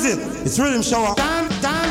it. It's Rhythm Shower. Yeah.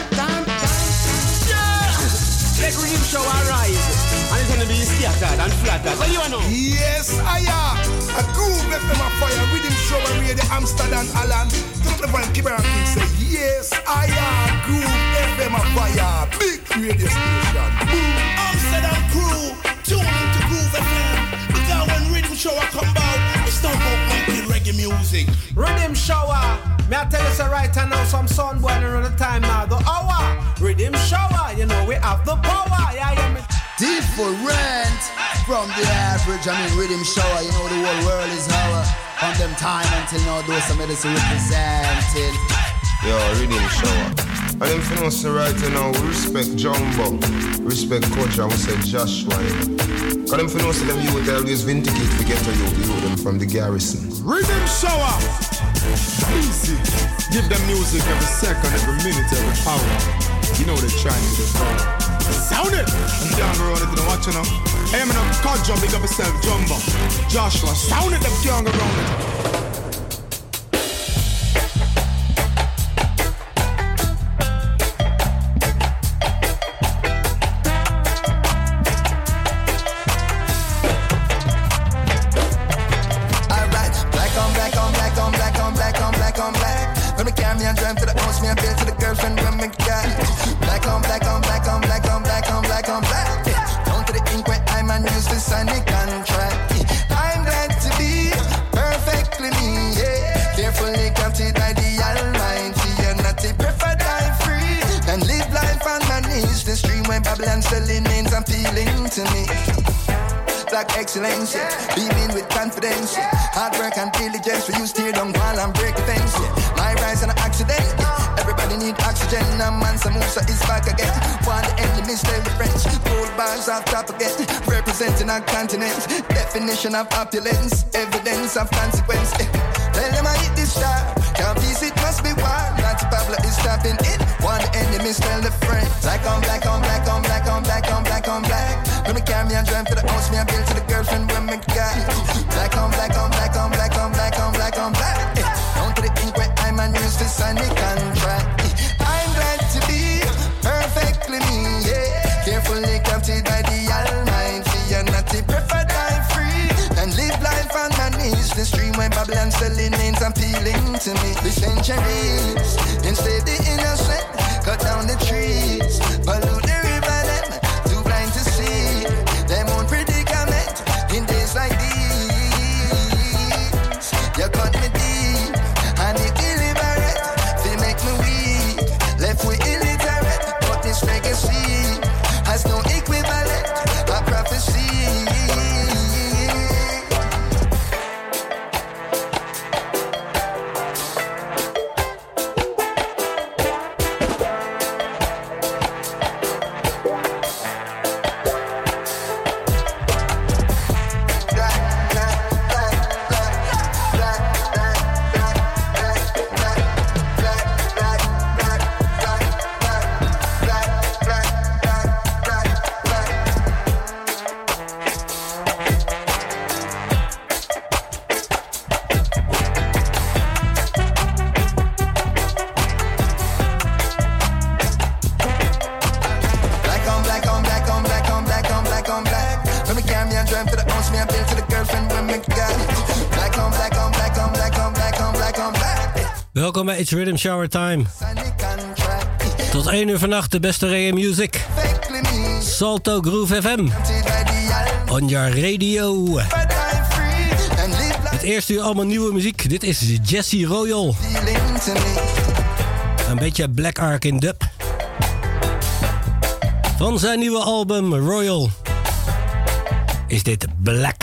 Let Rhythm Shower rise. And it's gonna be scattered and flattered. What do you know? Yes, I am. A groove FM a fire. Rhythm Shower radio Amsterdam Alan. Don't the one keep around and say yes, I am. Groove FM a fire. Big radio station. Boom. Amsterdam crew, tune into Groove FM. Because when Rhythm Shower come out, it's not about making reggae music. Rhythm Shower. Me I tell you so right now, some sun boiling on the time now. The hour. Rhythm Shower. You know we have the power. Yeah, yeah, me. Different from the average. I mean, Rhythm Shower. You know the whole world is our. From them time until now, those some medicine represented. Yo, Rhythm Shower. And them finance right now, we respect Jumbo, respect Coach, and we say Joshua. Because them finance them youth always vindicate to get to you them from the garrison. Rhythm Shower! Easy. Give them music every second, every minute, every hour. You know they're trying to do it. Sound it! I'm down around it, you know what you know? Hey, I'm in a cut jump, big up yourself, Jumbo. Joshua, sound it, them young around it. Excellence, beaming with confidence. Hard work and diligence for you steer down while I'm break the fence. My rise and an accident. Everybody need oxygen. A man Samusa is back again. While the enemies tell the French. Gold bars off top again. Representing our continent. Definition of opulence. Evidence of consequence. Tell them I hit this star. Can't peace, it must be wild. Not Pablo is stopping it. While the enemies tell the friends. Black on black on black on black on black on black on black. When me carry me and drive to the house, me I build to the girlfriend when me got black on black on black on black on black on black on black. Down to the ink where I'm and use the sign the contract. I'm glad to be perfectly me, yeah. Carefully crafted by the Almighty, and not to prefer die free and live life on my knees. The stream where Babylon selling names appealing to me. The centuries instead the innocent cut down the trees, pollute the river them. Blind to see them own predicament in days like these. You cut me deep and it deliberate. They make me weak, left with illiterate. But this legacy has no equivalent. A prophecy. Welkom bij It's Rhythm Shower Time. Tot 1 uur vannacht de beste reggae music. Salto Groove FM. On your radio. Het eerste uur allemaal nieuwe muziek. Dit is Jesse Royal. Een beetje Black Ark in dub. Van zijn nieuwe album Royal is dit Black.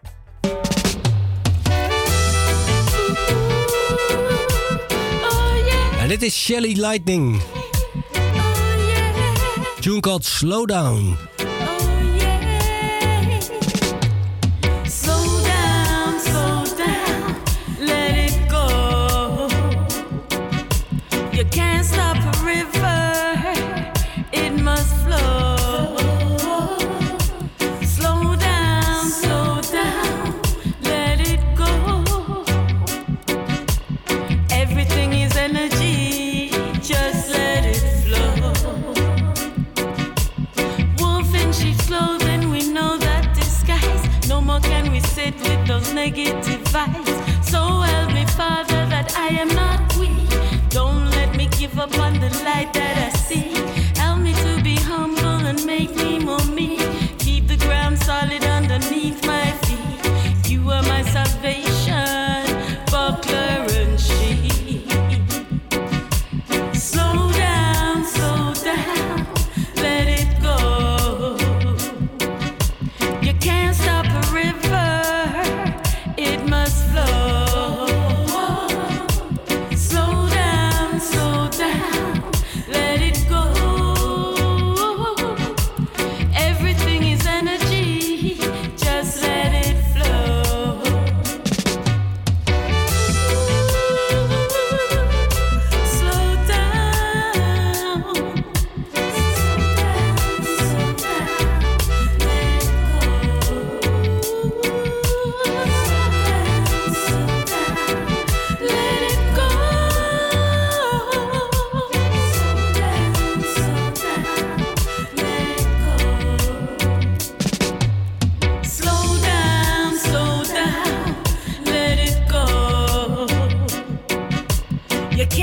En dit is Shelly Lightning. Tune called Slow Down. Everything is energy.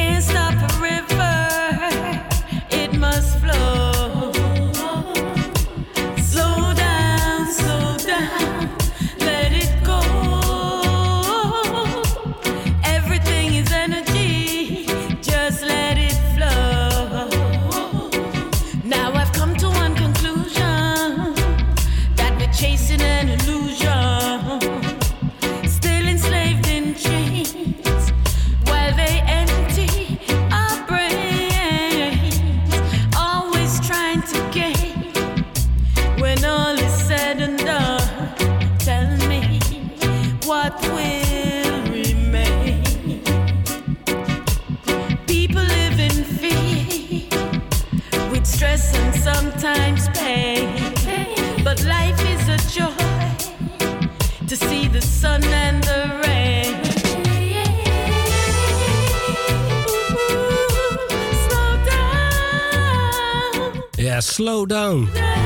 can't stop a river, it must flow. Slow down, let it go. Everything is energy, just let it flow. Now I've come to one conclusion, that we're chasing an illusion, still enslaved in chains, while they empty our brains, always trying to gain. When all is said and done, tell me what will remain. People live in fear, with stress and sometimes pain, but life is a joy to see the sun and the rain. Slow down. Ja, slow down.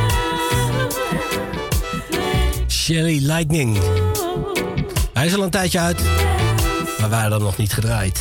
Shelly Lightning. Hij is al een tijdje uit, maar wij hadden hem nog niet gedraaid.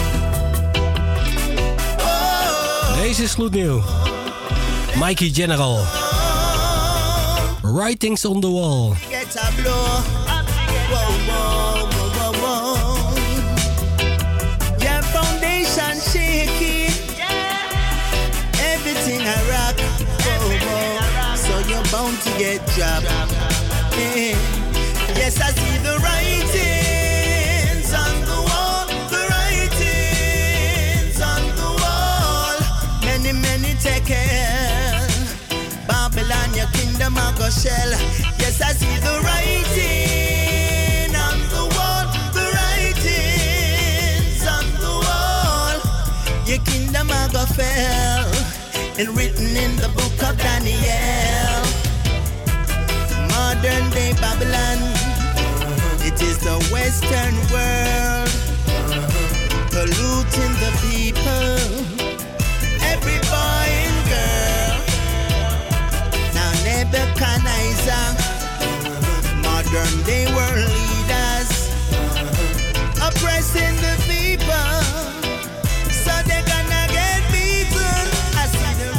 Deze is gloednieuw. Mikey General. Writings on the Wall. Get a blow. Whoa, whoa, whoa, whoa, whoa. Your foundation shaky. Everything I rock. Whoa, whoa. So you're bound to get dropped. Yeah. Yes, I see the writings on the wall. The writings on the wall. Many, many taken. Babylon, your kingdom I go shell. Yes, I see the writing on the wall. The writings on the wall. Your kingdom I go fell. And written in the book of Daniel. Modern day Babylon. It is the Western world. Polluting the people. Every boy and girl. Now Nebuchadnezzar, modern day world leaders, oppressing the people, so they're gonna get beaten. I see the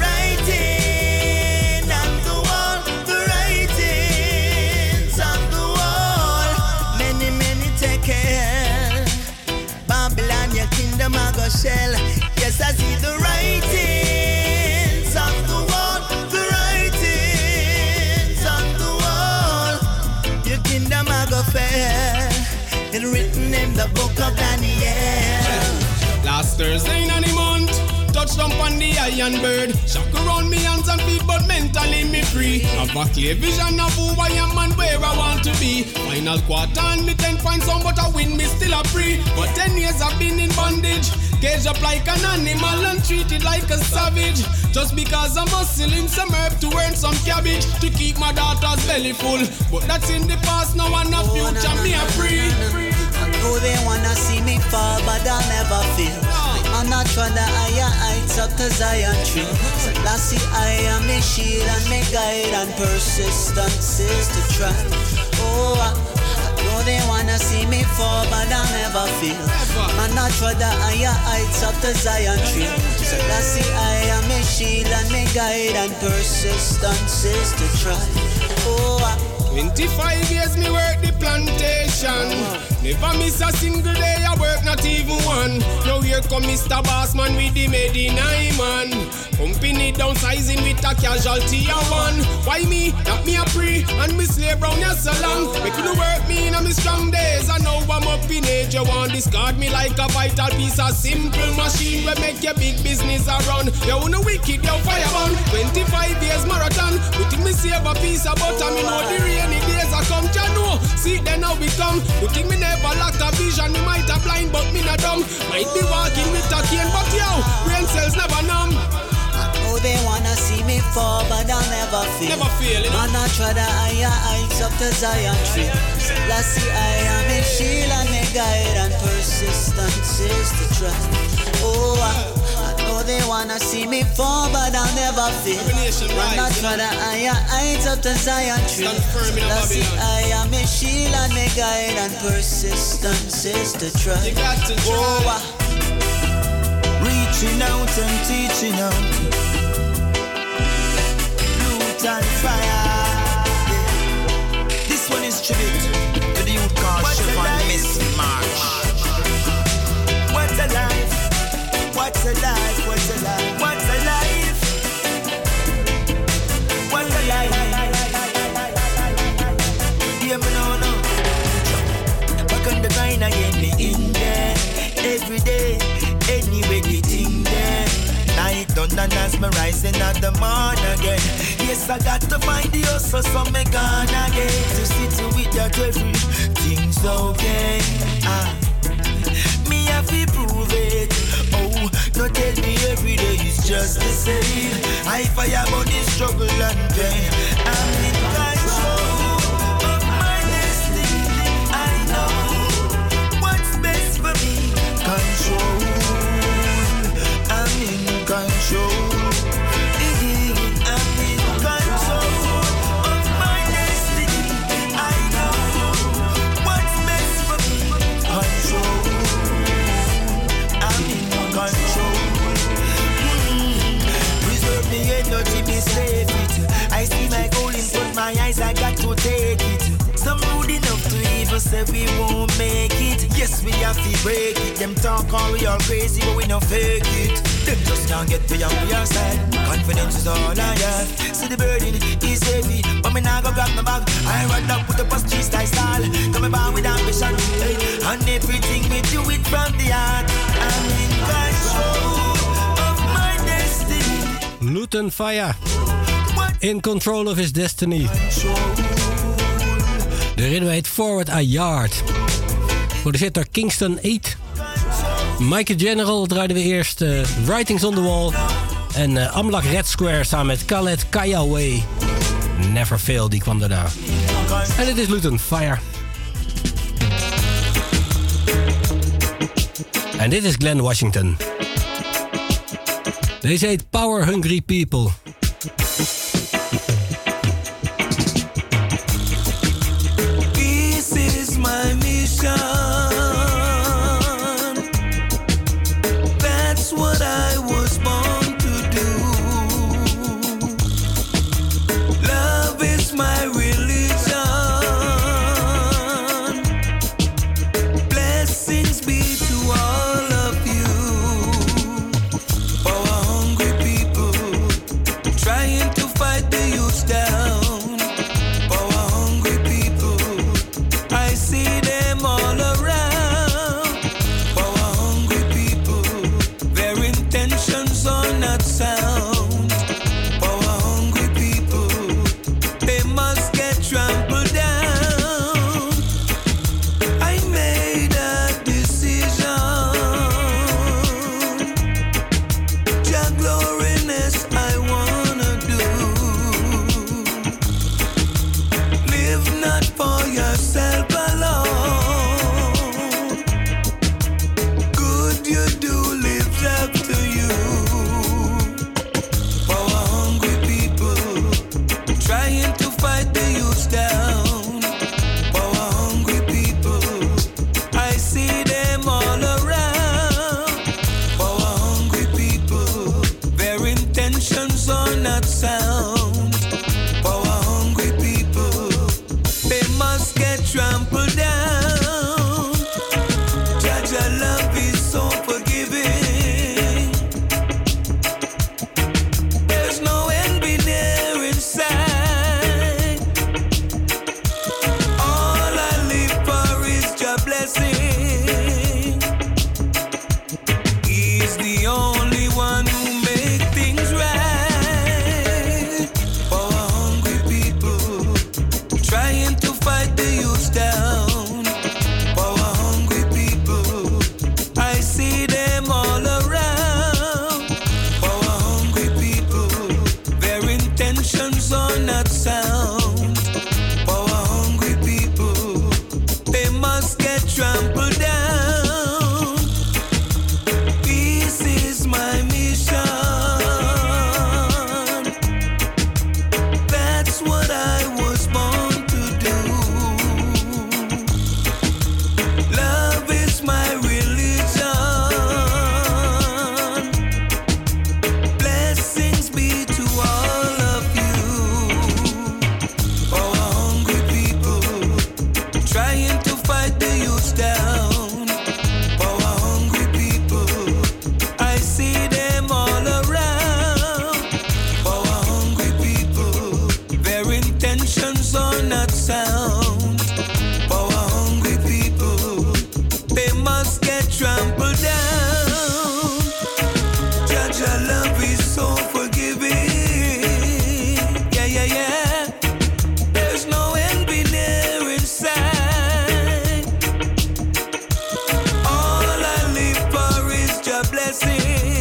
writing on the wall, the writings on the wall. Many, many taken. Babylon, your kingdom I go shell. Yes, I see the writings on the wall, the writings on the wall. Your kingdom I go fair, and written in the book of Daniel. Last Thursday in the month, touched up on the iron bird. Shock around me hands and feet, but mentally me free. Have a clear vision of who I am and where I want to be. Final quarter and me 10 points on, but I win, me still a free. But 10 years I've been in bondage, caged up like an animal and treated like a savage. Just because I'm hustling some herb to earn some cabbage to keep my daughter's belly full. But that's in the past, now and the future, me a free. I know they wanna see me fall, but I'll never fail. I'm not trying to higher heights up to Zion tree. So Lassie, I am my shield and my guide, and persistence is to try. Oh, I know they wanna see me fall, but I'll never fail. I'm not trying to higher heights up to Zion tree. So Lassie, I am my shield and my guide, and persistence is to try. Oh, 25 years me work the plantation. Never miss a single day, I work not even one. Now here come Mr. Bossman with the made in man. Company downsizing with a casualty of one. Why me? That me a pre and me slave round here so long. Making the work me in a me strong days. And now I'm up in age. You want discard me like a vital piece of simple machine where make your big business around. You wanna wicked, you fireman. 25 years marathon. Putting me save a piece of butter. Me know the rainy days are come. You know, see then now we come. Putting me never lack a vision. Me might have blind but me not dumb. Might be walking with a cane but yo, brain cells never numb. Oh, they wanna see me fall, but I'll never fail. Never fail, you know. Man, I try to higher heights up to Zion tree. So Lassie, I am a shield and a guide, and persistence is the trust. Oh, I know they wanna see me fall, but I'll never fail. Man, I try to higher heights up to Zion tree. So Lassie, I am a shield and a guide, and persistence is the trust. You got to try. Oh, reaching out and teaching out. Luton Fire. This one is tribute to the youth called Siobhan Miss March. What a life, what a life, what a life, what a life, what a life. Yeah, me no. Back on the grind again, me in there. Every day, anyway, getting there. Night done and as me rising at the morning again. Yes, I got to find the hustle, so me gone again. To sit with that everything's okay. Me have to prove it. Oh, no tell me every day is just the same. I fire money, struggle and pain. I'm in control of my destiny. I know what's best for me. Control. I'm in control. I'm in control of my destiny. I know what's best for me. Control. I'm in control. Preserve me energy, me save it. I see my goal in front my eyes, I got to take it. Some rude enough to even say we won't make it. Yes, we have to break it. Them talk all we all crazy, but we no fake it. Them just can't get me on your side. Confidence is all I have. See the burden is heavy, but me now go grab my bag. I run up with the post street style. Coming back with ambition, hey. And everything we do it from the heart. I'm in control of my destiny. Luton Fire. In control of his destiny. De ritme heet Forward a Yard. Geproduceerd door Kingston 8. Mike General draaiden we eerst. Writings on the Wall. En Amlak Red Square samen met Khaled Kayaway. Never Fail, die kwam daarna. En dit is Luton Fire. En dit is Glenn Washington. Deze heet Power Hungry People. This is my mission. That's what I was born to do. Love is my religion. Blessings be to all of you. Power hungry people.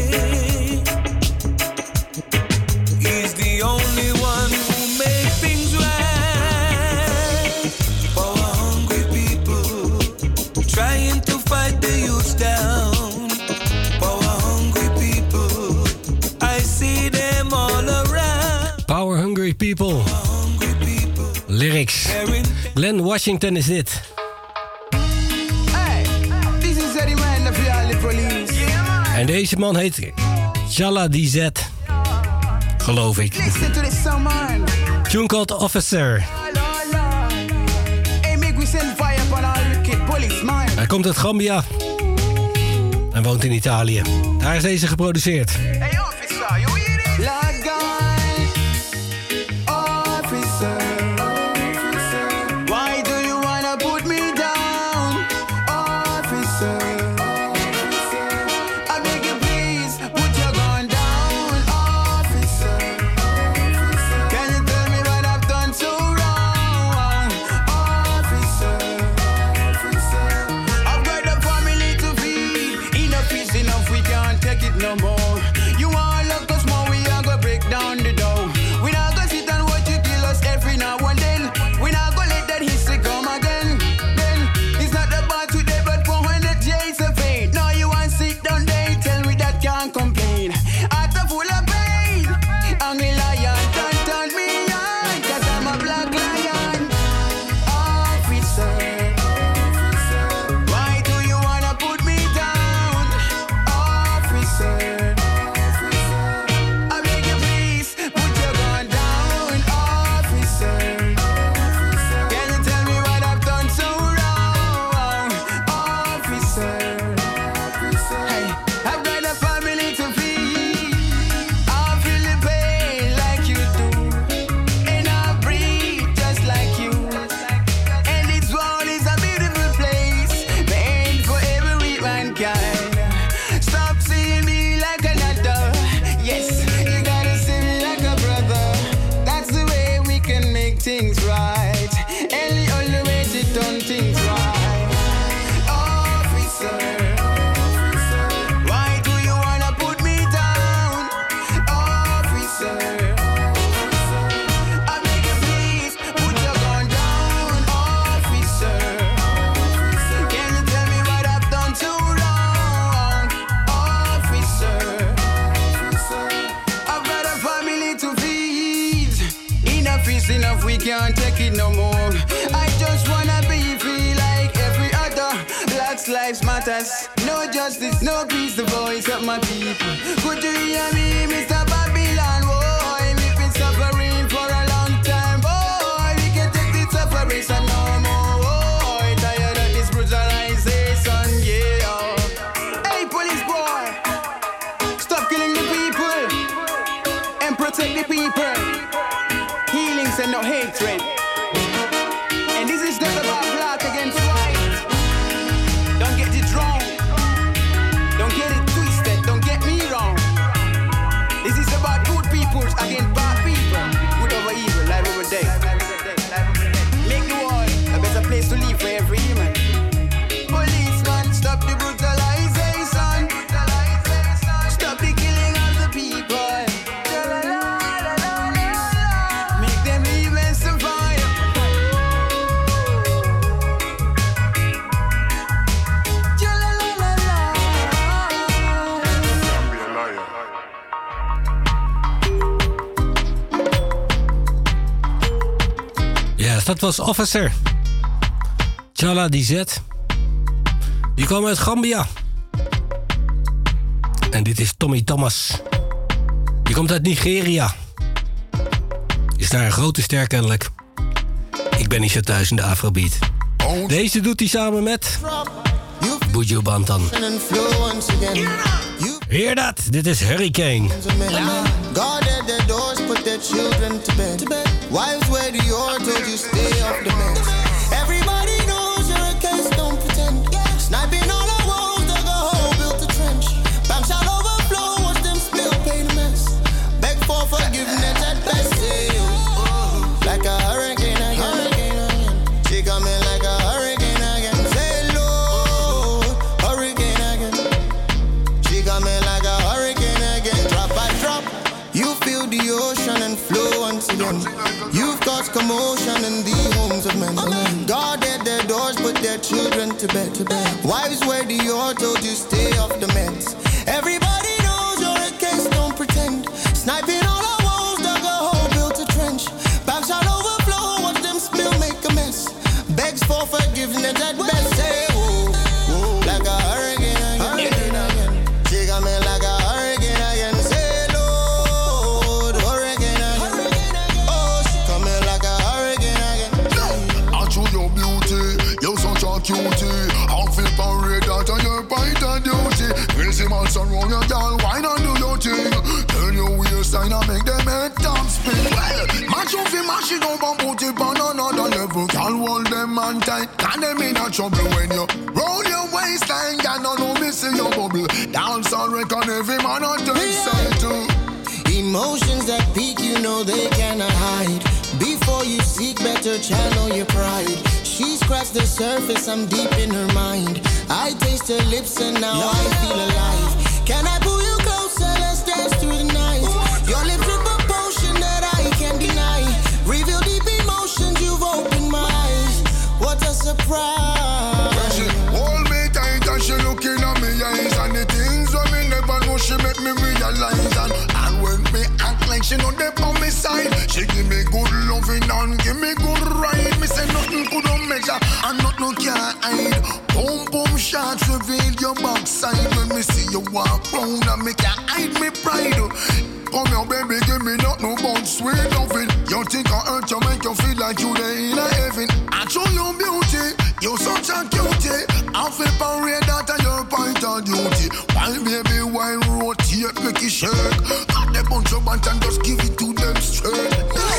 He's the only one who makes things right. Power hungry people trying to fight the youth down. Power hungry people, I see them all around. Power hungry people. Lyrics. Glenn Washington is dit. En deze man heet Chala DZ. Geloof ik. Tune called Officer. Hij komt uit Gambia. En woont in Italië. Daar is deze geproduceerd. Hey officer, you hear it? Lord God, officer, why do you wanna put me down, officer? I beg you please, put your gun down, officer. Can you tell me what I've done so wrong, officer? I've got a family to feed, enough is enough, we can't take it no more. You want look us more, we are gonna break down the door. We not gonna sit and watch you kill us every now and then. We not gonna let that history come again. Then it's not about today, but for when the days of fate. Now you want sit down there, tell me that can't complain. Heart full of pain, hungry lion, turn me on, 'cause I'm a black lion. Officer, why do you wanna put me down, officer? I beg you please, put your gun down, officer. Can you tell me what I've done so wrong, officer? Hey, I've got a family to feed. I feel the pain like you do, and I breathe just like you. And this world is a beautiful place, made for every mankind. Stop seeing me like another. Yes, you gotta see me like a brother. That's the way we can make things right, and the only way to turn things right. Officer, why do you wanna put me down, officer? I beg you please, put your gun down, officer. Can you tell me what I've done so wrong, officer? I've got a family to feed. Enough is enough, we can't take it no more. I just wanna be free like every other. Black lives matters. No justice, no peace, the voice of my people. Could you hear me, Mr. Babylon? Boy, we've been suffering for a long time. Boy, we can take this separation no more. Boy, tired of this brutalization, yeah. Hey, police boy, stop killing the people and protect the people. Healings and no hatred. And this is not about black against white. Don't get it wrong. Don't get it twisted. Don't get me wrong. This is about good people against bad people. Good over evil, life over day. Make the world a better place to live for every human. Policeman, stop the brutalization. Stop the killing of the people. Make them live and survive. Ja, dat was Officer. Chala DZ. Die kwam uit Gambia. En dit is Tommy Thomas. Die komt uit Nigeria. Is daar een grote ster kennelijk. Ik ben niet zo thuis in de Afrobeat. Deze doet hij samen met Buju Banton. Hear dat? Dit is Hurricane. Guarded the doors, put their children to bed. Wives where the yard told you stay off the meds. Everybody knows hurricanes don't pretend. Sniping all the walls, dug a hole, built a trench. Banks shall overflow, watch them spill, pay the mess. Beg for forgiveness at best. Like a hurricane again. She coming like a hurricane again. Say Lord, hurricane again. She coming like a hurricane. their children to bed. Wives wear the auto to stay off the meds. Everybody knows you're a case, don't pretend. Sniping all our walls, dug a hole, built a trench. Packs shall overflow, watch them spill, make a mess. Begs for forgiveness at best. Say, whoa, whoa, like a hurricane again. She got me like a hurricane again. Say, Lord, hurricane again. Oh, she coming like a hurricane again. I show your beauty, you're such a cutie. I'll flip a red dot on your bite of duty. Crazy man surround your girl, why not do your thing? Turn your waistline and make them head top spin. Well, match off him, mash it up and put it on another level. Can't hold them man tight, can them in a trouble when you roll your waistline. Can no know me see your bubble. Dance and reckon every man on the side too. Emotions that peak, you know they cannot hide. Before you seek better, channel your pride. She scratched the surface, I'm deep in her mind. I taste her lips and now I feel alive. Can I pull you closer, let's dance through the night. Your lips with a potion that I can't deny. Reveal deep emotions, you've opened my eyes. What a surprise. She hold me tight and she looking at me eyes. And the things that me never know, she make me realize. And when me act like she know they on me side, she give me good loving and give me good ride. Me say nothing could not measure and nothing can hide. Boom boom shots reveal your backside. When me see you walk round and me can't hide me pride. Come here baby, give me nothing but sweet loving. You think I hurt you, make you feel like you there in heaven. I show you beauty, you're such a cutie. I flip and red that and your point of duty. Why baby, why rotate, make it shake. Got the bunch of band and just give it to them straight.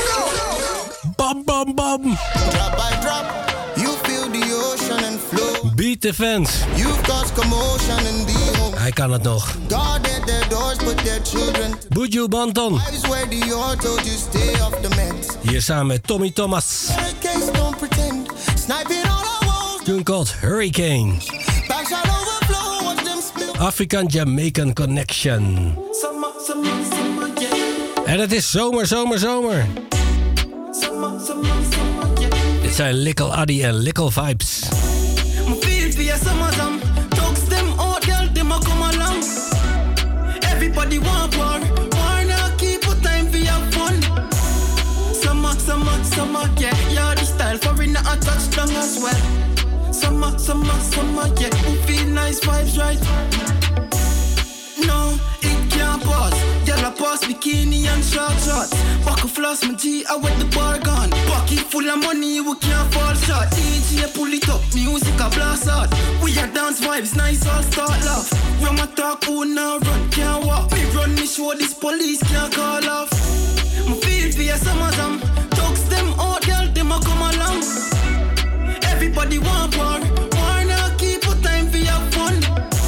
Bam, bam, bam. Drop by drop, you feel the ocean and flow. Beat the fans. You've caused commotion in the home. Hij kan het nog. Guarded their doors, put their children to Buju Banton. Wives wear the auto to stay off the meds. Hier samen met Tommy Thomas. Hurricanes don't pretend. Sniping all our walls. Tune called Hurricane. Back shall overflow, watch them spill. African Jamaican Connection. En het is zomer, zomer, zomer. Dit zijn Lickle Addy en Lickle Vibes. Everybody want war. War now keep a time for your fun. Summer, yeah. You're the style for in a touchdown as well. Summer, yeah. We feel nice vibes, right? No, it can't pause. Yellow pause, bikini and short shorts. Buckle floss, my G, I with the bar gone. Pocket full of money, we can't fall short. DJ pull it up, music a blast out. We are dance vibes, nice all start laugh. When my talk, who now run, can't walk. Me run, me show this police can't call off. My feel for your summer jam. Talks them out, girl, them a come along. Everybody want war. War now keep a time for your fun.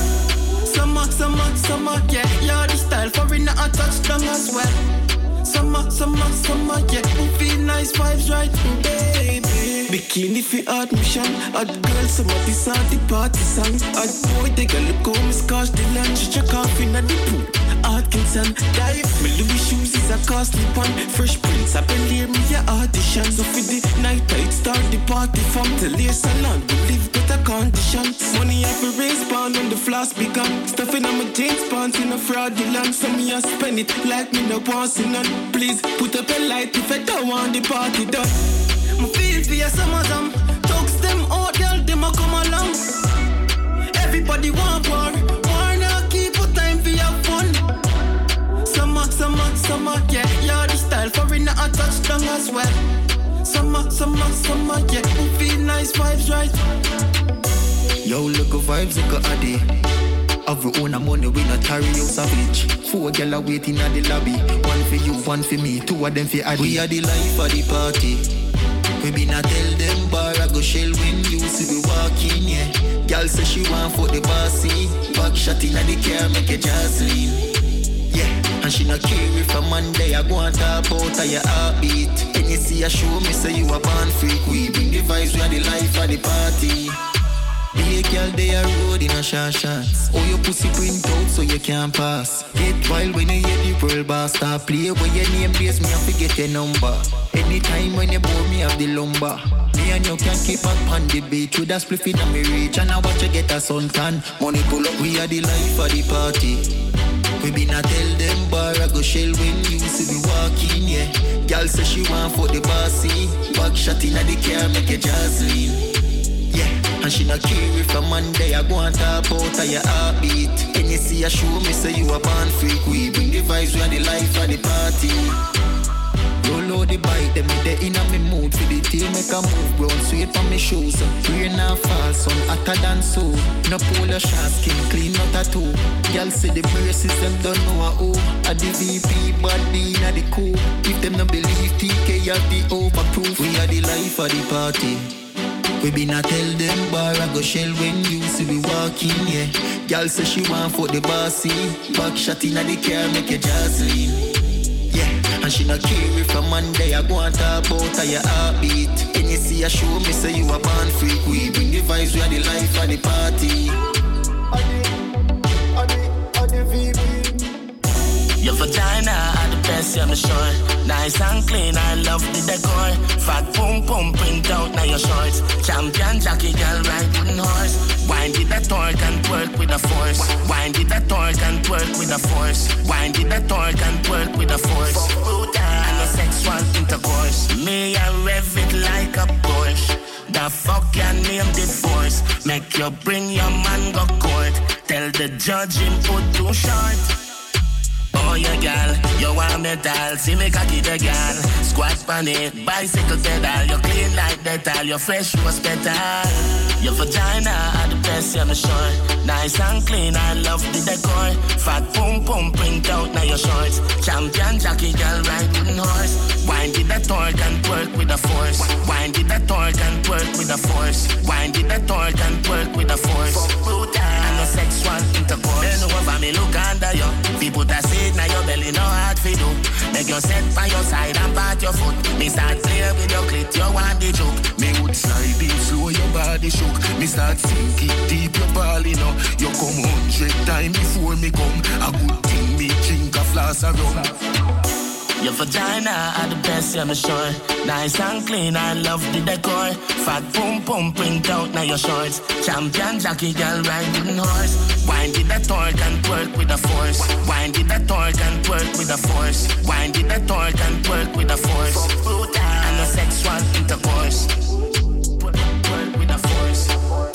Summer, yeah. You're the style for in a touchdown as well. Summer, yeah. We feel nice vibes, right, baby. Bikini for admission. Hot girl, some of this are the party songs. Hot boy, they got look home, is scotch the lunch. Check off in the pool. Atkinson, dive. My Louis shoes is a costly one. Fresh Prince, I believe me your audition. So for the night, I'd start the party from the lace salon. We live better conditions. Money I for raise pound when the floss begun. Stuffing on my jeans pants in a fraudulent. So me I spend it like me no want see none. Please put up a light if I don't want the party done. My feel for your summer jam. Talks them out, girl, them a come along. Everybody want war. War now keep a time for your fun. Summer, yeah. You're the style for in a touchdown as well. Summer, yeah. We feel nice vibes, right? Yo, look at vibes, look at Addy. Have we own a money, we not carry you savage. 4 gyal are waiting at the lobby. 1 for you, 1 for me, 2 of them for Addy. We are the life of the party. We be not tell them bar I go shell when you see we walking, yeah. Gyal say she want for the bossy. Back shot in the car, make a Jocelyn. Yeah, and she not care if a Monday I go and talk about her your heartbeat. When you see a show me say you a born freak. We bring the vibes, we are the life of the party. Be a girl, they are road in a short shots. Oh, your pussy print out so you can't pass. Get wild when you hear the world boss start play. Where your name base, me I forget your number. Anytime when you bore me have the lumber. Me and you can keep up on the beach with a spliff in me reach. And I watch you get a suntan. Money pull up, we are the life of the party. We been a tell them bar I go shell when you see me walking, yeah. Girl say she want for the bossy. Back shot in the car make a jazzy. Yeah, and she not care if a Monday I go and talk about her your heartbeat. Can you see a show me say you a born freak? We bring the vibes, we are the life of the party. Roll out the bike, them me in a me mood for the team make a move, brown sweet from me shoes. Rain and fall, sun hotter than so. No polar shot, skin clean, not a toe. Y'all see the braces, them don't know a who. A the VP, body in a the coup. If them no believe TK have the overproof. We are the life of the party. We been a tell them bar I go shell when you see we walking, yeah. Y'all say she want for the bossy. Back shot in a the car make a jazzy. Yeah, and she not care if a Monday I go and talk about her your heartbeat. Can you see a show me say you a born freak? We bring the vibes, we are the life of the party. Your vagina are the best, I'm sure. Nice and clean, I love the decor. Fat pum pum print out now your shorts. Champion jockey girl riding horse. Wind it that torque and twerk with a force. Wind it that torque and twerk with a force. Wind it that torque and twerk with a force. And a sexual intercourse. Me I rev it like a Porsche. The fuck your name divorce. Make you bring your man go court. Tell the judge him put too short. Oh, yeah, gal, you want metal, see me cocky the gal. Squat on it, bicycle pedal. You clean like dental, you fresh was better. Your vagina are the best, I'm sure. Nice and clean, I love the decor. Fat pum pum print out now your shorts. Champion jockey girl riding horse. Wind it that torque and twerk with a force. Wind it that torque and twerk with a force. Wind it that torque and twerk with a force. And no sexual intercourse. Then over me look under you. People that say now your belly no hard for do. Make you set by your side and pat your foot. Me start playing with your clit, you want the joke. Me would slide in slow, your body shook. Me start sinking deep, your body now. You come 100 times before me come. A good thing me drink a flask of rum. Your vagina are the best, I'm sure. Nice and clean, I love the decor. Fat pum pum print out now your shorts. Champion jockey girl riding horse. Wind it that torque and twerk with a force. Wind it that torque and twerk with a force. Wind it that torque and twerk with a force. And a sexual intercourse. Twerk with a force.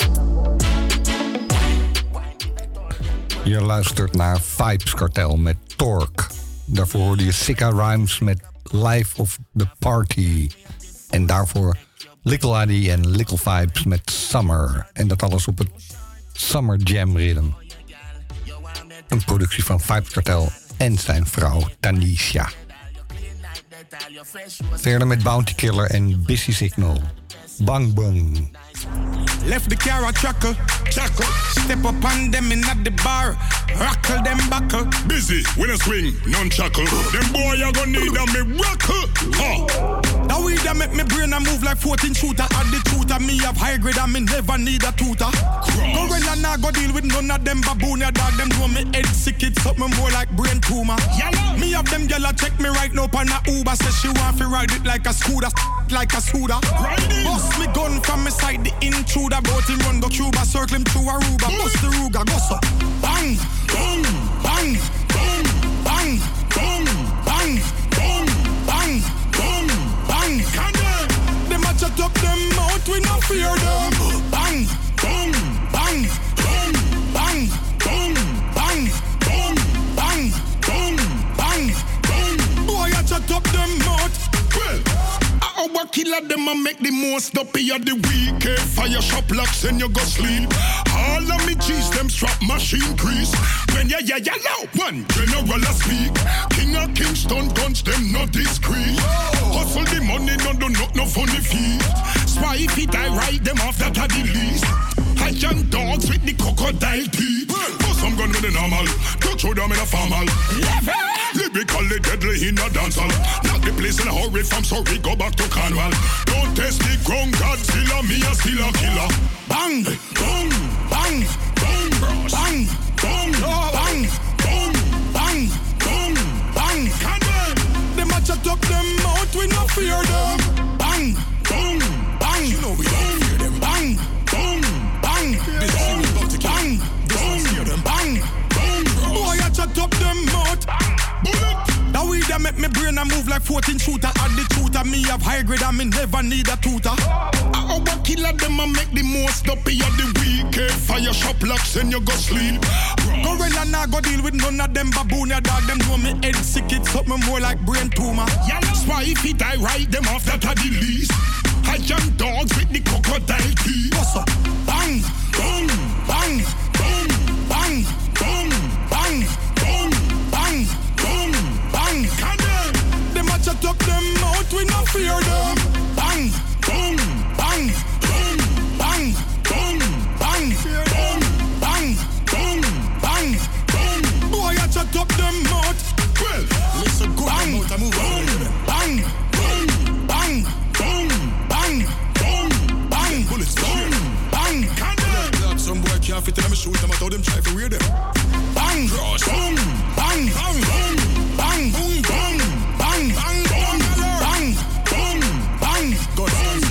Je luistert naar Vibes Cartel met Torque. Daarvoor hoorde je Sicka Rhymes met Life of the Party. En daarvoor Little Addy en Little Vibes met Summer. En dat alles op het Summer Jam Rhythm. Een productie van Vibes Cartel en zijn vrouw Tanisha. Verder met Bounty Killer en Busy Signal. Bang Bang. Left the car a chuckle. Step up on them in at the bar. Rockle them buckle. Busy, when I swing, none chuckle. Them boy you gonna need a miracle. Now we that make me brain a move like 14 shooter. At the tutor, me have high grade and me never need a tutor. Go run and I go deal with none of them baboon. Ya dog them know me head sick, it's something more like brain tumor. Me have them gyal check me right now on a Uber. Say she want to ride it like a scooter, like a scooter. Bust me gun from me side, the intruder. Bout him run go Cuba, circle him through Aruba. Bust the Ruger, go so. Bang, bang, bang, bang, bang, bang, bang, bang, bang, bang, bang. Them a chat up them out, we no fear them. Bang, bang, bang, bang, bang, bang, bang, bang, bang, bang, bang, bang. Boy a chat up them out. Our killer them a make the most up here the week. Fire shop locks and you go sleep. All of me cheese them strap machine crease. When ya now one general a speak. King of Kingston guns them not discreet. Hustle the money no funny feet. Spy if it I ride them off that are the least. I young dogs with the crocodile teeth. But some gun with the normal. Don't show them in a formal. Lyrically deadly in a dancehall. Knock the place in a hurry from sorry, go back to Cornwall. Don't test the ground, Godzilla, me a still a killer. Bang, bang, bang, bang, bang, bang, bang, bang, bang, bang, bang, brain, I move like 14 shooter. Add the shooter, me have high grade, I me never need a tutor. I over killer them, I make the most up of the week. Fire shop locks and you go sleep. Gorilla nah go deal with none of them baboon, ya dog. Them know me head sick, it's something more like brain tumor. Yeah, that's why if it I ride them off, that are the least. I young dogs with the crocodile teeth. What's up? Bang, boom, bang, boom, bang, boom, bang, boom, bang, boom, bang. Them a chat up them out, we no fear them. Bang, boom, bang, boom, bang, boom, bang, boom, bang, boom, bang, boom. Boy, I chat up them out. Well, listen good, bang, boom, bang, boom, bang, boom, bang, boom, bang, bullets, boom, bang. Some boy can't fit in my shoes, them I told them try to wear them. Bang, cross, boom, bang, bang, boom, bang, boom, bang, bang, bang, boom, bang, boom, bang. God,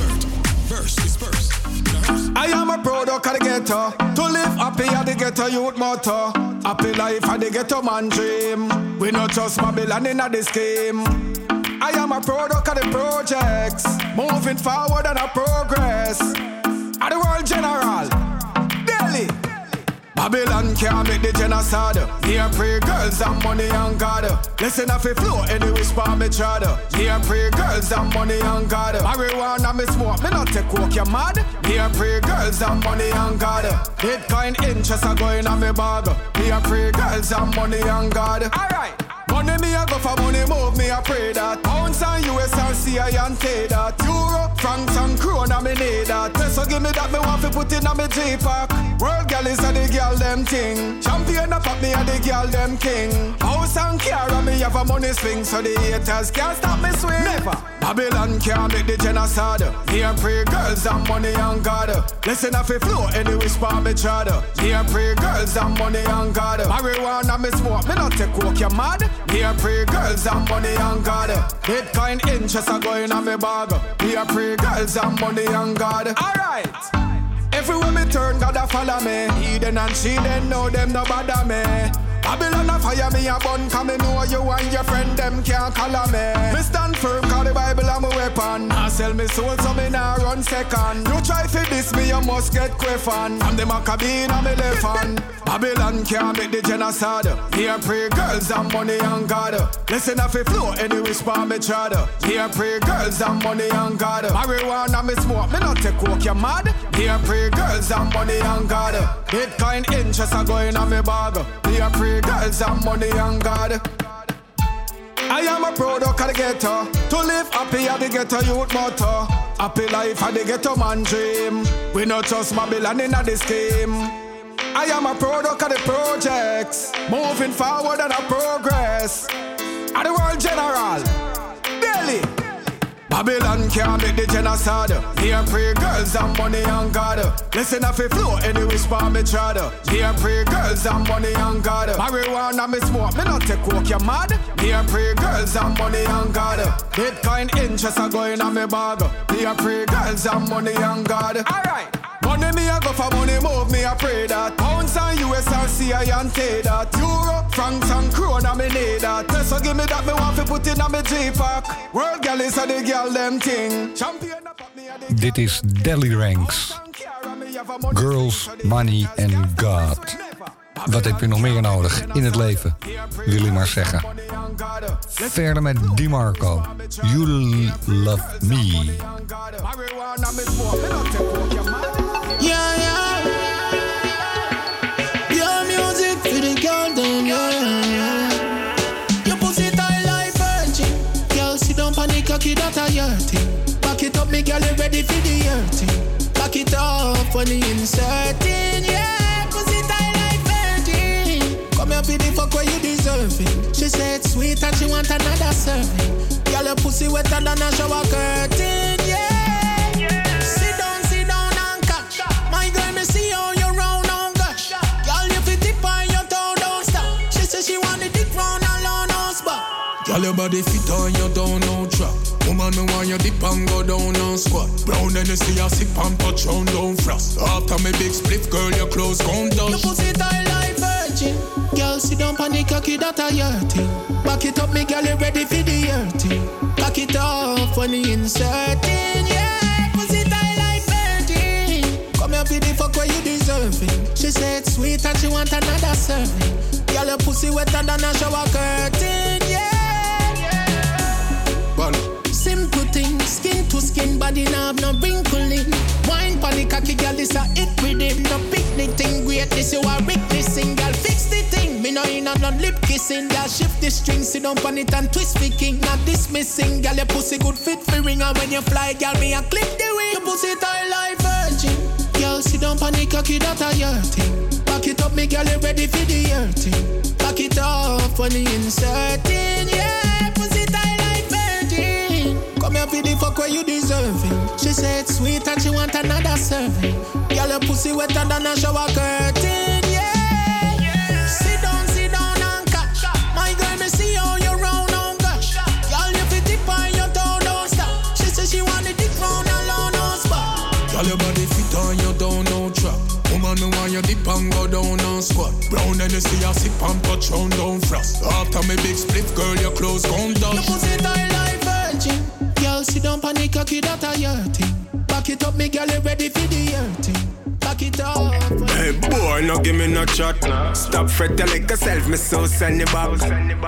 verse is first. I am a product of the ghetto. To live happy at the ghetto youth motto. Happy life at the ghetto man dream. We not just Babylon in the scheme. I am a product of the projects. Moving forward and a progress. At the world general. Daily. Babylon can't make the genocide. Me and pray girls and money and God. Listen if it flow any whisper me chada. Me and pray girls and money and God. Marijuana me smoke, me not take coke, you mad? Me and pray girls and money and God. Bitcoin interest are going on me bag. Me and pray girls and money and God. Alright. Money me a go for money move, me a pray that. Pounds and US and CI and take that. Euro, francs and krona me need that. So give me that, me want to put in on me J-Pack. World gal is a the girl them thing. Champion up at me a the girl them king. House and car and me have a money swing. So the haters can't stop me swing. Never. Babylon can't make the genocide. Me a pray girls and money and God. Listen if it flow any whisper me chada. Me a pray girls and money and God. Marijuana me smoke, me not take coke, you mad? Me a pray girls and money and God. Bitcoin interest are going on me bag. Me a pray girls and money and God. Alright. Everywhere me turn, God a follow me. Eden and she then know them no bother me. Babylon a fire me a bun, cause me know you and your friend them can't color me. Me stand firm, cause the Bible am a weapon. I sell me soul so me nah run second. You try for this me, you must get quiffin. From the Maccabee and me left hand. Babylon can't make the genocide. Me a pray girls and money and God. Listen if it flow any whisper me chada. Me a pray girls and money and God. Marijuana me smoke, me not take coke, you mad? Me a pray girls and money and God. Bitcoin interest are going on me bag. Me a pray girls and money and God. I am a product of the ghetto. To live happy at the ghetto youth motto. Happy life at the ghetto man dream. We not just Babylon in the scheme. I am a product of the projects. Moving forward and a progress. At the world general. Daily. Babylon can't make the genocide. Me a pray girls and money and God. Listen if it flow any whisper me chada. Me a pray girls and money and God. Marijuana me smoke, me not take coke, you mad? Me a pray girls and money and God. Bitcoin interest are going on me bag. Me a pray girls and money and God. Alright. Money me a go for money move, me a pray that. Pounds and US and CI and take that. Euro, francs and krona me need that. So give me that, me want to put in on me J-Pack. World gal is a the girl them thing. Champion up at me a the. Dit is Delly Ranks. Girls, Money and God. Wat heb je nog meer nodig in het leven? Wil je maar zeggen. Verder met DiMarco. You Love Me. Yeah, yeah. Your music for the girl, them, yeah. Your pussy tight like virgin. Girl, sit down, panic, cocky, that a your thing. Back it up, me girl, you ready for the hurting. Back it up when you inserting, yeah. Pussy tight like virgin. Come here for the fuck where you deserving. She said sweet and she want another serving. Girl, your pussy wetter than a shower curtain, yeah. See how you round on gosh. Girl, you fit tip on your toe, don't stop. She said she want the dick round alone on spot. Girl, your body fit on your down, no trap. Woman, me want you dip and go down on squat. Brown and you see a sip and touch on down frost. After me big split, girl, your clothes gon' touch. Your pussy tight like virgin. Girl, sit down on the cocky, that a your thing. Back it up, me girl, you ready for the hurting. it off when you inserting, yeah. Pussy tight like virgin. Come here for the fuck where you deserving. She said sweet and she want another serving. Girl, your pussy wetter than a shower curtain, yeah. Simple thing, skin to skin, body now have no wrinkling. Wine pon the cocky, girl, this a it with him. No picnic thing, great, this you a witnessing. Girl, fix the thing, me no in on no lip kissing. Girl, shift the string, sit down pon it and twist the king. Not dismissing, girl, your pussy good fit for ring. And when you fly, girl, me a clip the wing. Your pussy tight like virgin. Girl, sit down pon the cocky, that a your thing. Back it up, me girl, you ready for the hurting. Back it off when you inserting, yeah. Pussy tight like virgin. Come here for the fuck where you deserving. She said sweet and she want another serving. Girl, your pussy wetter than a shower curtain, yeah. Sit down and catch. My girl, me see how you round on gosh. Girl, you fit dip on your toe, don't stop. She said she want the dick round alone, no spot. Girl, your body fit on your down, no trap. Woman, me want you dip and go down and squat. Brown and you see a sip and touch round down frost. After me big split, girl, your clothes gone down. Your pussy tight like virgin. Girl, sit down pon the cocky, that a your thing. Back it up, me girl, you ready for the hurting. Back it up. Hey boy, no give me no chat. Stop fret, tell like yourself, me so send it back.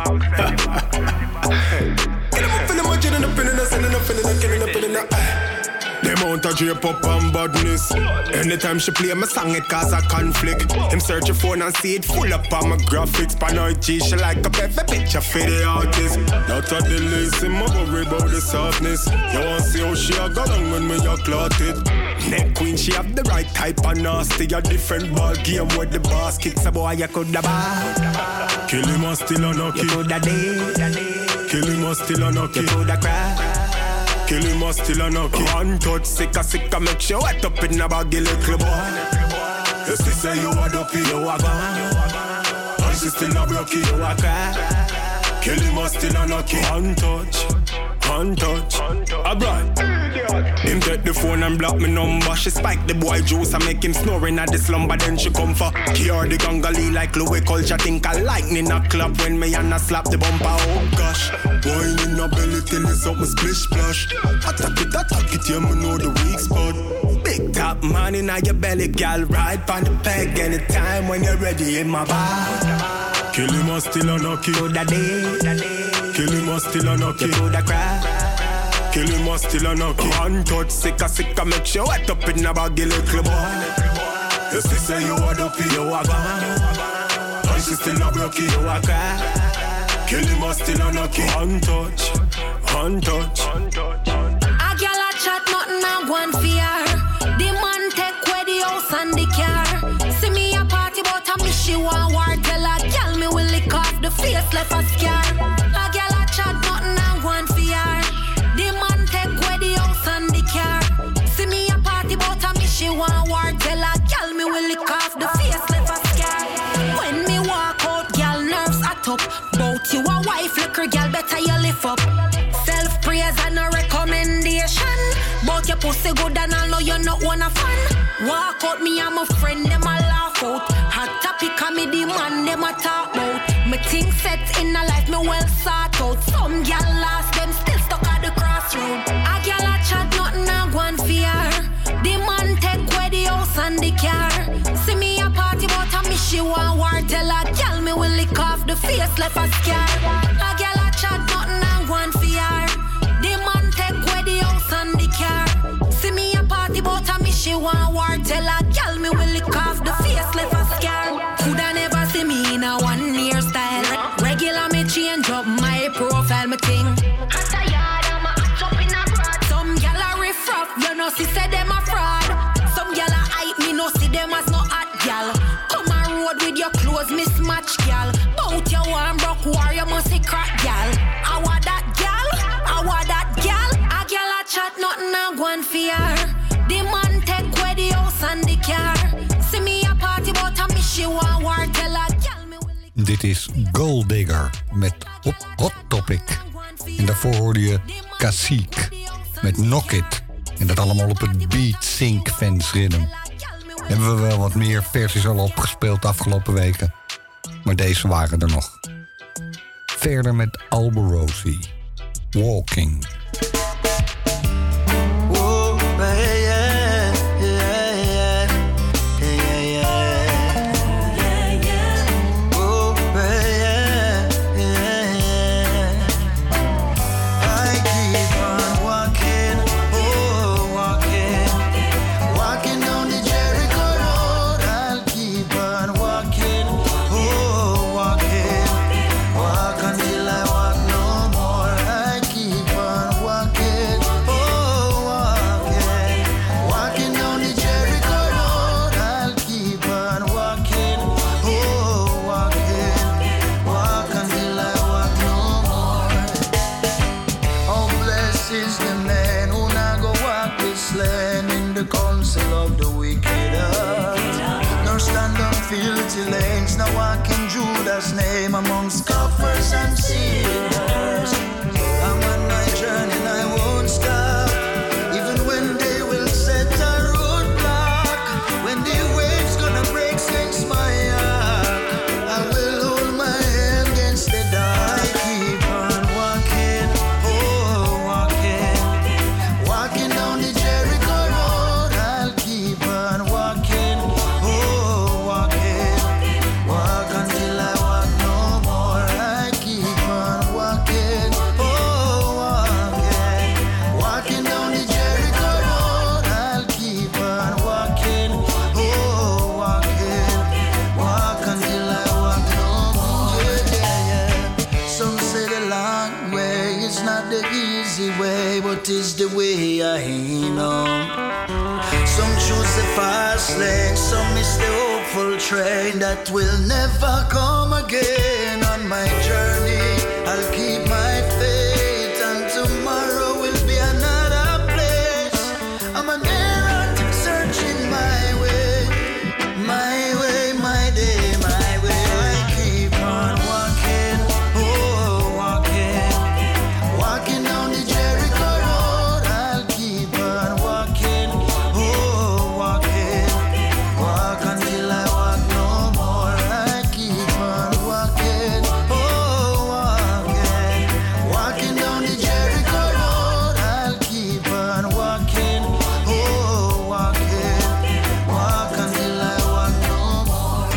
Get him up in the mud, you up in the sending up in the killing up in the. The amount of drape up and badness. Anytime she play my song, it cause a conflict. Him search your phone and see it full up on my graphics. Paranoid G, she like a perfect picture for the artist. Not a delay, see my worry about the softness. You want see how she a go down when me a clot it. Neck queen, she have the right type of nasty. A different ball game with the boss kicks. A boy, you coulda bad. Kill him or still unlucky. You coulda dead. Kill him or still unlucky. You coulda cry. Kill him or still a knocky. One touch, sicka, make sure wet up in a baggy little boy. You see say you a dopey, you a gone. And she still a broke, you a cry. Kill him or still a knocky. One touch, a bright. Him take the phone and block me number. She spike the boy juice and make him snoring at the slumber. Then she come for cure the gangali like Louis Culture. Think a lightning a clap when me and a slap the bumper. Oh gosh, wine in a belly till it's up my splish splash. Attack it, yeah, me know the weak spot. Big top man in your belly, gal, ride on the peg anytime when you're ready in my bar. Kill him or still a knocky. Kill him or still a knocky. Kill him or still a knocky. One touch, sicka, make sure wet up in a baggy little boy. You see say you a dopey, you a gone. And she still a broke, you a cry. Kill him or still a knocky. One touch. A girl a chat, nothing a go on fear. The man take away the house and the car. See me a party, but I miss she want war. Tell a girl me will lick off the face left a scar. A girl a chat, nothing a go on fear. The man take away the house and the car. See me a party, but I miss she want war. Tell a girl me will lick off the face left a scar. When me walk out, girl nerves a top. Bout you a wife, liquor girl better you lift up. Self-praise and a recommendation. But your pussy good and I know you're not one a fan. Walk out, me and my friend, them a laugh out. Hot topic and me the man, them a talk about. Me think set in a life, me well sort out. Some gal lost, them still stuck at the crossroad. A gal a chat, nothing a go on fear. The man take away the house and the car. See me a party, but I miss she want war. Tell a gal me will lick off the face left a scar. A gal a chat, nothing a go on fear. The man take away the house and the car. See me a party, but I miss she want war. Tell a gal me will lick off the face left a scar. Coulda never see me in a 1 year style. Regular me change up my profile, me ting. Hotter yard, I'm a hot up in a broad. Some gal a riff rough, you know she said them a fraud. Some gal a hype me, no see them as no hot gal. Come a road with your clothes mismatch gal. Bout your warm broke war, you must see crack gal. I want that gal, I want that gal. A gal a chat, nothing a go on fear. The man take away the house and the car. See me a party, but I miss she want war. Tell a gal me will. Dit is Gold Digger met Hot Topic. En daarvoor hoorde je Cacique met Knock It. En dat allemaal op het Beat Sync Fans Rhythm. Hebben we wel wat meer versies al opgespeeld de afgelopen weken. Maar deze waren er nog. Verder met Alborosie. Walking. amongst scoffers and sinners. I'm on my journey and I won't stop, even when they will set a roadblock. When the waves gonna break since my heart, I will hold my hand against the dark. I keep on walking, oh walking, walking down the Jericho road. I'll keep on walking, oh walking, walk until I walk no more. I keep on walking, oh walking, walking down the Jericho road. I'll keep on walking, oh walking, walk until I walk no more. Yeah, yeah. Some say the long way is not the easy way, but it's the way I know. Some choose the fast lane, some miss the hopeful train that will never come again. On my journey, I'll keep my faith, and tomorrow will be another place. I'm an errand searching my way, my day, my way. I keep on walking, oh walking, walking down the Jericho road. I'll keep on walking, oh walking, walk until I walk no more. I keep on walking, oh walking, walking down the Jericho road. I'll keep on walking, oh walking, walk until I walk no more.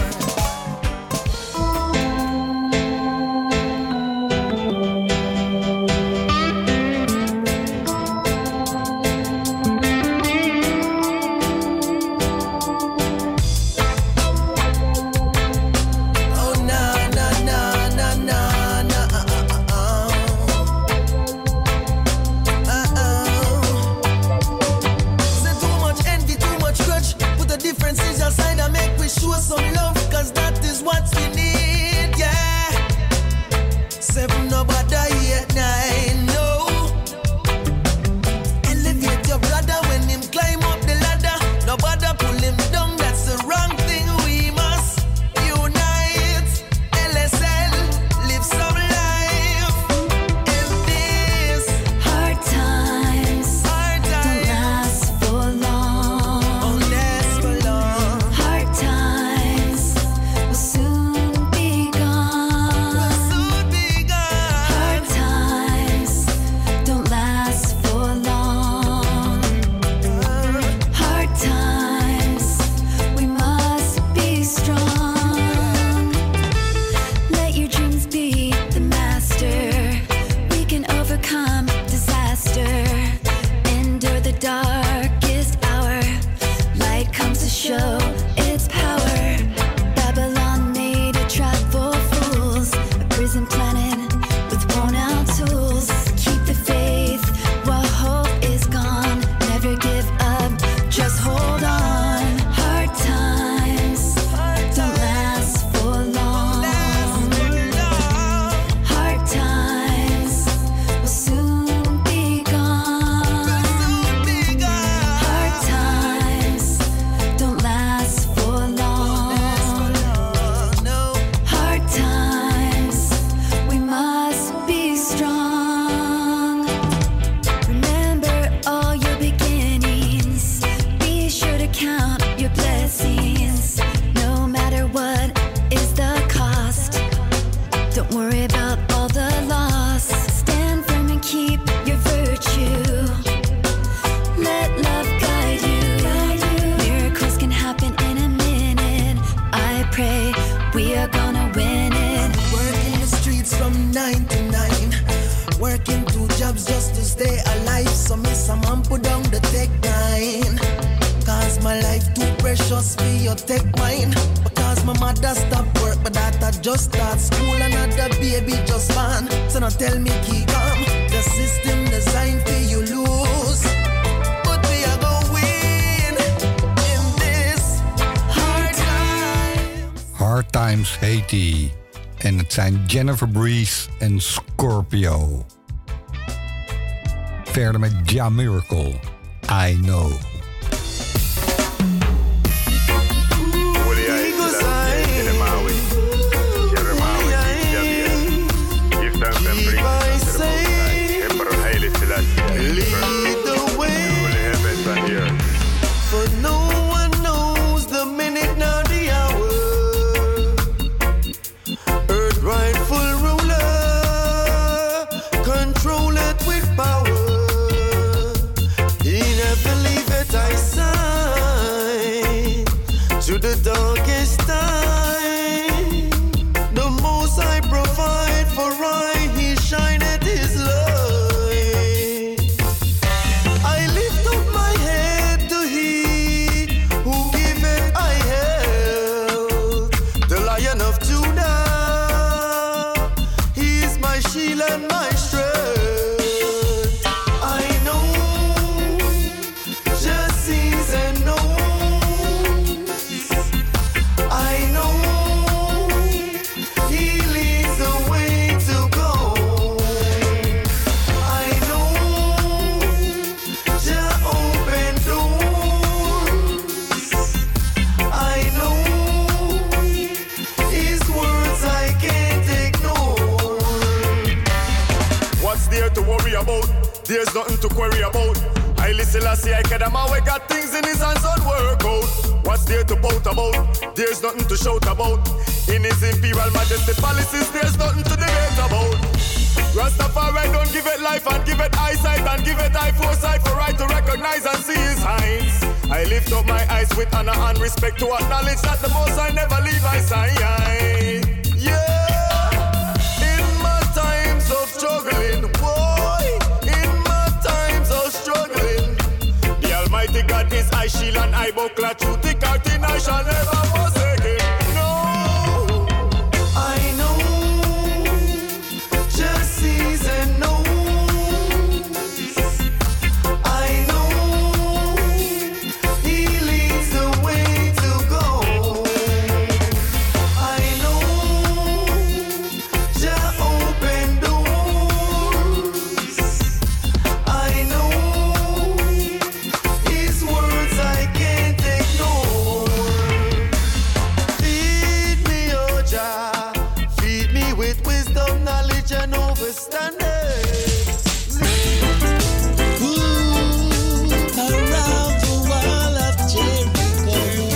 Oh na na na na na na Say too much envy, too much grudge. Put the differences aside and make we show some love, cause that is what we need, yeah. 7 nobody 8 9, no. Elevate your brother when him climb up the ladder. Nobody pull him down, that's the wrong thing. We must unite. LSL, live some life in this Hard times hard don't time. last for long. Oh, last for long. Hard times will soon be gone. Will soon be gone. Hard times don't last for long. Hard times, we must be strong. Let your dreams be the master. We can overcome disaster. Endure the darkest hour. Light comes to show its power. Babylon made a trap for fools, a prison planet with worn out tools. Keep the faith while hope is gone. Never give up, just hold on. Hard times don't last for long. Hard times will soon be gone. Hard times don't last for long. Hard times, we must be strong. Remember all your beginnings. Be sure to count your blessings. No matter what is the cost, don't worry about all the loss. Stand firm and keep your virtue. Let love guide you. Miracles can happen in a minute. I pray we are gonna win it. Working the streets from 9 to 9. Working 2 jobs just to stay alive. So miss a man put down the tech 9. Cause my life too precious for your tech mine. Because my mother stopped work, but daughter just start school. Another baby just born. So now tell me keep calm. The system designed for you lose. But we are gonna win in this hard time. Hard Times heet die. En het zijn Jennifer Breeze en Scorpio. Verder met Ja Miracle, I Know. shield and my strength. I know, just sees and knows. I know, He leads the way to go. I know, just open doors. I know, His words I can't ignore. What's there to worry about? There's nothing to query about. I listen, I see, I get him away, got things in his hands on work out. What's there to bout about? There's nothing to shout about. In his imperial majesty policies, there's nothing to debate about. Rastafari don't give it life and give it eyesight and give it eye foresight for right to recognize and see his signs. I lift up my eyes with honor and respect to acknowledge that the most I never leave my side. Yeah, in my times of struggling, boy, in my times of struggling, the Almighty God is I shield and I buckler, through thick or thin I shall never forsake him. No, I know, just sees and knows. I know, He leads the way to go. I know, just open doors. I know, His words I can't ignore. Feed me, oh Jah, feed me with wisdom, knowledge, and understanding. Around the wall of Jericho,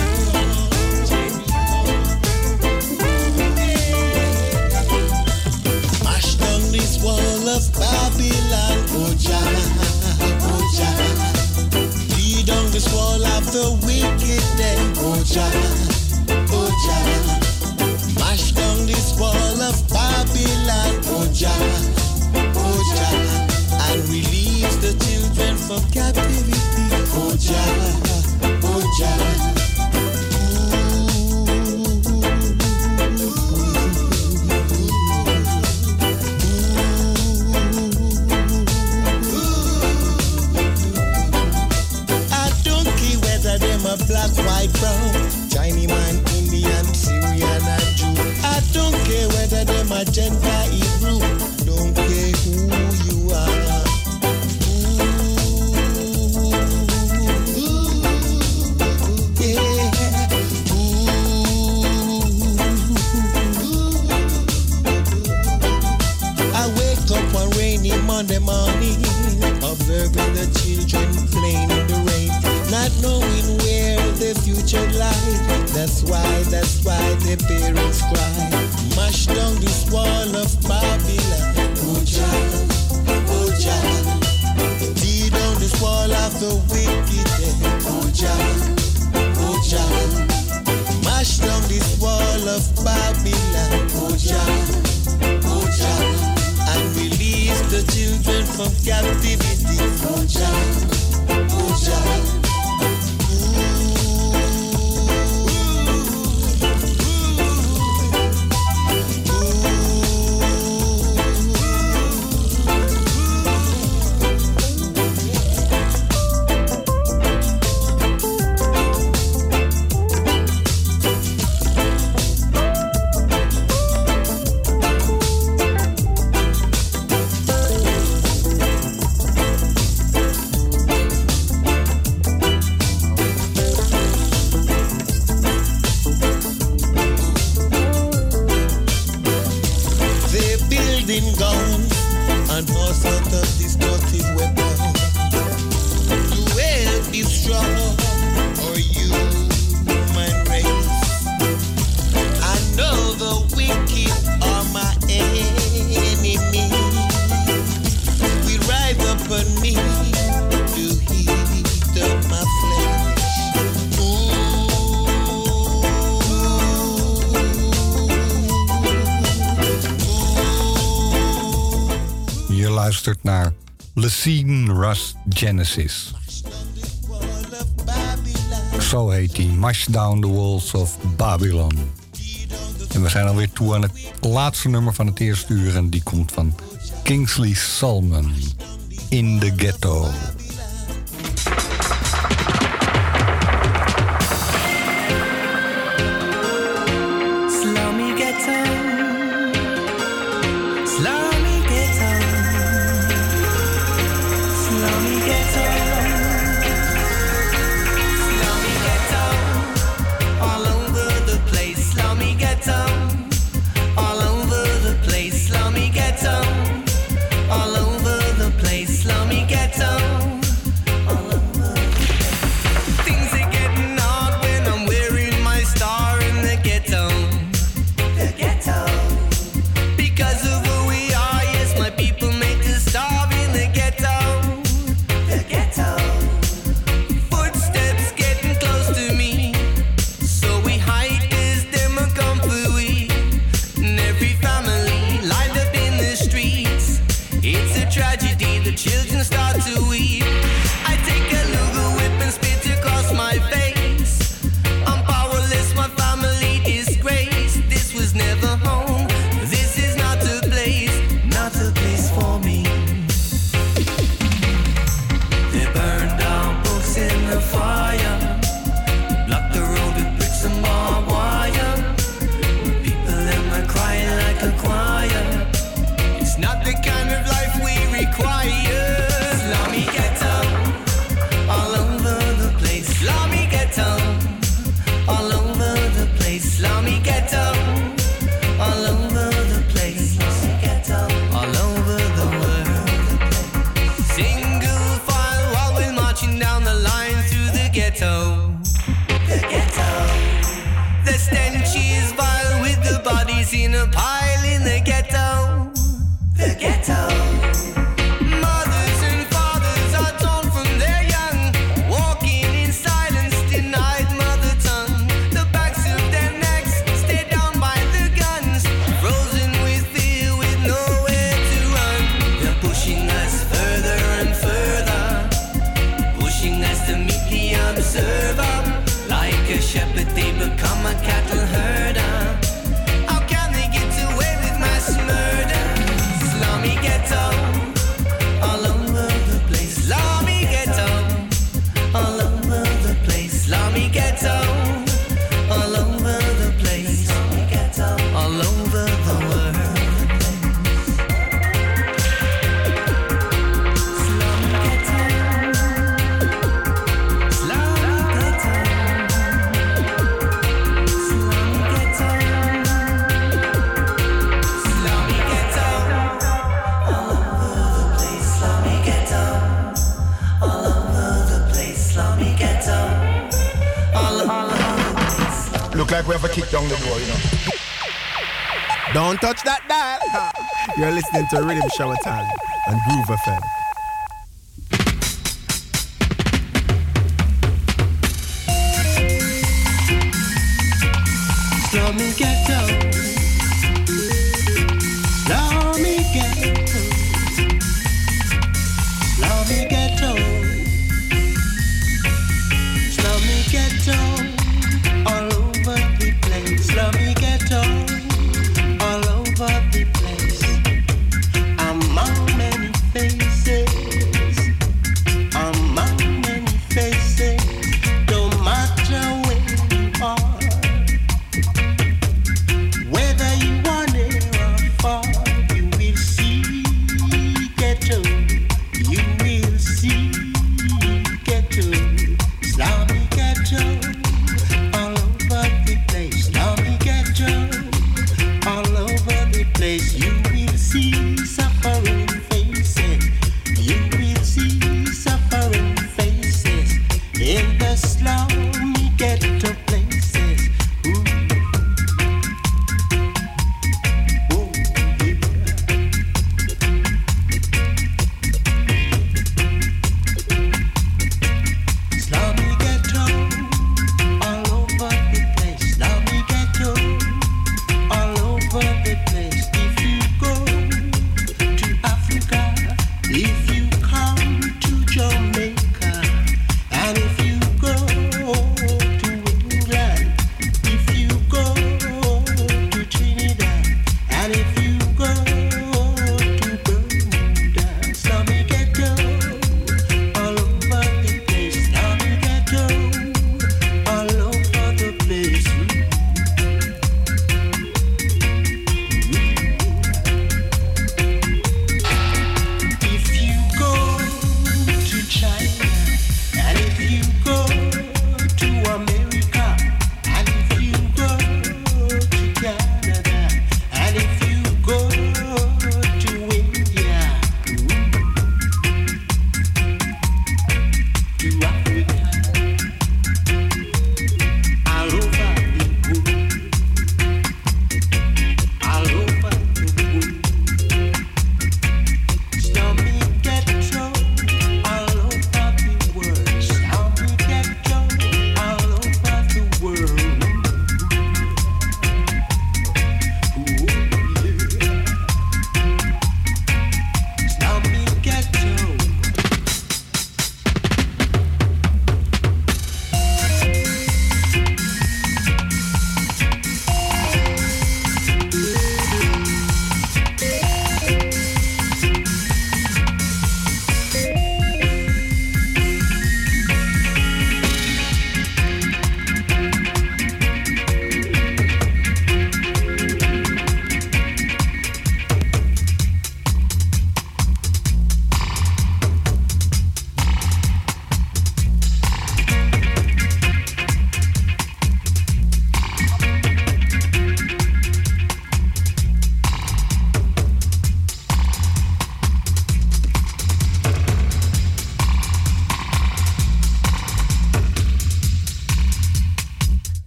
mash down this wall of Babylon, oh Jah, oh Jah. Lead down this wall of the wicked then, oh Jah, oh Jah. Mash down this wall of Babylon, oh Jah, oh Jah. And release the children from captivity, oh Jah, oh Jah. I don't care whether them a black, white, brown, Chinese man, Indian, Syrian, and Jew. I don't care whether them a Gentile, Hebrew. Don't care who you are. I wake up one rainy Monday morning, observing the children playing in the rain, not knowing where the future lies. That's why the parents cry. Mash down this wall of Babylon, oh Jah, oh Jah. Tear down this wall of the wicked, oh Jah, oh Jah. Mash down this wall of Babylon, oh Jah, oh Jah. And release the children from captivity, oh Jah, oh Jah. luistert naar Lacine Rust Genesis. Zo heet die, Mash Down the Walls of Babylon. En we zijn alweer toe aan het laatste nummer van het eerste uur en die komt van Kingsley Salmon, In the Ghetto. Don't touch that dial. You're listening to Rhythm Shower Time on Groove FM. Slummy ghetto, slummy ghetto, slummy ghetto, slummy ghetto, all over the place. Slummy ghetto, all over the place. Among many faces.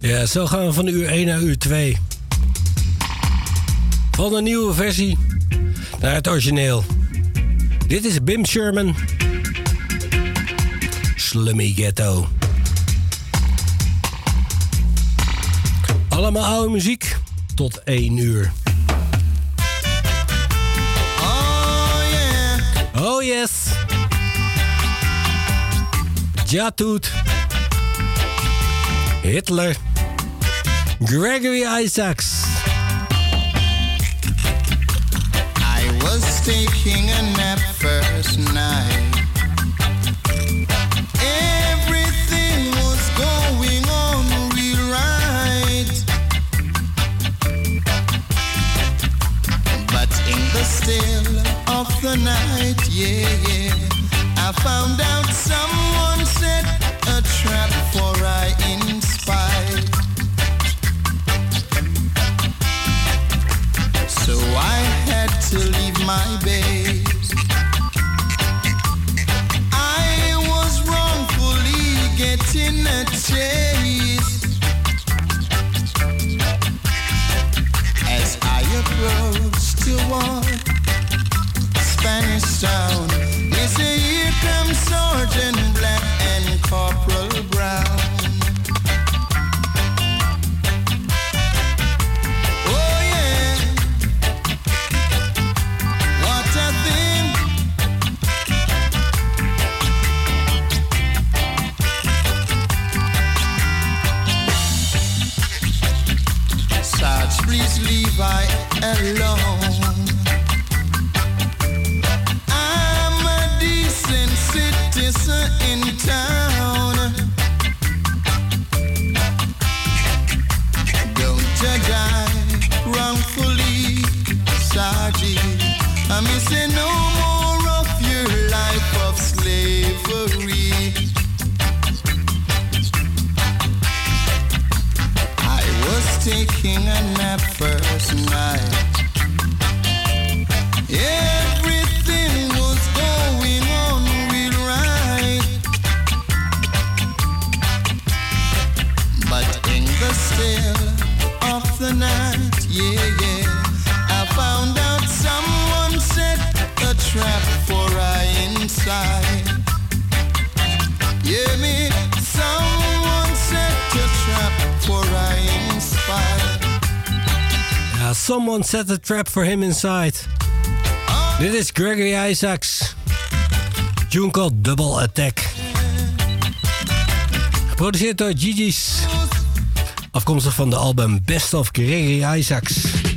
Ja, zo gaan we van uur 1 naar uur 2. Van de nieuwe versie naar het origineel. Dit is Bim Sherman. Slummy Ghetto. Allemaal oude muziek tot 1 uur. Oh yeah. Oh yes. Jatoot. Hitler. Gregory Isaacs. I was taking a nap first night. Everything was going on real right. But in the still of the night, yeah, I found out someone set a trap for I in spite. So I had to leave my base. I was wrongfully getting a chase. As I approached toward Spanish Town, they say here comes Sergeant Black and Corporal Brown. Oh yeah, what a thing. Sarge, please leave I alone. I'm a decent citizen in town. Don't judge I wrongfully, Sergeant. I may say no more of your life of slavery. I was taking a nap first night. Everything was going on real right. But in the still of the night, yeah, yeah, I found out someone set a trap for I inside. Yeah, me, someone set a trap for I inside. Ja, someone set a trap for him inside. Dit is Gregory Isaacs. Tune called Double Attack. Geproduceerd door Gigi's. Afkomstig van de album Best of Gregory Isaacs.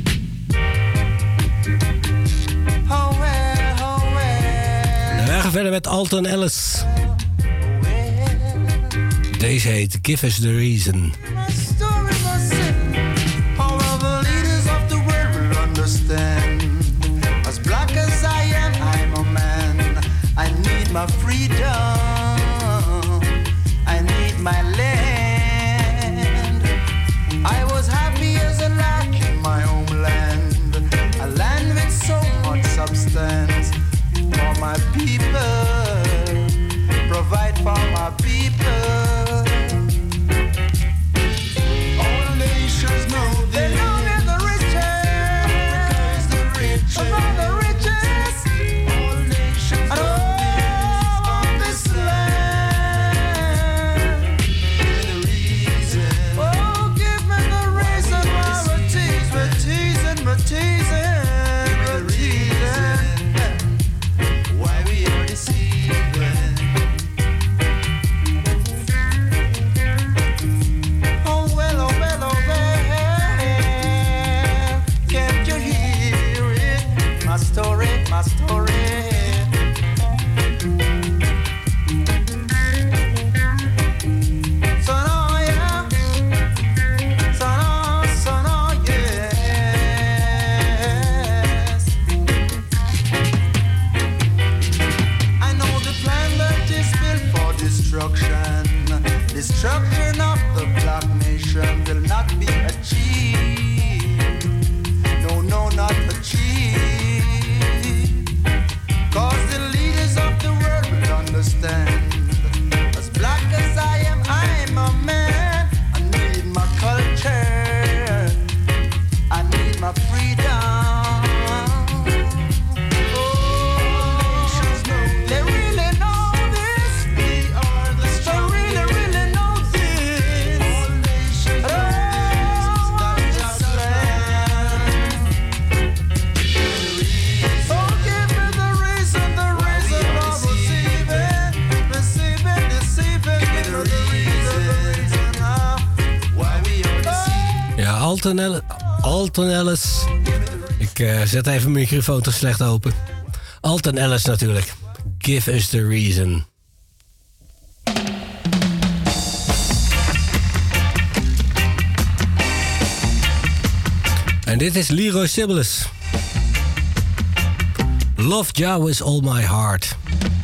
En wij gaan verder met Alton Ellis. Deze heet Give Us The Reason. All of the leaders of the world will understand. As black as I am, I'm a man. I need my freedom. I need my land. I was happy as a lark in my homeland. A land with so much substance. For my people. Provide for my people. All nations know they know we're the richest. Africa is the richest. Of all the richest. All nations know all this land. Give me the reason. Oh, give me the reason why we're teasing, we're teasing. Why we are deceived. Alton Ellis. Ik zet even mijn microfoon te slecht open. Alton Ellis natuurlijk. Give us the reason. En dit is Leroy Sibbles. Love Jah with all my heart.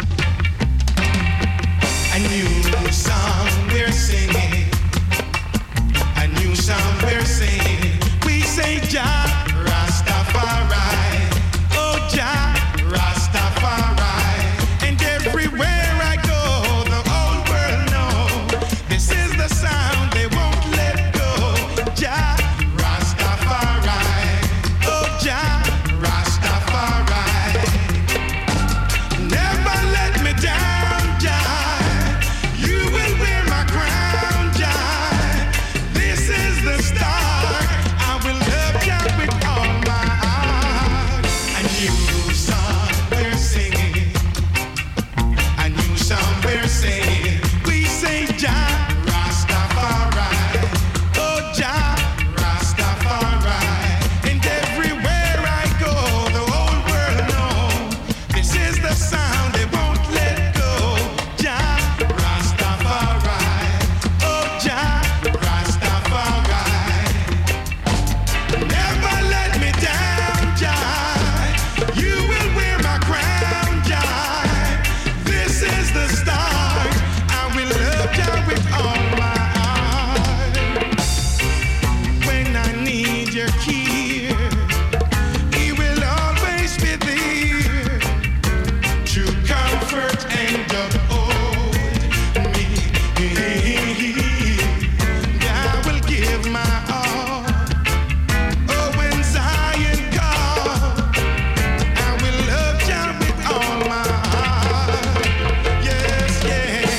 A new song we're singing. A new song we're singing. We say Jah Rastafari. Oh Jah Rastafari. And everywhere I go, the whole world know this is the sound they won't let go. Jah Rastafari. Oh Jah Rastafari. Never let me down, Jah. You will wear my crown, Jah. This is the start. I will love Jah with all my heart. A new song we're singing. A new song we're singing. We say Jah Rastafari. Oh Jah Rastafari. And everywhere I go, the whole world know this is the sound they won't let go. Jah Rastafari. Oh Jah Rastafari. Never let me down, Jah. You will wear my crown, Jah. This is the start. I will love Jah with all my heart. When I need your care, He will always be there to comfort and uphold me. I will give my all. Oh, when Zion calls, I will love Jah with all my heart. Yes, yes.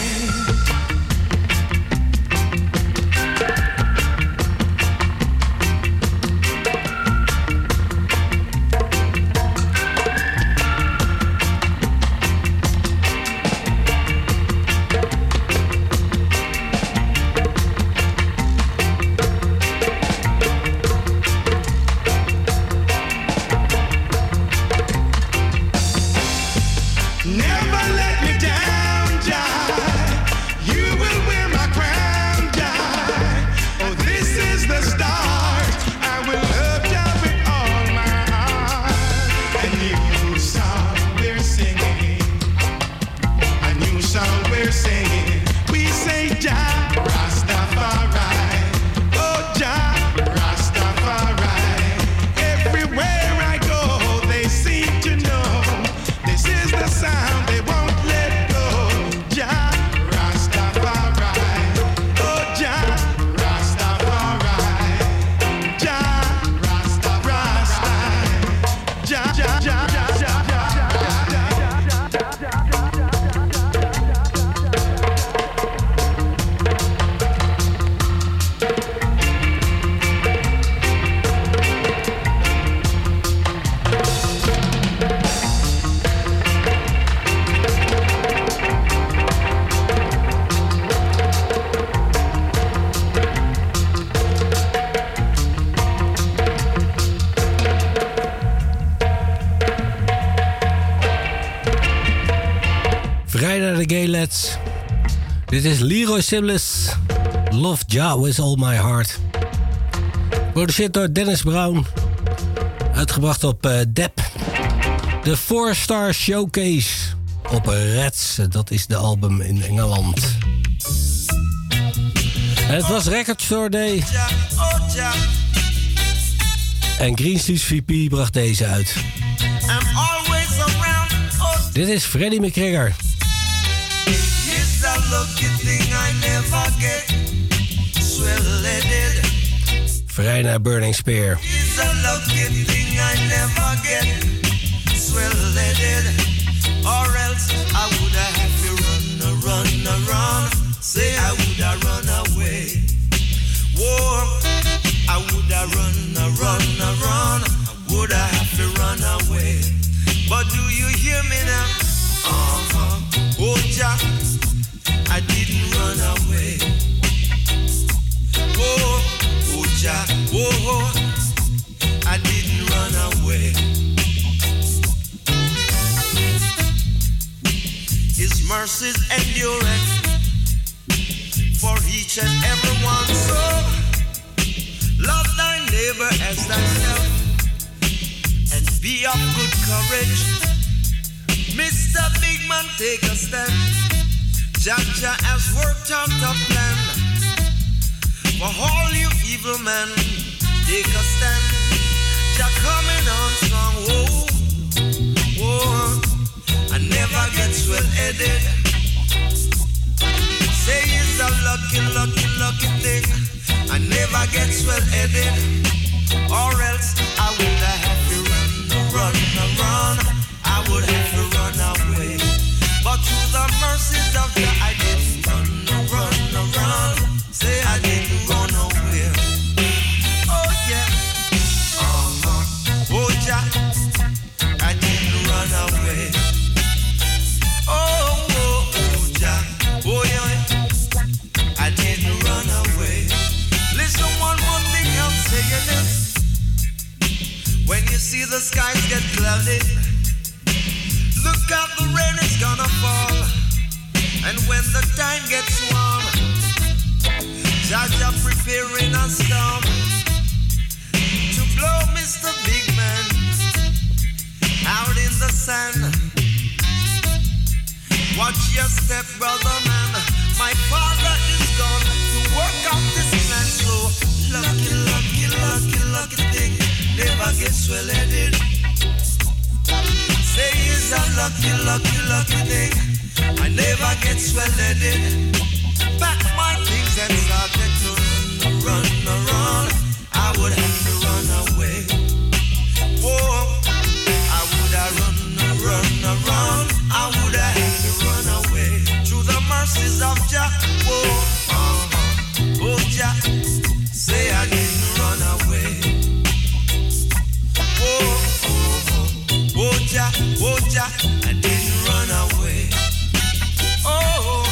Never let me down, Jah. You will wear my crown, Jah. Oh, this is the start. I will love Jah with all my heart. A new song we're singing. A new song we're singing. We say Jah Rastafari. Oh, Jah Rastafari. Everywhere I go, they seem to know this is the sound they won't let go. Jah Rastafari. Oh, Jah Rastafari. Jah Rastafari. Jah, Jah, Jah, Jah, Jah, Vrij naar de gay lads. Dit is Leroy Sibbles. Love Jah with all my heart. Geproduceerd door Dennis Brown. Uitgebracht op Dep. De 4-Star Showcase op Reds. Dat is de album in Engeland. En het was Record Store Day. En Green Street VP bracht deze uit. Dit is Freddie McGregor. It's a lucky thing I never get swell-headed. Vrij naar Burning Spear. It's a lucky thing I never get swell-headed. Or else I would have to run. Say I would have run away. Whoa, I would have run. Would I have to run away? But do you hear me now? Oh, Jah, I didn't run away. Oh, Jah, oh, mercies endureth for each and every one. So love thy neighbor as thyself and be of good courage. Mr. Big Man, take a stand. Jah has worked out a plan for all you evil men. Take a stand. Jah coming on strong. Whoa, whoa. I never get swell-headed. Say it's a lucky, lucky, lucky thing. I never get swell-headed, or else I would have to run. I would have to run away. But through the mercies of God, I didn't run. Say I didn't go nowhere. Oh yeah, oh Jah, I didn't run away. Oh Jah, oh yeah, I didn't run away. Listen, one more thing I'm saying is, when you see the skies get cloudy, look out, the rain is gonna fall. And when the time gets warm, Jah preparing a storm to blow Mr. Big Man out in the sand. Watch your step, brother man. My father is gone to work out this plan. So lucky, lucky, lucky, lucky thing never gets swell-headed. Say it's a lucky, lucky, lucky thing I never get swell-headed. Pack my things and started to run. I would have to run away. Whoa, I would have run. I would have had to run away. Through the mercies of Jah. Whoa, oh Jah, say I didn't run away. Oh Jah, I didn't run away. Oh.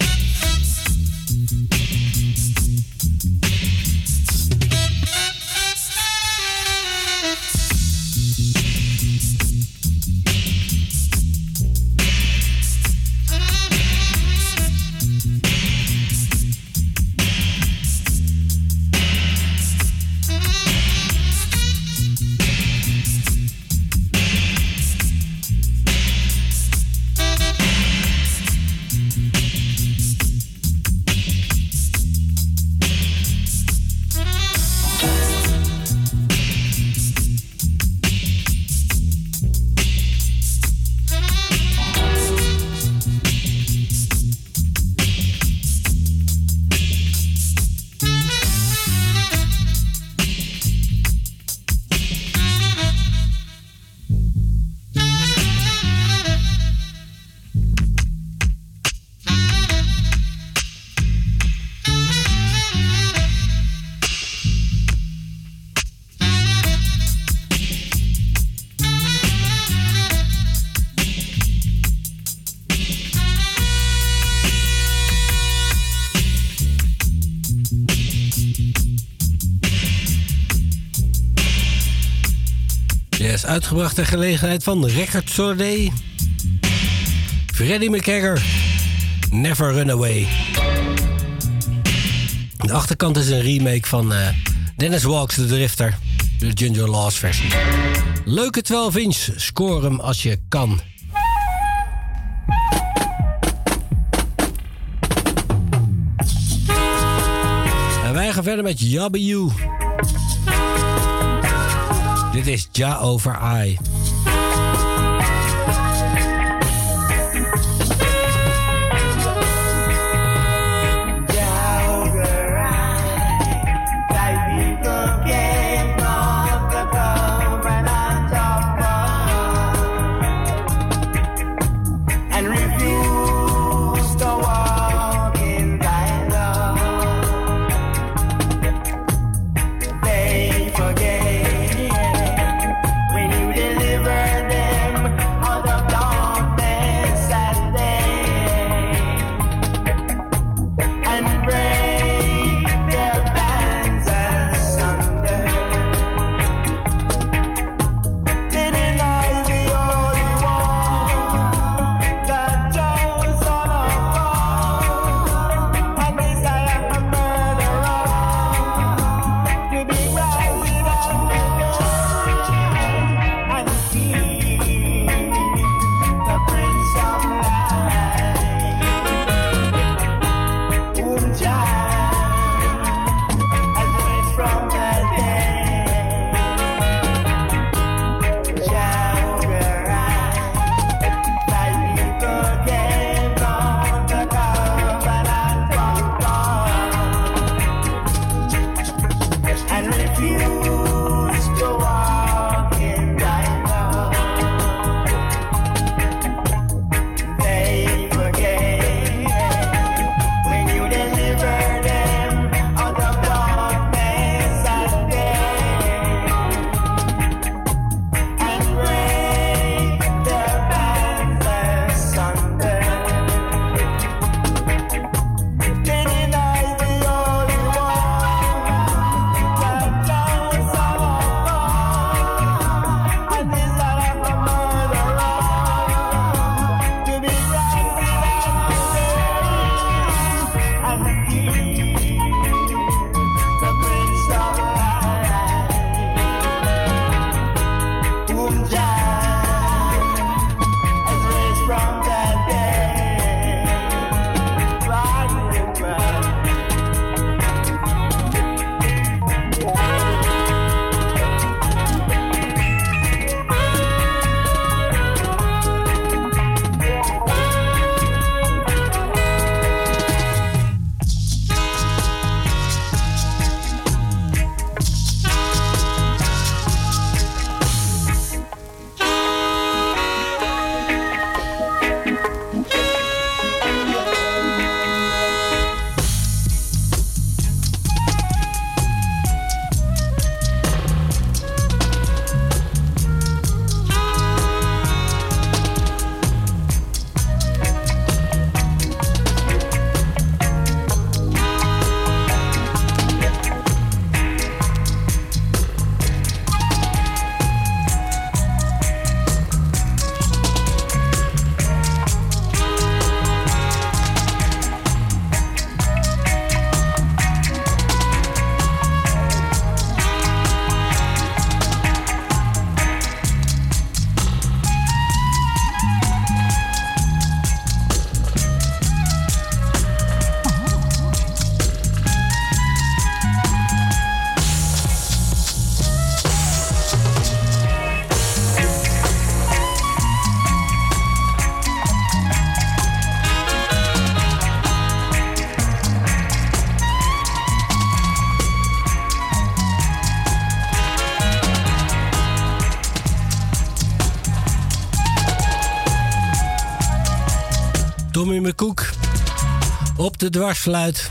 Uitgebracht ter gelegenheid van Record Soirée. Freddie McGregor, Never Run Away. De achterkant is een remake van Dennis Walks The Drifter. De Ginger Laws versie. Leuke 12-inch, score hem als je kan. En wij gaan verder met Yabba You. Dit is Ja Over I. They forget when you deliver. Tommy McCook op de dwarsfluit.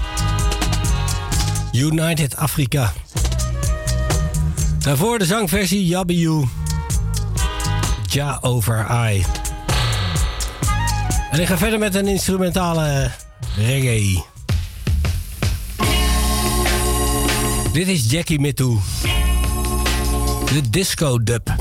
United Africa. Daarvoor de zangversie Yabiyu. Ja over I. En ik ga verder met een instrumentale reggae. Dit is Jackie Mittoo. De disco dub.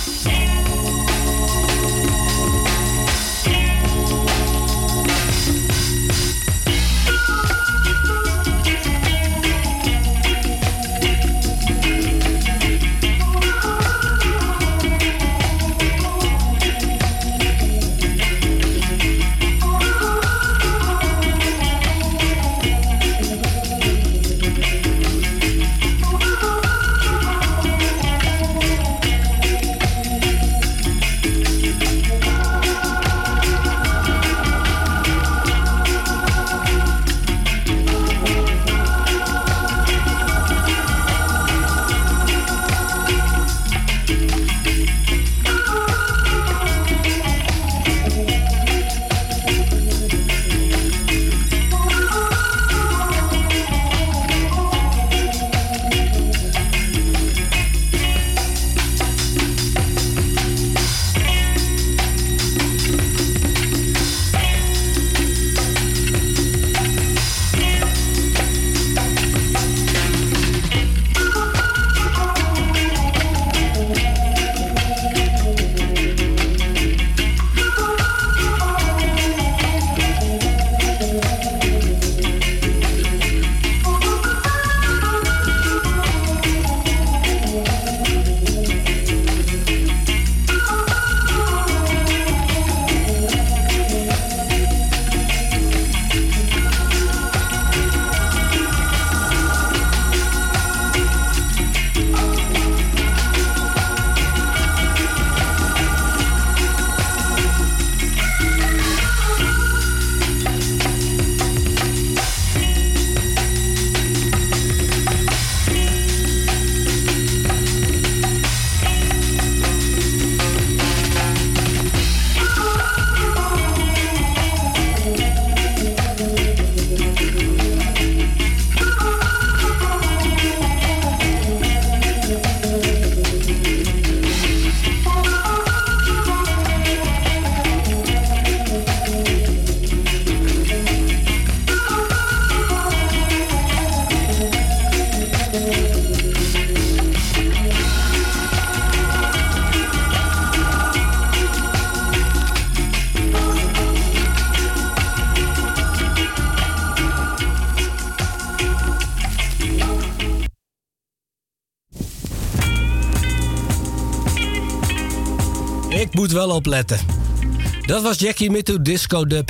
Ik moet wel opletten. Dat was Jackie Mittoo Disco Dub.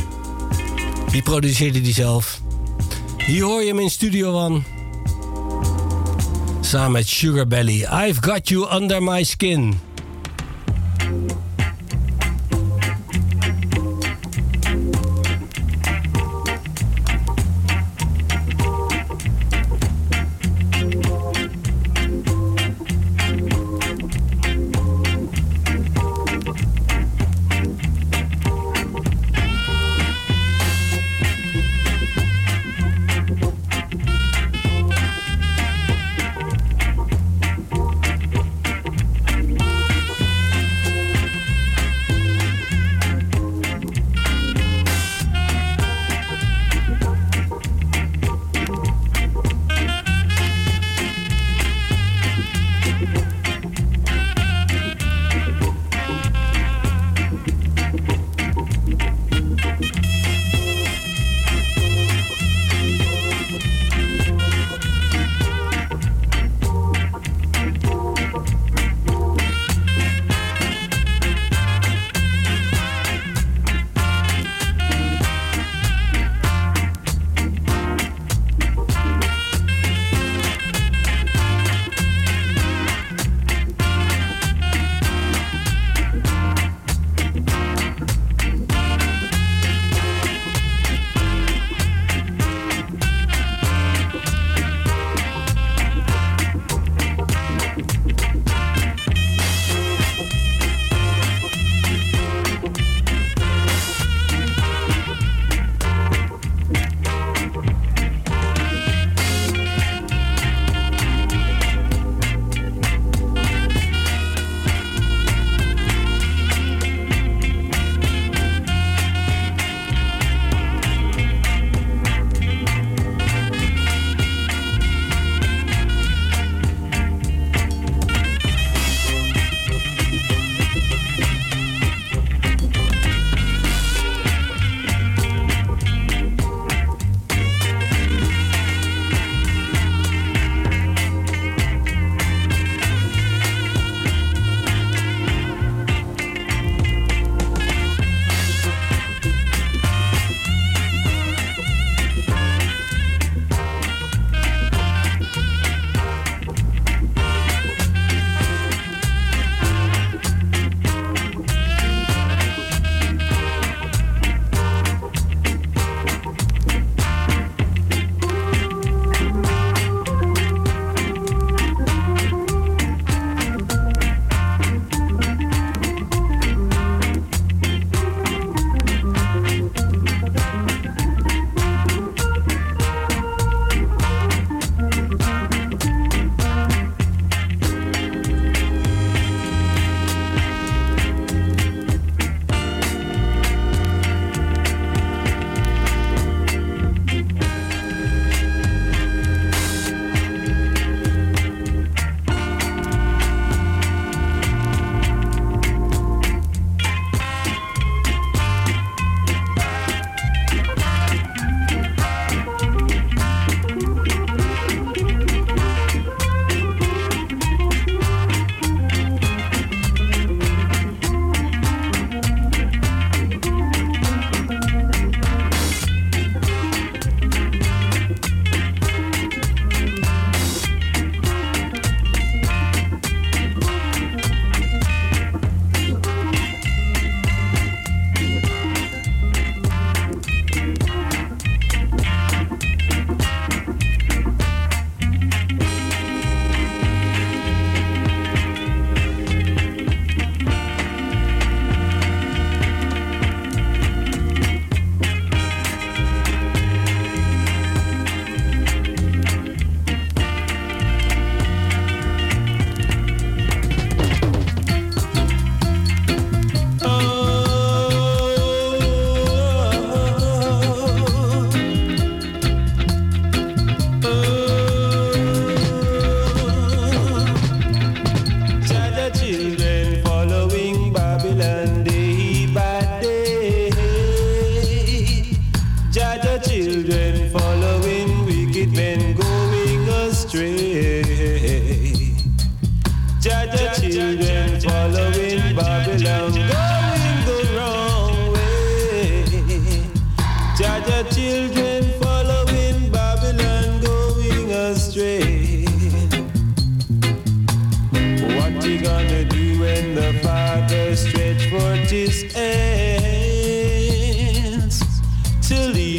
Die produceerde die zelf. Hier hoor je hem in Studio One. Samen met Sugar Belly. I've Got You Under My Skin.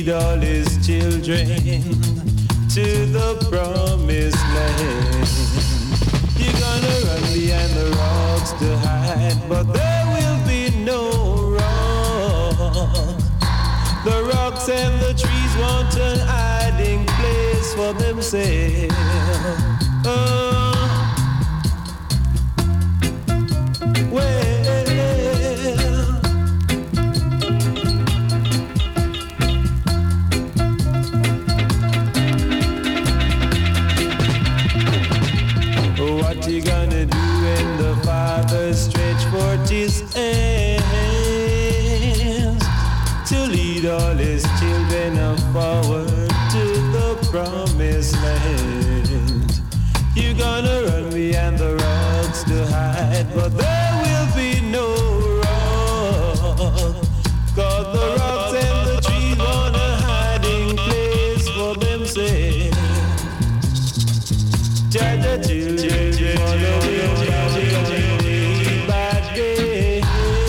lead all his children to the promised land. You're gonna run behind the rocks to hide, but there will be no rock. The rocks and the trees want an hiding place for themselves. What you gonna do when the Father stretch forth his hands to lead all his children forward to the promised land? You're gonna run behind the rocks to hide, but there will be no rock. 'Cause the rocks and the trees want a hiding place for themselves. Jaja children following day by day.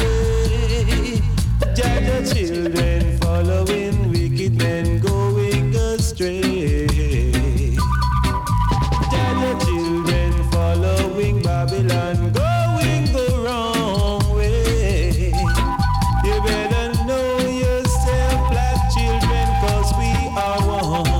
Jaja children following wicked men going astray. Jaja children following Babylon going the wrong way. You better know yourself, black children, 'cause we are one.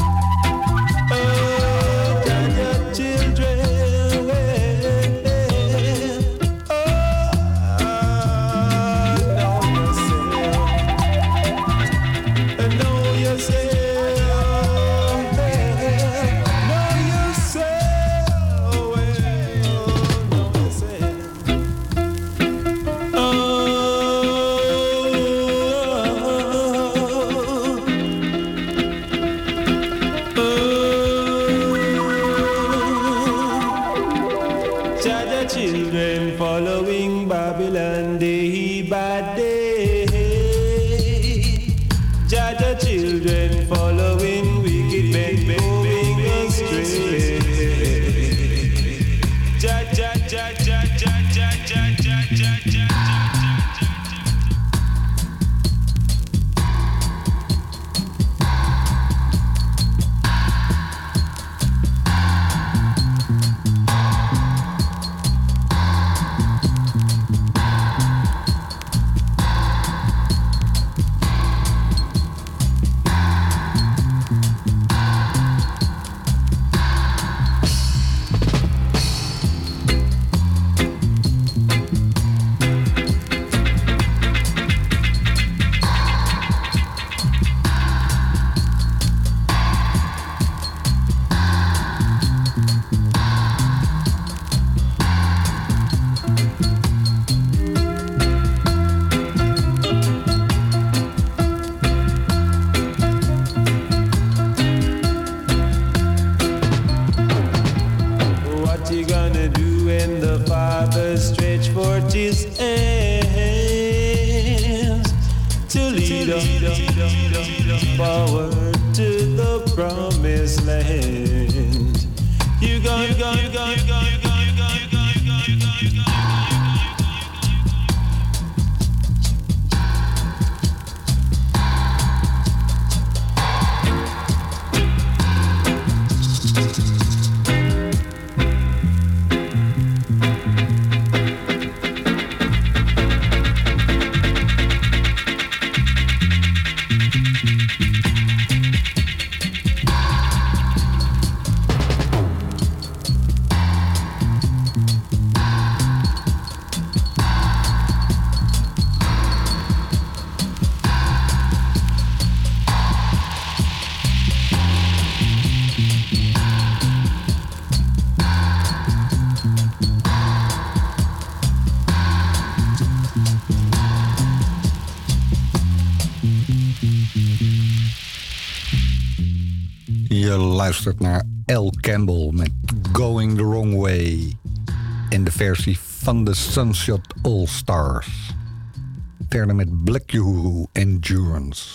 Forward to the promised land. You gone. Je luistert naar L. Campbell met Going the Wrong Way. In de versie van de Sunshot All Stars. Verder met Black Uhuru Endurance.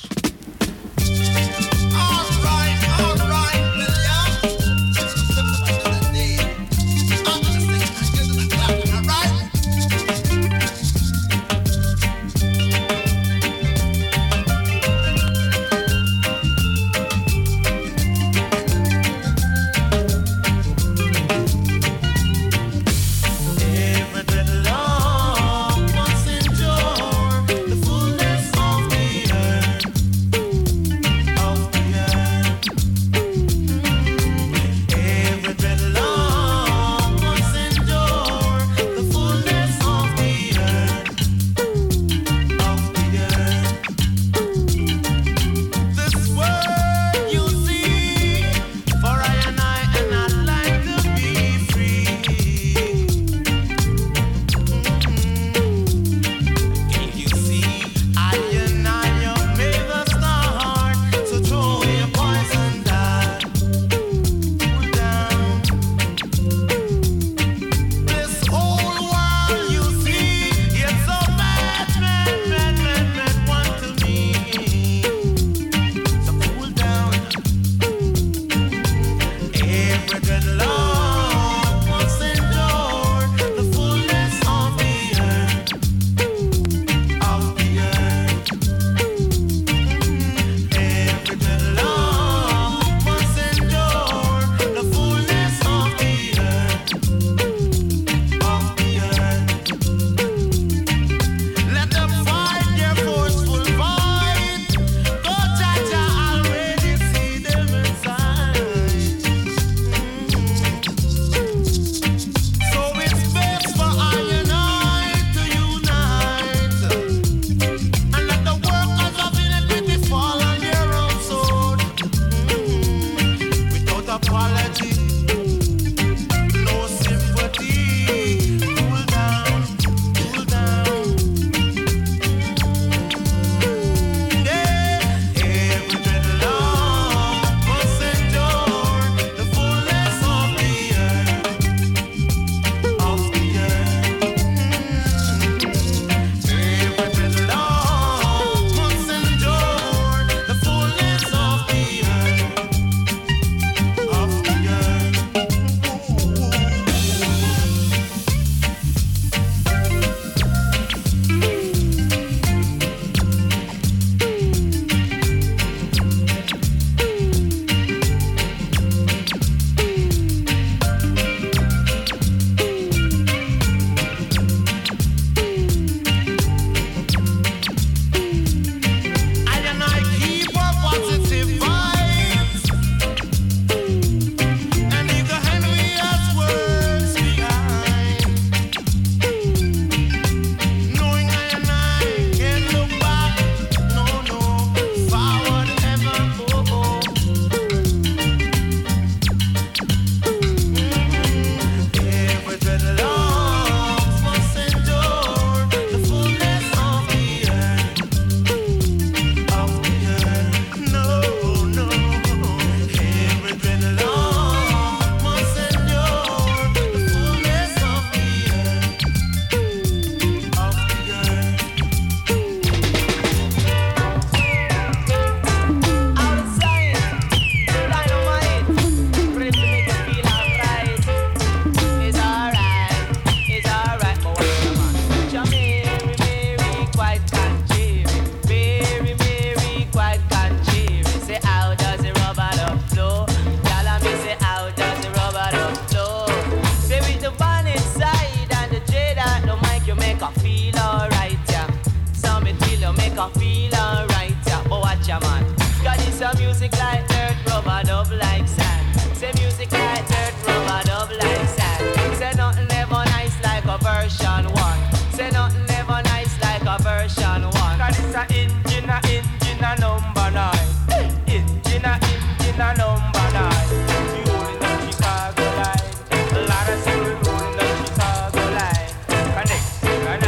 ya man. Cause it's a music like dirt, rubber dub like sand. Say music like dirt, rubber dub like sand. Say nothing ever nice like a version 1. Say nothing ever nice like a version 1. Cause it's a engine a number 9. Engine a number 9. We rolling the Chicago line. A lot of people rolling the Chicago line. Next year a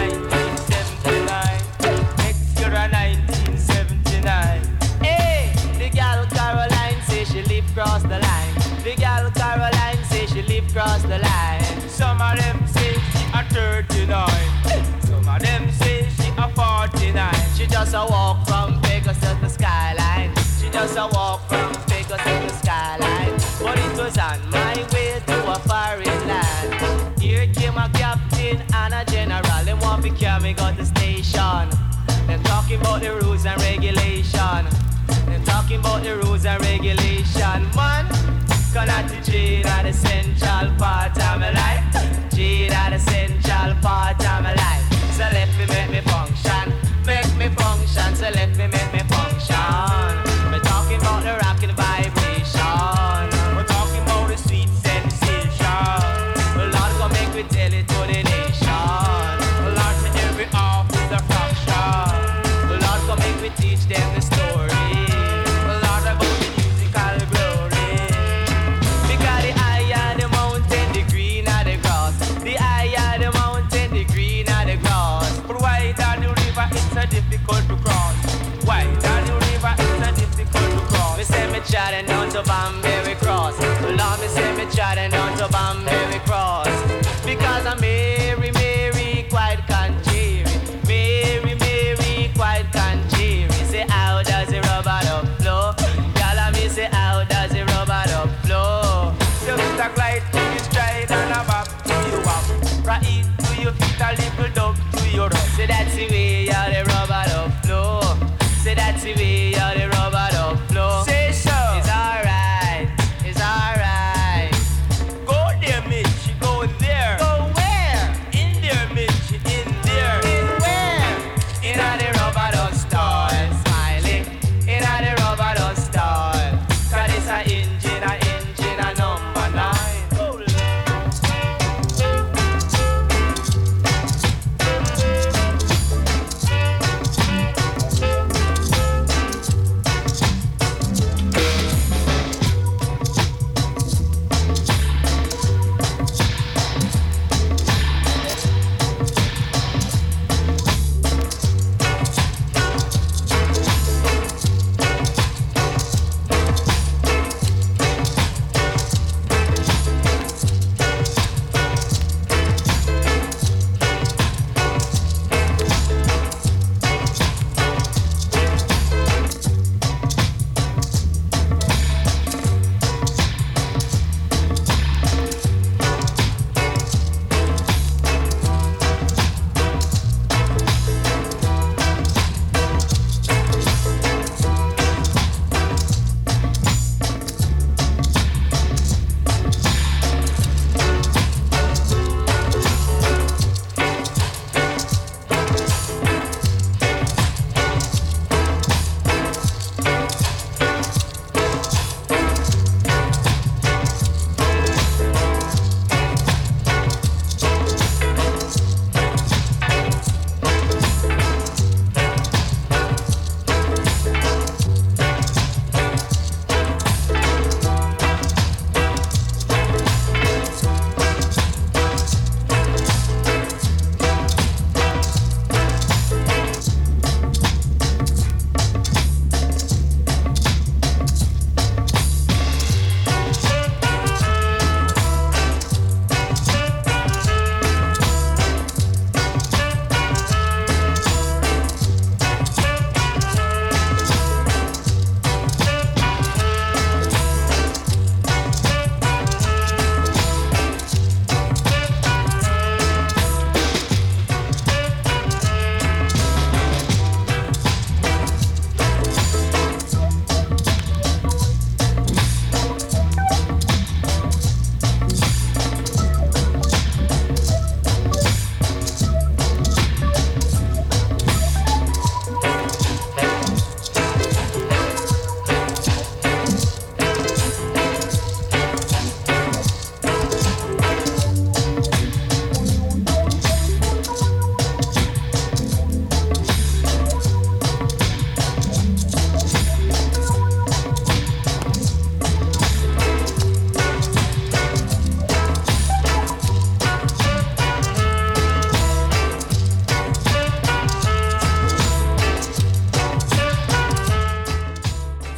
1979. Next year a 1979. Hey, the gal Caroline say she live cross the line. The gal Caroline say she live cross the line. Some of them say she a 39. Some of them say she a 49. She just a walk from Vegas to the skyline. She just a walk from Vegas to the skyline. But it was on my way to a foreign land. Here came a captain and a general. They want to carry me got the station. They're talking about the rules and regulation. They're talking about the rules and regulation. Man, cause G that the central part of my life. G that the central part of my life. So let me make me function. Make me function, so let me make me function. We're talking about the rockin' vibration. We're talking about the sweet sensation. Lord, go make me tell it to the nation. Lord, to every off is a fraction. Lord, go make me teach them the story. Lord, about the musical glory. Because the higher the mountain, the greener the grass. The higher the mountain, the greener the grass. But why down the river, it's so difficult to cross. Why down the river, it's so difficult to cross. Me say me chatting down to Banbury Cross. Lord, me say me chatting down to Banbury Cross. Because I'm Mary, Mary, quite conjuring. Mary, Mary, quite conjuring. Say how does the rubber dub flow? Y'all me say how does the rubber dub flow? Just a glide to your stride and a bop to your wop. Right to your feet, a little dub to your rub. Say that's the way how the rubber dub flow. Say that's the way how the rubber dub flow. Say so. It's alright. It's alright. Go there, Mitch. Go there. Go where? In there, Mitch. In there. In where? In the rubber dub style. Smiley. In the rubber dub style. Cause it's a engine a number 9.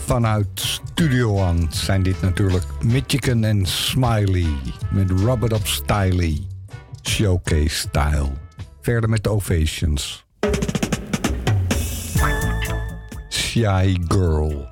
Vanuit Studio One zijn dit natuurlijk Michigan en Smiley met Rub It Up Styley, Showcase Style. Verder met de Ovations. Shy Girl.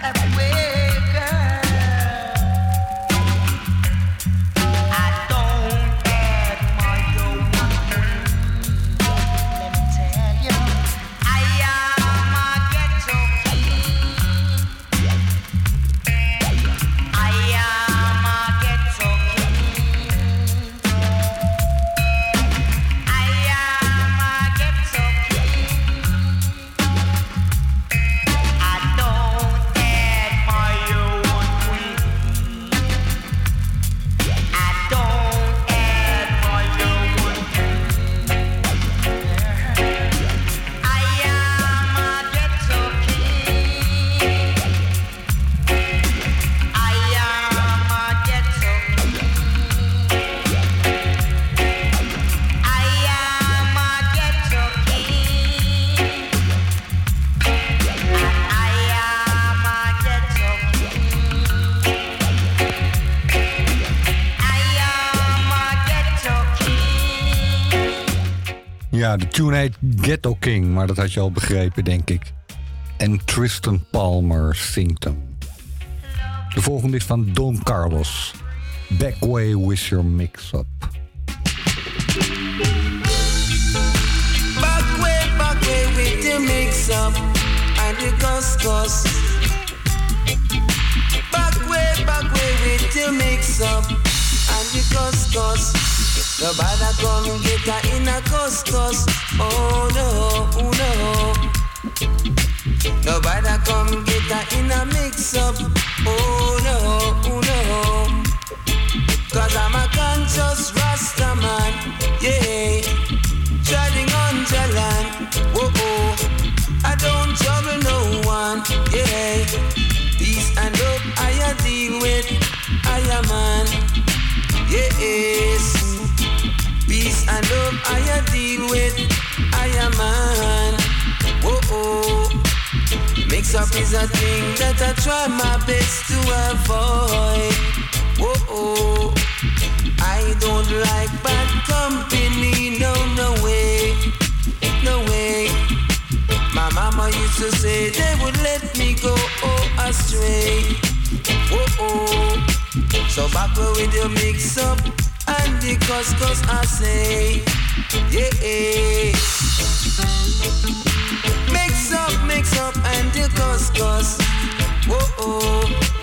Ja, de tune heet Ghetto King, maar dat had je al begrepen, denk ik. En Tristan Palmer zingt hem. De volgende is van Don Carlos. Backway with your mix-up. Backway with your mix-up and your couscous. Backway with your mix-up and your couscous. Nobody come get her in a couscous. Oh no, oh no. Nobody come get her in a mix-up. Oh no, oh no. Cause I'm a conscious Rasta man. Yeah, treading on the land. Whoa, oh. I don't trouble no one. Yeah, peace and love I deal with. I am man. Yes. Peace and love I deal with. I am man. Whoa, oh. Mix up is a thing that I try my best to avoid. Whoa, oh. I don't like bad company. No, no way. No way. My mama used to say they would let me go astray. Whoa, oh. So back with your mix up and the couscous I say, yeah. Mix up and the couscous. Whoa, oh.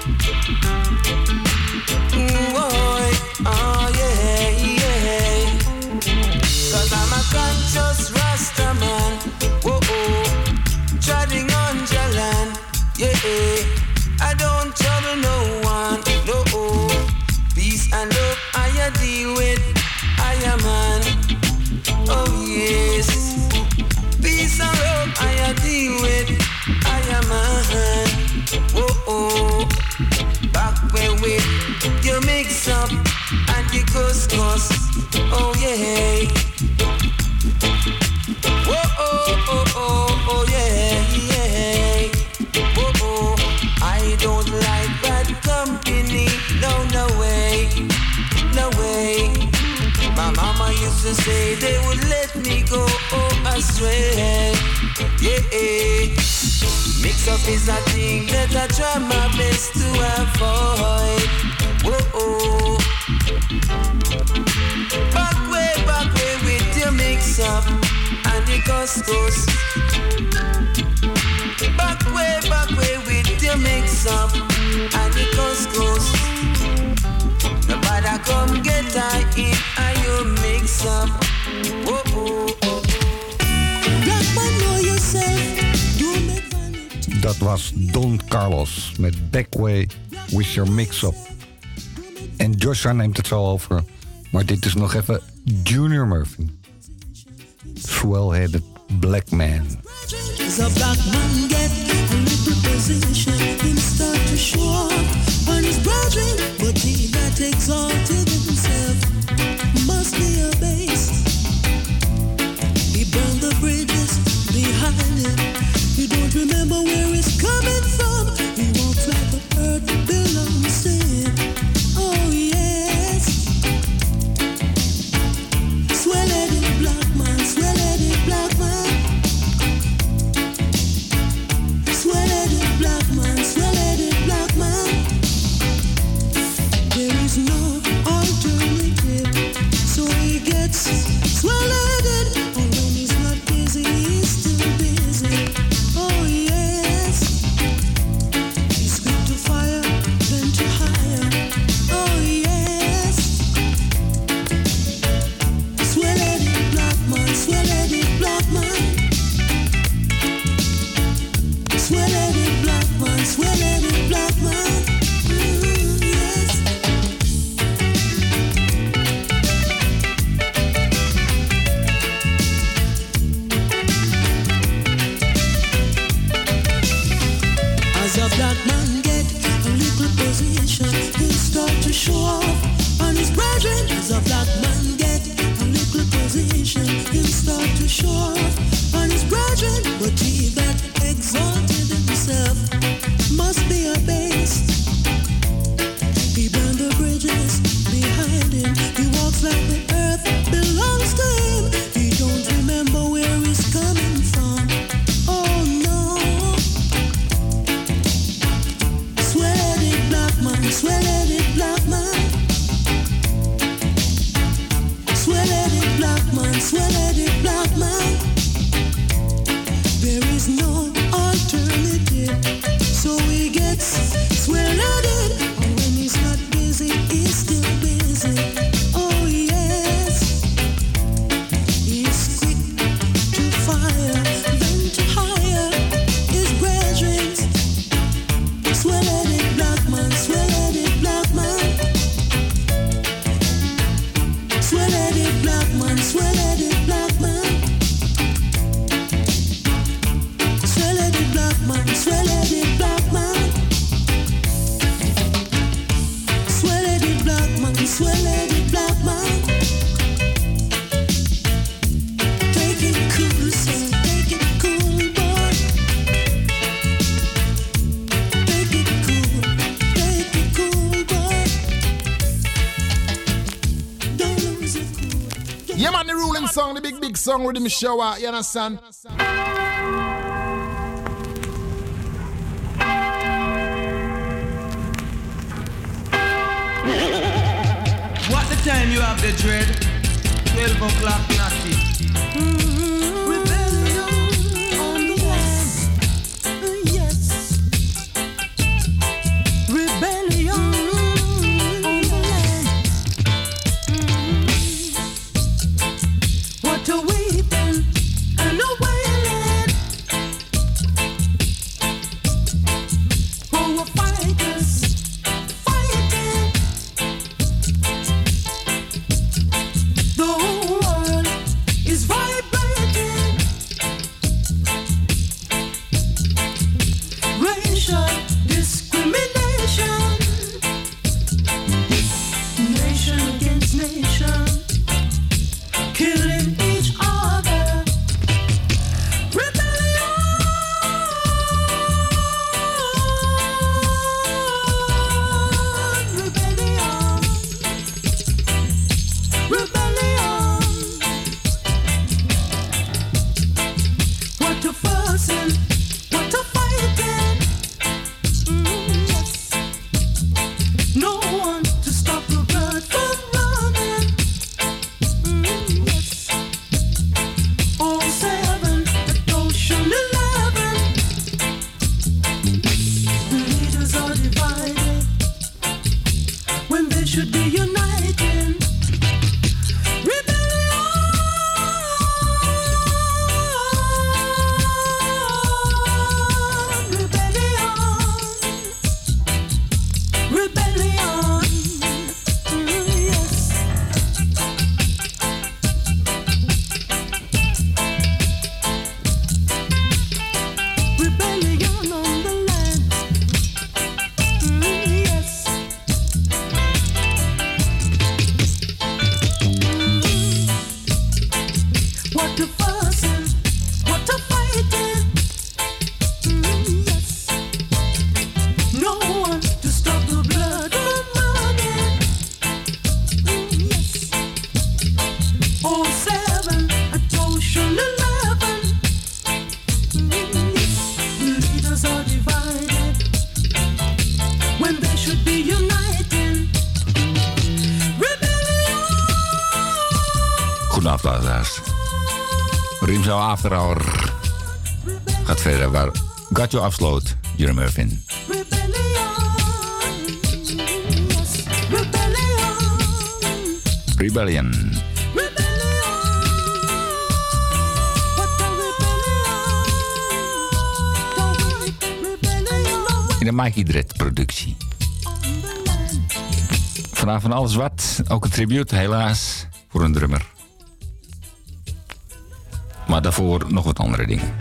Boy, oh yeah, yeah. Cause I'm a conscious Rasta man. Whoa, oh. Treading on the land, yeah. I don't trouble no one, no, oh. Peace and love I deal with. I am man. Oh yes. Peace and love I deal with. I am man. Whoa, oh. Back where with you mix up and you couscous. Oh yeah. Whoa, oh, oh, oh, oh yeah, yeah. Whoa, oh. I don't like bad company. No, no way. No way. My mama used to say they would let me go astray. Yeah. Mix up is a thing that I try my best to avoid. Whoa. Back way with your mix up and your couscous. Back way with your mix up and your couscous. Nobody come get her in and you mix up. Whoa. Black man know yourself. Dat was Don Carlos met Backway with your mix-up. En Joshua neemt het zo over. Maar dit is nog even Junior Murphy. Swell-headed black man. As a black man get a little position, him start to show up on his brethren. But he that exalted himself must be abased. He burned the bridges behind him. You don't remember where it's coming from. He walks like the earth belongs to him. Oh yes. Swell-headed black man, swell-headed black man. Swell-headed black man, swell-headed black man. Yes. As a black man get a little position, he start to show off on his brethren. As a black man get a little position, he start to show off on his brethren. But he that exalted himself must be abased. He burned the bridges behind him. He walks like the earth belongs to him. He don't remember where he's coming from. Oh no. Swell-headed black man, swell-headed black man. Swell-headed black man, swell-headed black man. There is no alternative, so he gets swell-headed. And when he's not busy, he's still busy. Oh yes, he's quick to fire, then to hire his brethren. Swell-headed black man, swell-headed black man. Swell-headed black man, swell-headed black man. Swell-headed black man, swell-headed black man. Swell-headed black man, swell-headed black man. Take it cool, son, take it cool, boy. Take it cool, boy. Don't lose it cool. Yeah, man, the ruling song, the big song with the shower, you understand? What the time you have the dread? 12 o'clock, nothing. Rebellion on the west. Yes. Rebellion on the land. What a weeping and a wailing. For fighters fighting. The whole world is vibrating. Racial discrimination. Nation against nation. Killing each other. Rebellion. Rebellion. What a fussing, what a fighting. Yes. No one to stop the blood from running. Yes. 07 at Ocean 11. The leaders are divided when they should be uniting. Rebellion, yes. Rebellion on the land, yes. What a fussing, what a fighting, yes. No one to stop the blood from running. Yes. 07 at Ocean 11. The leaders are divided when they should be uniting. Goedenavond, luisteraars. Rimzo After Hour gaat verder waar Gatjo afsloot, Jeremy Irvin. Rebellion. In de Mikey Dread productie. Vandaag van alles wat. Ook een tribute, helaas, voor een drummer. Maar daarvoor nog wat andere dingen.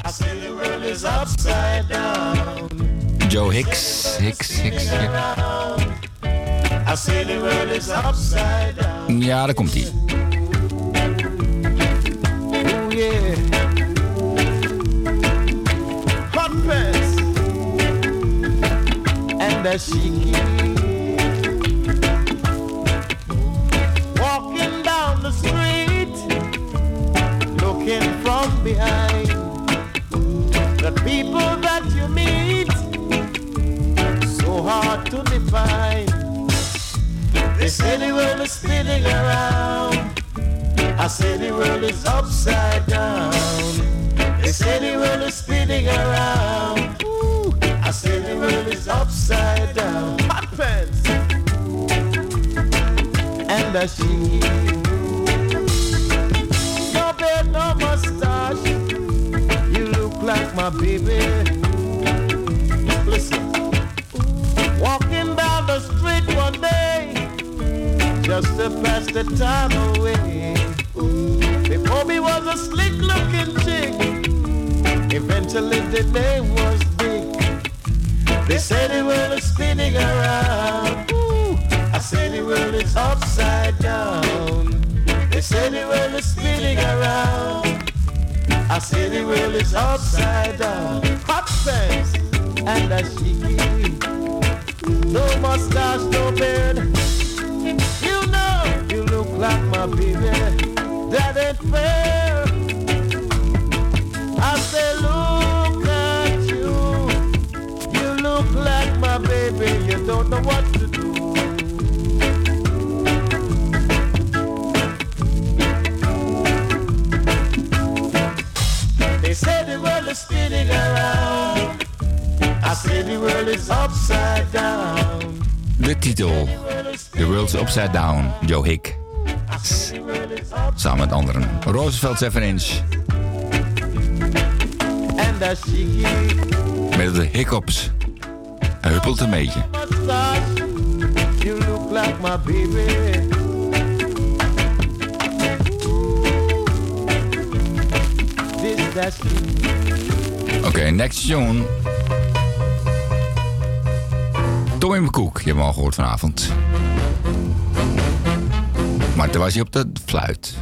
Joe Hicks. Ja, daar komt hij. Oh yeah. Hot pants and a shiki. Walking down the street, looking from behind. The people that you meet, so hard to define. They say the world is spinning around. I say the world is upside down. They say the world is spinning around. Ooh, I say the world is upside down. Hot pants and a sheet. No beard, no mustache. You look like my baby. Listen, walking down the street one day, just to pass the time away. Before me was a slick looking chick, eventually the name was Dick. They say the world is spinning around. Ooh, I say the world is upside down. They say the world is spinning around. I say the world is upside down. Hot pants and a shiki. No mustache, no beard. You know you look like my baby. That ain't fair. I say look at you. You look like my baby. You don't know what to do. They say the world is spinning around. I say the world is upside down. De titel, The World's Upside Down, Joe Hick. Samen met anderen. Roosevelt 7-inch. Met de hiccups. Hij huppelt een beetje. You look like my baby. Oké, next tune. Tommy McCook, je hebt hem al gehoord vanavond. Maar toen was hij op de fluit.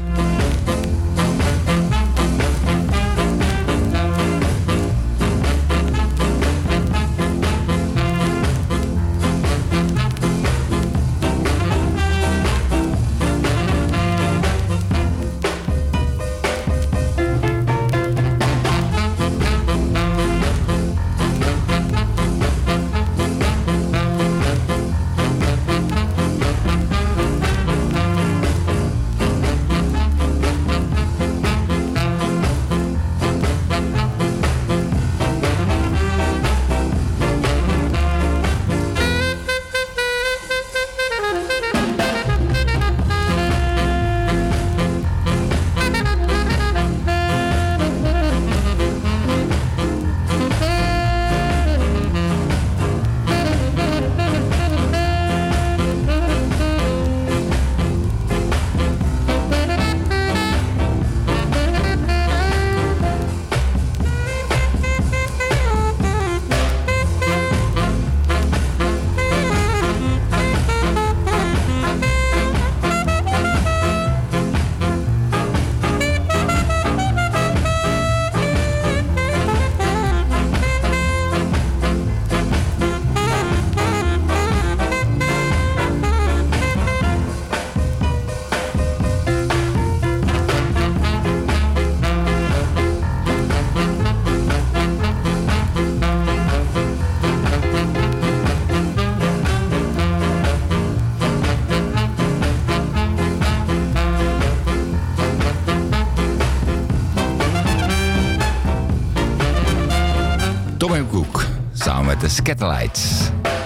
De Scatterlights.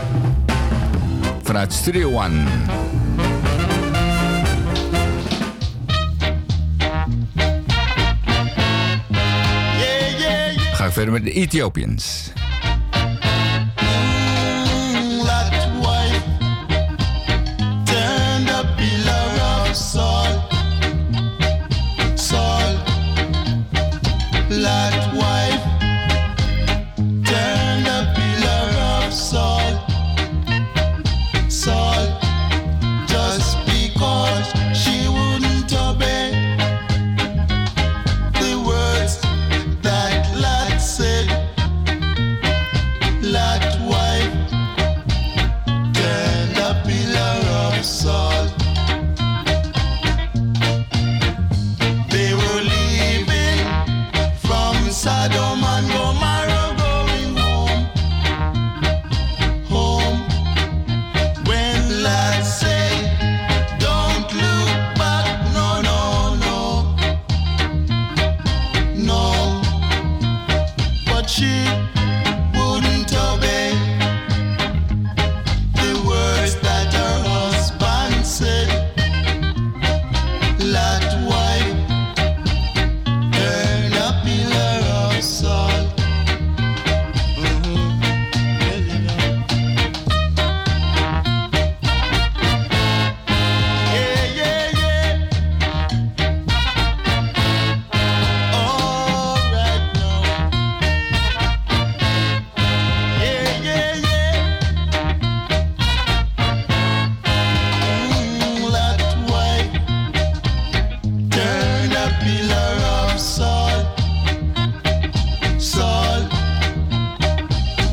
Vanuit Studio One. Ga ik verder met de Ethiopians.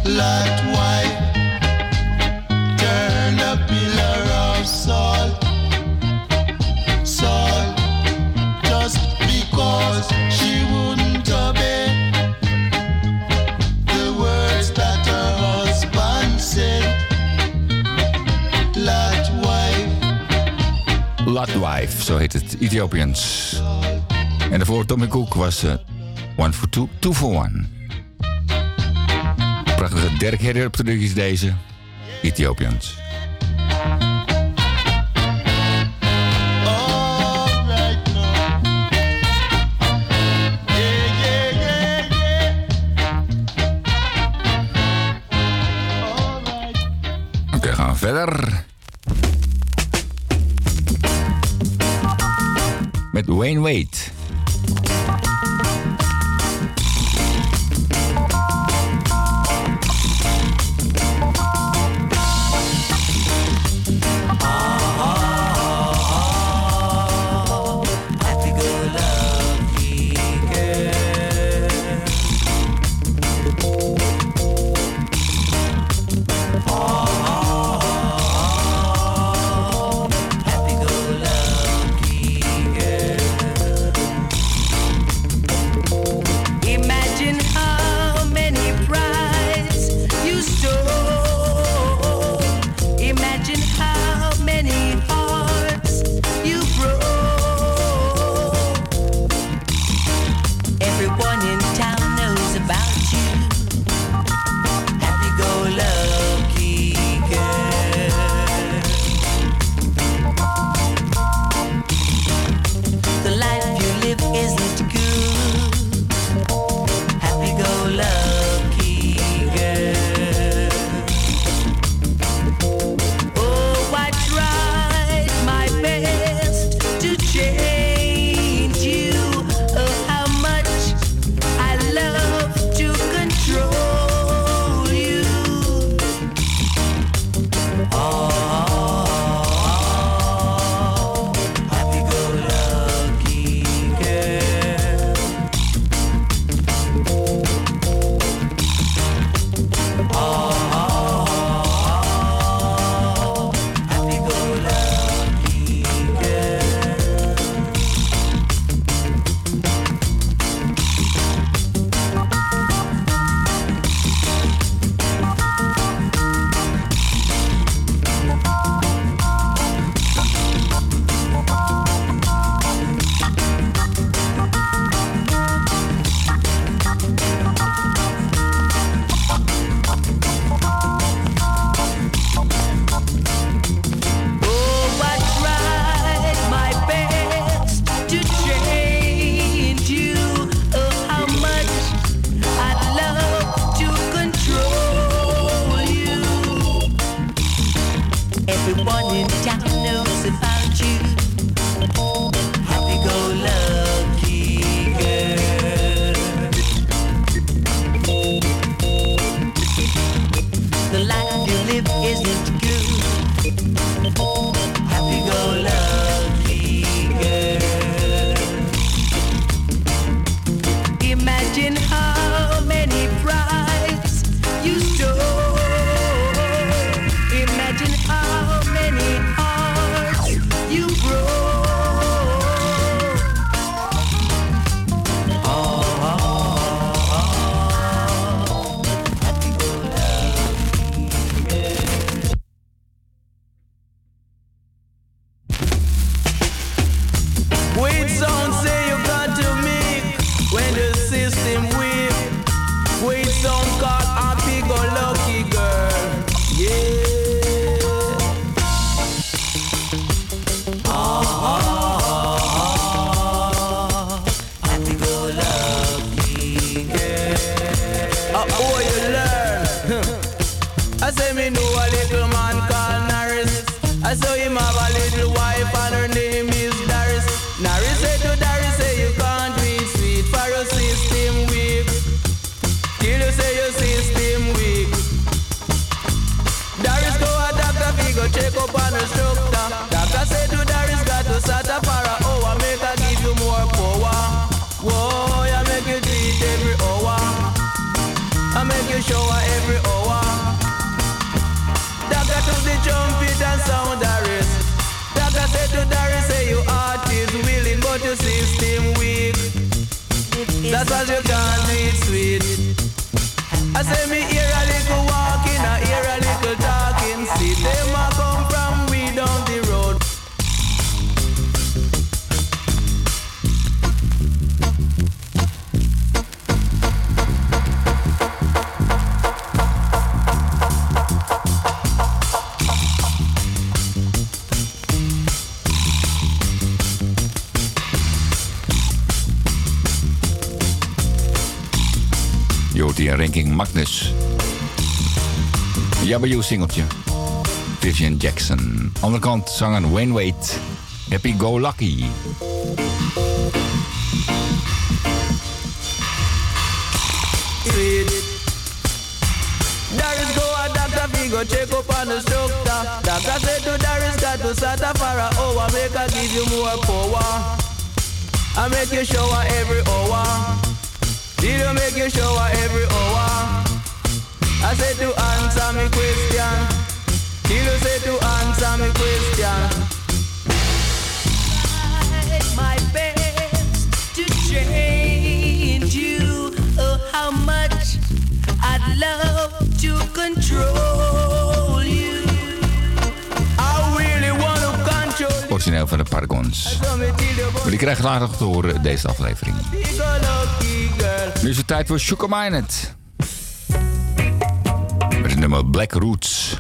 Lot wife turn a pillar of salt, salt, just because she wouldn't obey the words that her husband said. Lot wife. Lot wife, zo heet het, Ethiopians. En daarvoor Tommy Cook was One for Two, Two for One. Prachtige Derek Herder producties deze, Ethiopians. Oké, gaan we verder. Met Wayne Wade. Check up on the structure. Doctor said to Darius got to start a para hour. Make her give you more power. Whoa, I make you treat every hour. I make you shower every hour. just as you can't do it sweet. I say me hear a little walking, I hear a little talking. See them a come from way down the road. Je hoort hier Ranking Magnus. Jabba You singeltje. Vivian Jackson. Andere kant zanger Wayne Wade. Happy Go Lucky. Darius go a doctor, we go check up on the structure. Doctor said to Darius got to start a for an hour. Make her give you more power. I make you shower every hour. Did you make you shower every hour? I said to answer me question. Did you say to answer me question? My best to change you. Oh, how much I'd love to control you. I really want to control you. Origineel van de Paragons. Maar die krijgen later nog te horen deze aflevering. Nu is het tijd voor Sugar Minott. Met het nummer Black Roots.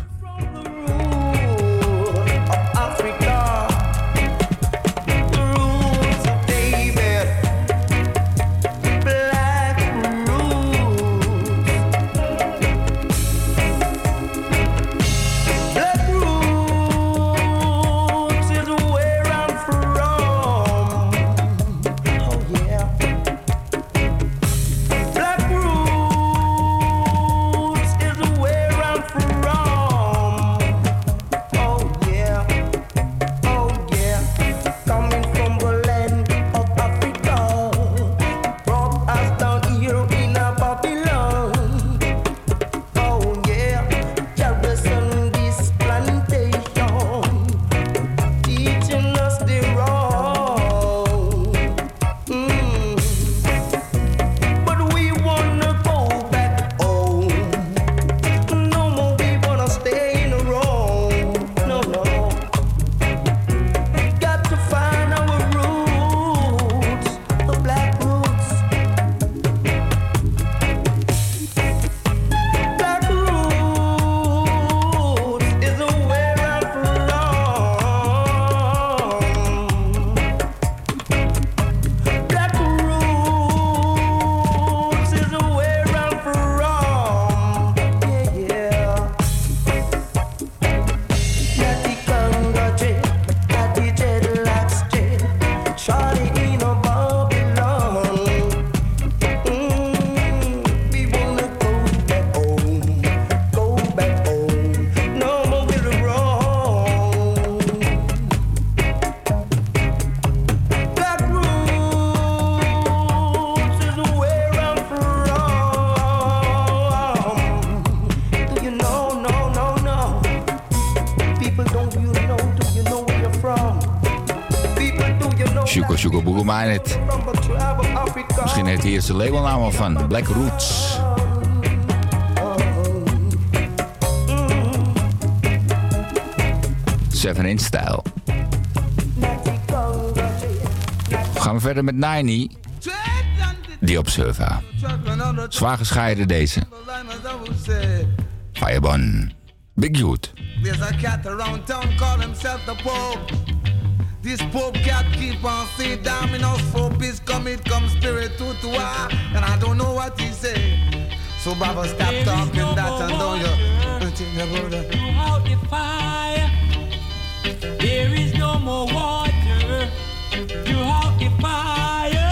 Sugar Boogie Minott. Misschien heeft hij eerst de labelnaam al van Black Roots. Seven Inch Style. Gaan we verder met Niney. The Observer. Zwaar gescheiden deze. Firebun. Big Youth. There's a cat around town call himself the Pope. This Pope cat keep on saying damn in us Pope is come spirit to and I don't know what he say. So Baba stop talking that and don't you out the fire. There is no more water. You out the fire.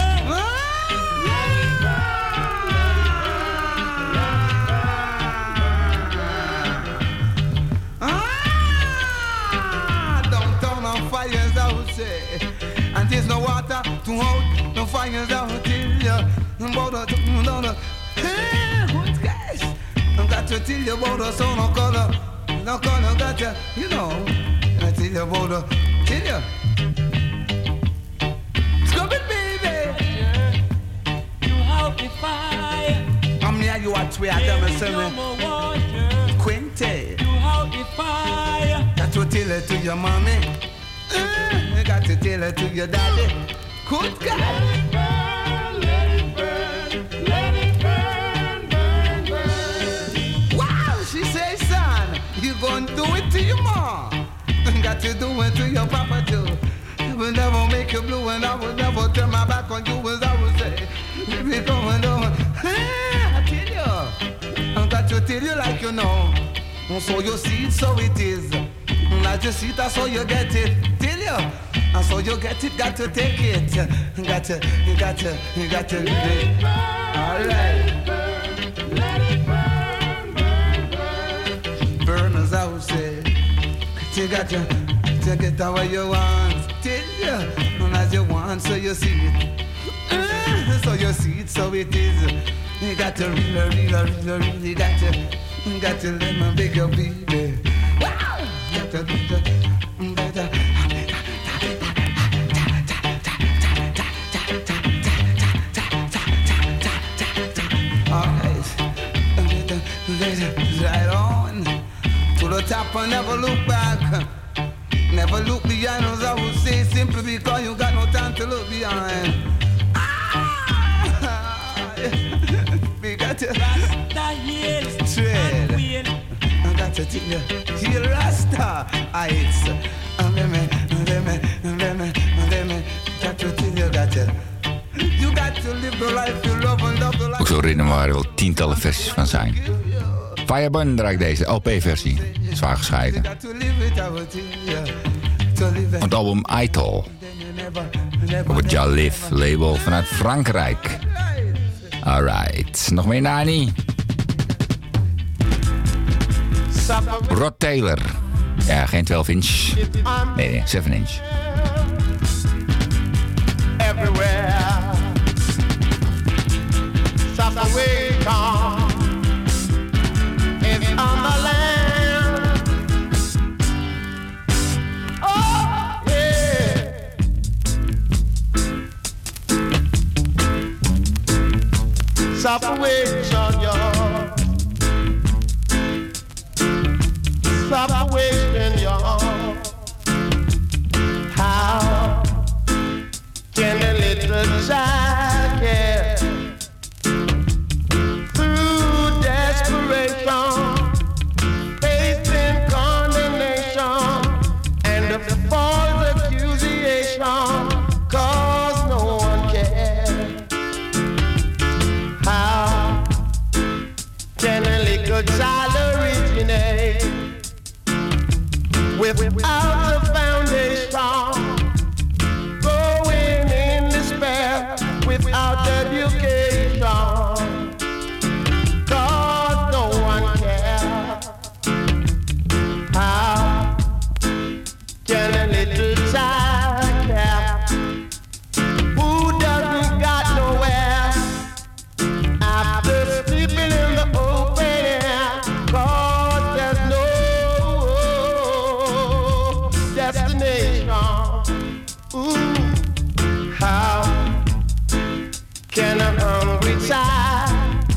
And there's no water to hold, no fires out till you about the who's guys? I got to tell you about the sun, no color, got you, you know. I tell you about the, tell you. Scrub it, baby. You have the fire. I'm near you at where I There tell me, is say no me. more water. Quinte. You out the fire. Got to tell it to your mommy. You got to tell it to your daddy. Good God. Let it burn, let it burn, burn, burn. Wow, she says, son, you gonna do it to your mom. Got to do it to your papa too. I will never make you blue and I will never turn my back on you as I would say. Baby, coming on. I tell you. I got to tell you like you know. So you see it, so it is. Like you see it, that's how you get it. Tell you. And so you get it, got to take it. You got to live it. All right. Let it burn, burn, burn. Burn as I would say. You got to get that way you want. Tell you. And as you want, so you see it. So you see it, so it is. You got to really got to let my bigger baby. Wow! Got to do better. Alright. Right on. To the top and never look back. Never look behind, as I would say, simply because you got no time to look behind. We got to tread. I got to tell you, heal Rasta heights. Got to tell you, you got to live the life you love and love the life. Ook zo'n ritme waar er wel tientallen versies van zijn. Firebun draait deze LP-versie. Zwaar gescheiden. Op het album Idol. Op het Ja Live label vanuit Frankrijk. Alright, nog meer Nani. Rod Taylor. Ja, geen 12 inch. Nee, 7 inch. Everywhere. Stop away, come. It's on the land. Oh, yeah. Stop away, son, y'all. Stop wasting y'all. How can a little child get through desperation, facing condemnation and the false accusation, 'cause no one cares? How can a little child originate without a foundation, going in despair without education? 'Cause no one cares. How can a little child care who doesn't got nowhere after sleeping in the open air? 'Cause there's no destination. Ooh, how can a hungry child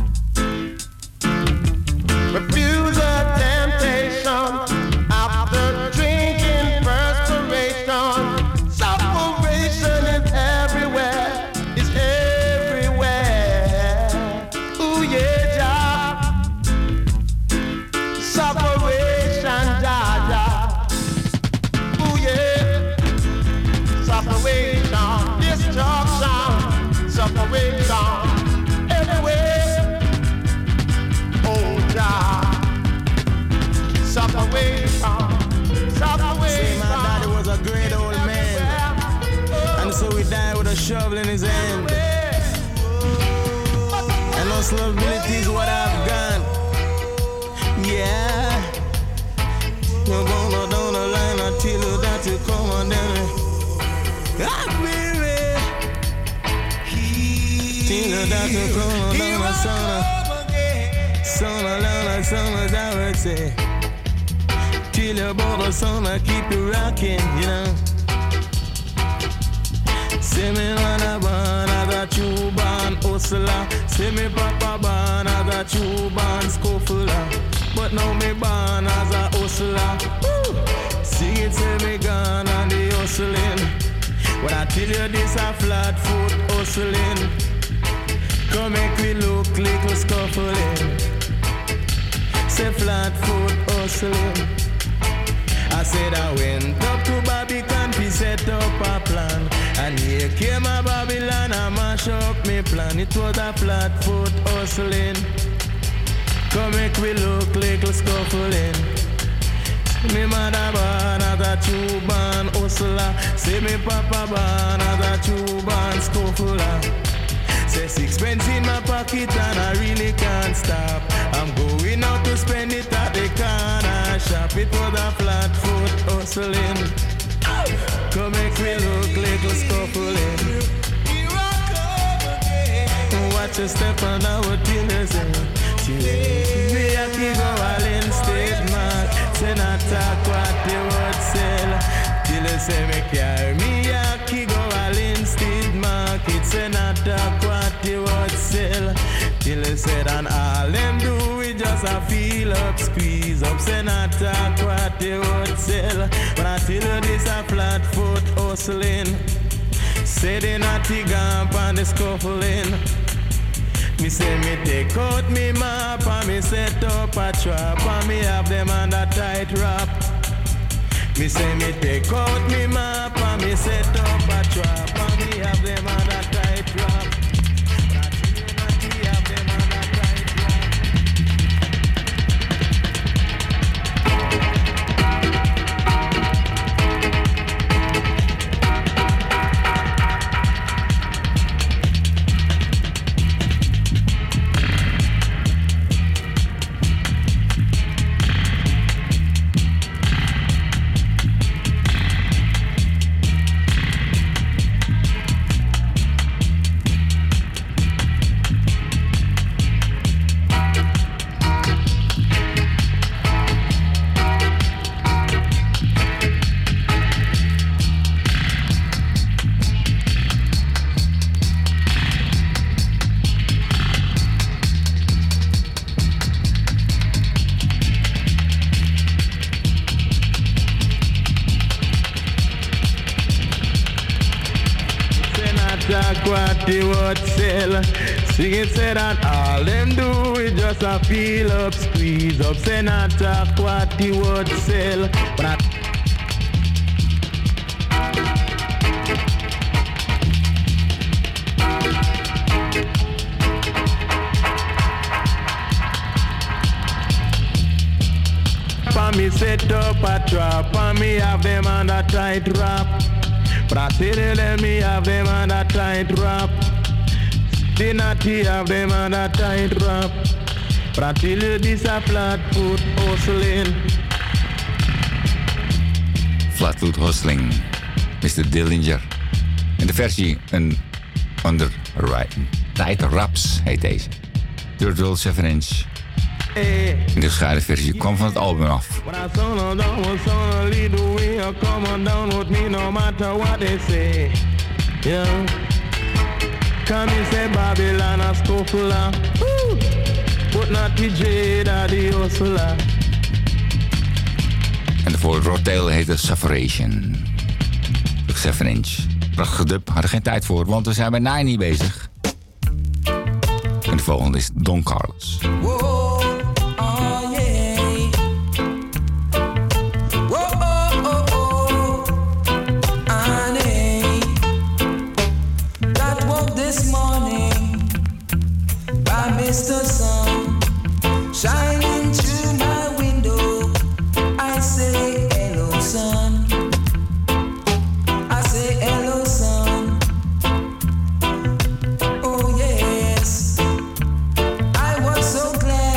refuse a temptation after drinking perspiration? Separation is everywhere, it's everywhere. Ooh yeah, Jah. Separation, Jah, Jah. Ooh yeah. Separation, destruction, separation, everywhere. Oh Jah. Separation, separation. My daddy was a great old man, and so he died with a shovel in his hand. And those liabilities what I've done. Yeah. You're gonna down the line until you that you come on down. Ah, baby. Till you that you come on down the sun, as I would say. Till you bought the sun, I keep you rocking, you know. See me when I burn, I got you born. hustler. Say me papa born as a true born scuffler, but now me born as a hustler. Woo! Sing it, say me gone on the hustling. When I tell you this a flat foot hustling, come make me look little scuffling. Say flat foot hustling. I said I went up to Babylon to set up a plan, and here came a Babylon and mash up me plan. It was a flat foot hustling. Come make me look little scuffling. Me mother born as a true born hustler. Say me papa born as a true born scuffler. Say sixpence in my pocket and I really can't stop. I'm going out to spend it at the corner shop. It was a flat foot hustling. Come make me look little scuffling. Watch your step and I would feel the same. Me a kid go all in state mark. Say not talk what they would sell. Till you say me carry me a kid go all in state market. Say not talk what they would sell. Till you said and all them do is just a feel up, squeeze up. Say not talk what they would sell. But I tell you this a flat foot hustling. Say they not the gump and the scuffling. Me say me take out me map and me set up a trap and me have them under tight wrap. Me say me take out me map and me set up a trap and me have them under tight wrap. What they would sell. Sing it, say that all them do is just a feel up, squeeze up. Say not talk what they would sell. But I me set up a trap and me have them on a tight wrap. But I tell them me have them on a tight wrap. They not have them on a tight wrap. But I tell you this a flat foot hustling. Flat foot hustling, Mr. Dillinger. En de versie een under tight raps heet deze. Dirt World 7 inch. In de gescheiden versie kwam van het album af. En de voor Rotterdam heette Sufferation. 7 inch. Prachtige dub, hadden geen tijd voor, want we zijn bij 90 bezig. En de volgende is Don Carlos. Mr. Sun, shining through my window, I say hello, sun. I say hello, sun. Oh yes, I was so glad.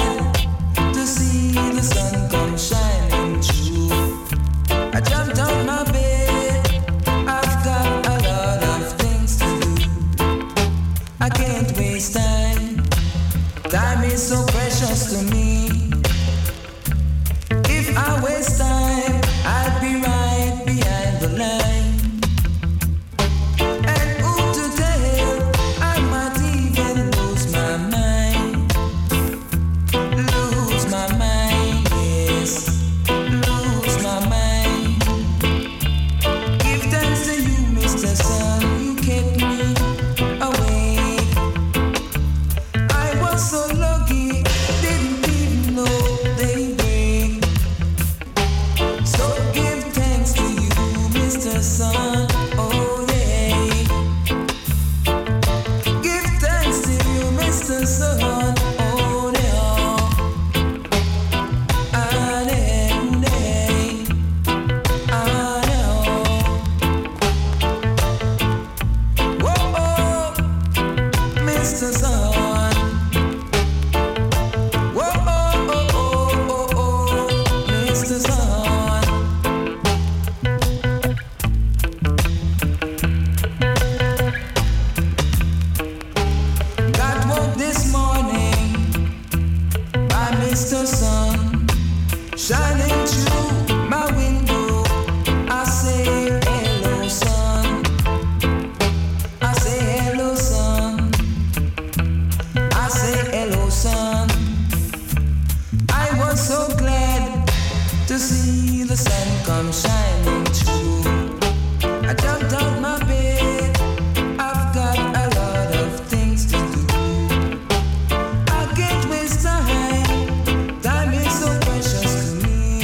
shining through my window. I say hello, sun. I say hello, sun. I say hello, sun. I was so glad to see the sun come shining through. I jumped out my bed. I've got a lot of things to do. I can't waste time. Time is so precious to me.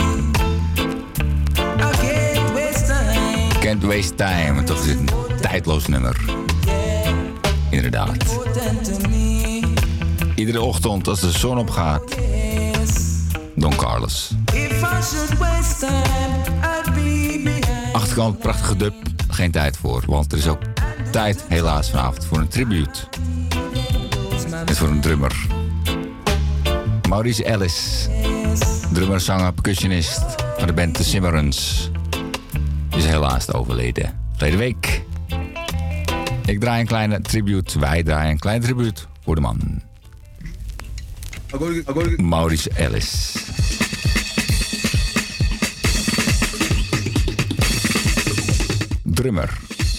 I can't waste time. Can't Waste Time. Toch is het een tijdloos nummer. Inderdaad. Iedere ochtend als de zon opgaat. Don Carlos. If I should waste time, I'd be behind. Achterkant, prachtige dub. Geen tijd voor, want er is ook tijd helaas vanavond voor een tribute. En voor een drummer. Maurice Ellis. Drummer, zanger, percussionist van de band The Cimarrons. Is helaas overleden. Verleden week. Ik draai een kleine tribute. Wij draaien een kleine tribute voor de man. Maurice Ellis. Drummer.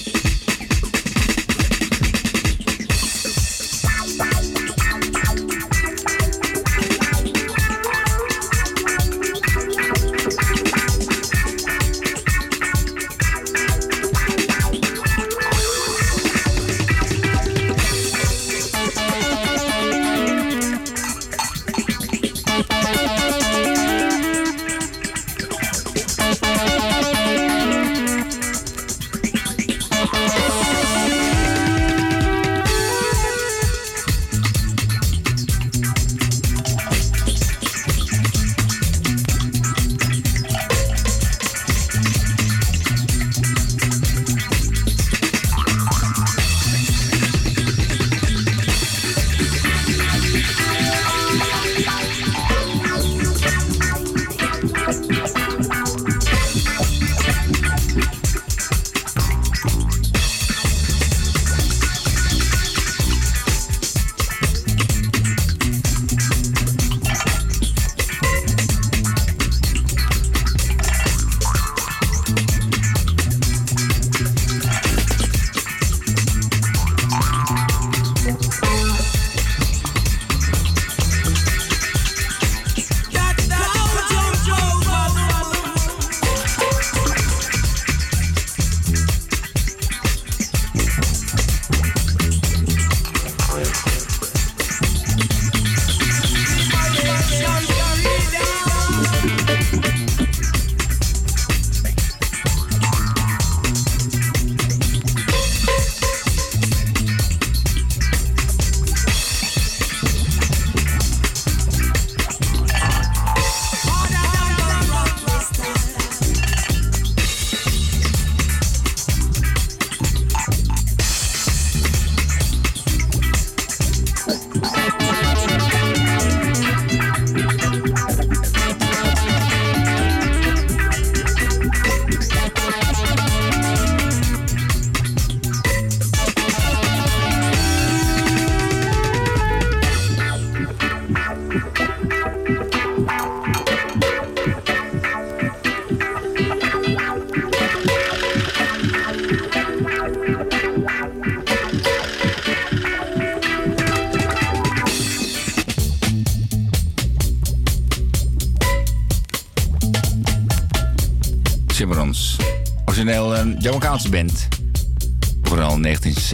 Cimarrons. Origineel een Jamaicaanse band. Vooral in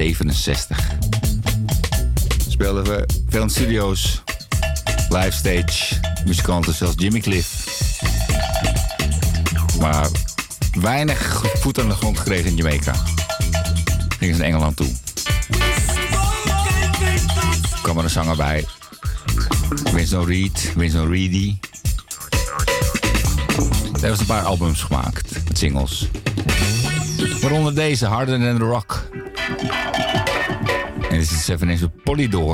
1967. Speelden we veel in studio's. Live stage. Muzikanten zoals Jimmy Cliff. Maar weinig voet aan de grond gekregen in Jamaica. Gingen ze naar Engeland toe. Er kwam er een zanger bij. Winston Reedy. Daar hebben ze een paar albums gemaakt, met singles. Waaronder deze, Harder Than The Rock. En dit is het 7-inch Polydor.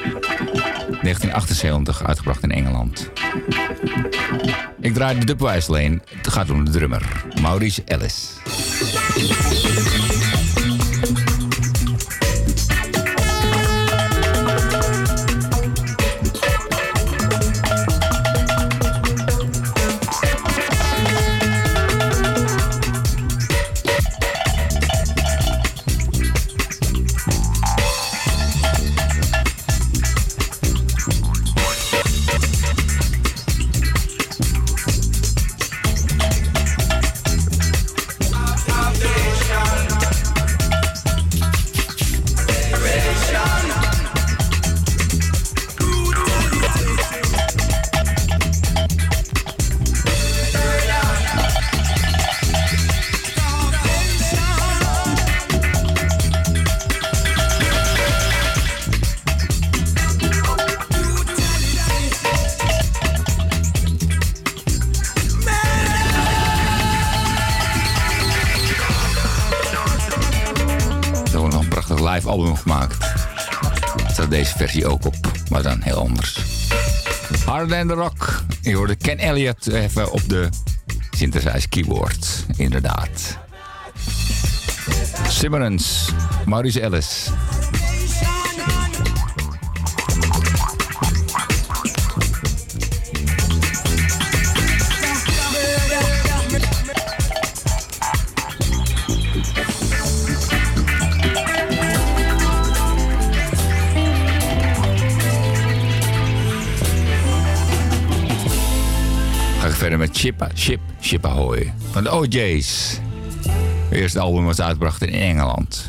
1978, uitgebracht in Engeland. Ik draai de dubwijs alleen. Het gaat om de drummer, Maurice Ellis. live album gemaakt. Daar staat deze versie ook op, maar dan heel anders. Harder Than The Rock. Je hoorde Ken Elliott even op de synthesizer keyboard. Inderdaad. Simmerens, Maurice Ellis. Ga ik verder met Ship Ahoy van de OJ's. Het eerste album was uitgebracht in Engeland.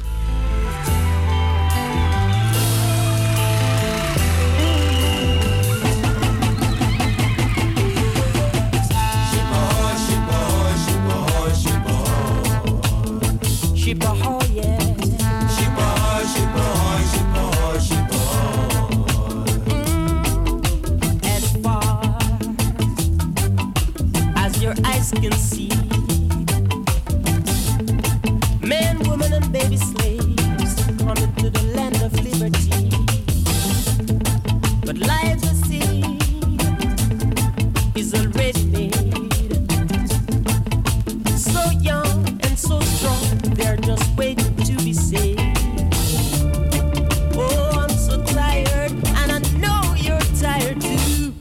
Ship ahoy, yeah. Ship ahoy, ship ahoy, ship ahoy, ship ahoy. As far as your eyes can see, men, women, and baby slaves coming to the land of liberty. But life at sea is already made. So young and so strong, they're just waiting to be saved. Oh, I'm so tired, and I know you're tired too.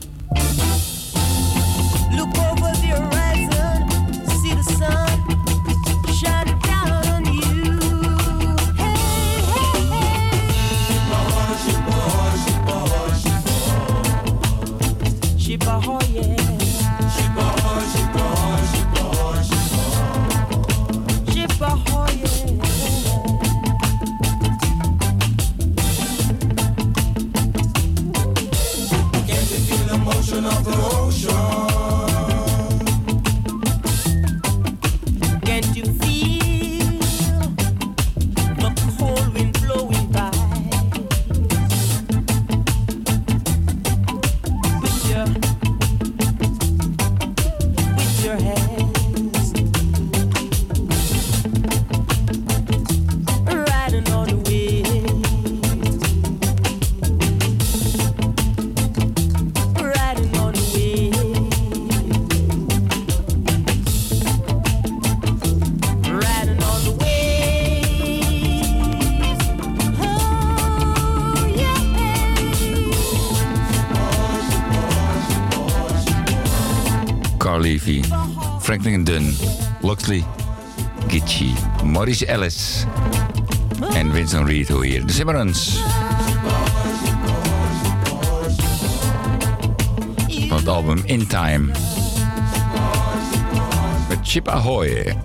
Look over the horizon, see the sun shining down on you. Hey, hey, hey. Ship ahoy, ship ahoy, ship ahoy. Ship ahoy, yeah. Ship ahoy, ship ahoy, ship ahoy, ship ahoy. Ship ahoy, yeah. Can't you feel the motion of the ocean? Can't you feel the cold wind blowing by? With your hands riding on the wind, riding on the wind, riding on the waves. Oh yeah. Carl Levy, Franklin Dunn, Loxley, Gitchy, Maurice Ellis en Winston Reed hoor hier. De Simmerens. Van het album In Time. Met Ship Ahoy.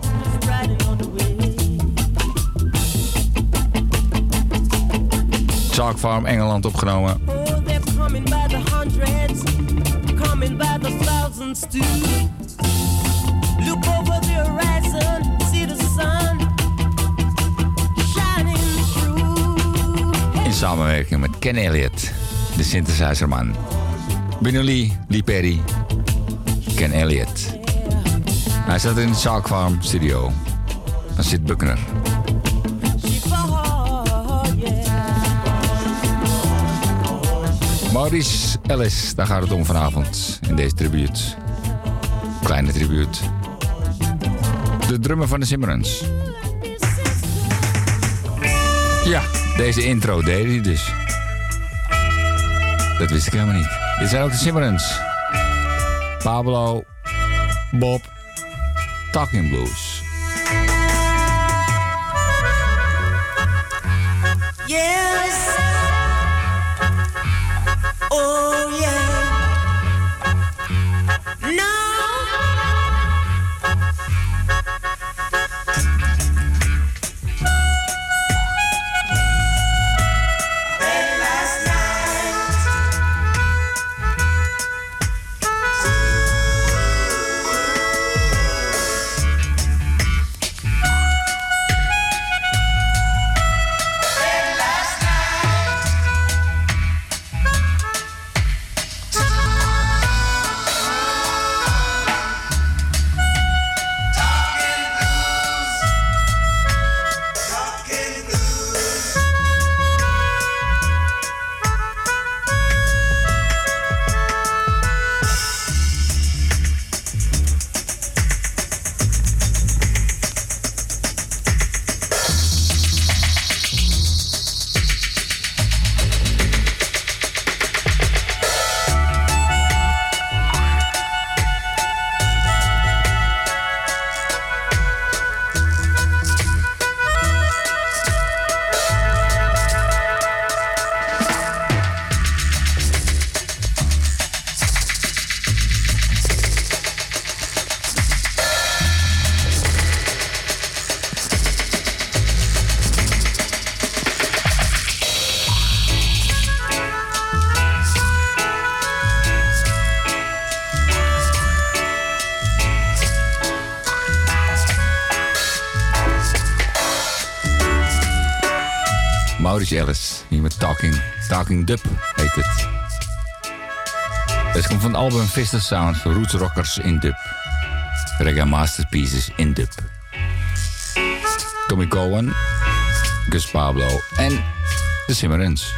Chalk Farm, Engeland opgenomen. Oh, they're coming by the hundreds, coming by the thousands too. Look over the horizon, see the sun shining through. In samenwerking met Ken Elliott, de synthesizerman. Benny Lee Perry, Ken Elliott. Hij zat in de Chalk Farm studio. Dan zit Buckner. Maurice Ellis, daar gaat het om vanavond in deze tribute. Kleine tribute. De drummer van de Simmerens. Ja, deze intro deed hij dus. Dat wist ik helemaal niet. Dit zijn ook de Simmerens. Pablo, Bob, Talking Blues. Yes. Oh yeah. No. Maurice Ellis. Hier met Talking Dub heet het. Het komt van het album Vista Sounds, Roots Rockers in Dub. Reggae Masterpieces in Dub. Tommy Cowan, Gus Pablo en de Simmerens.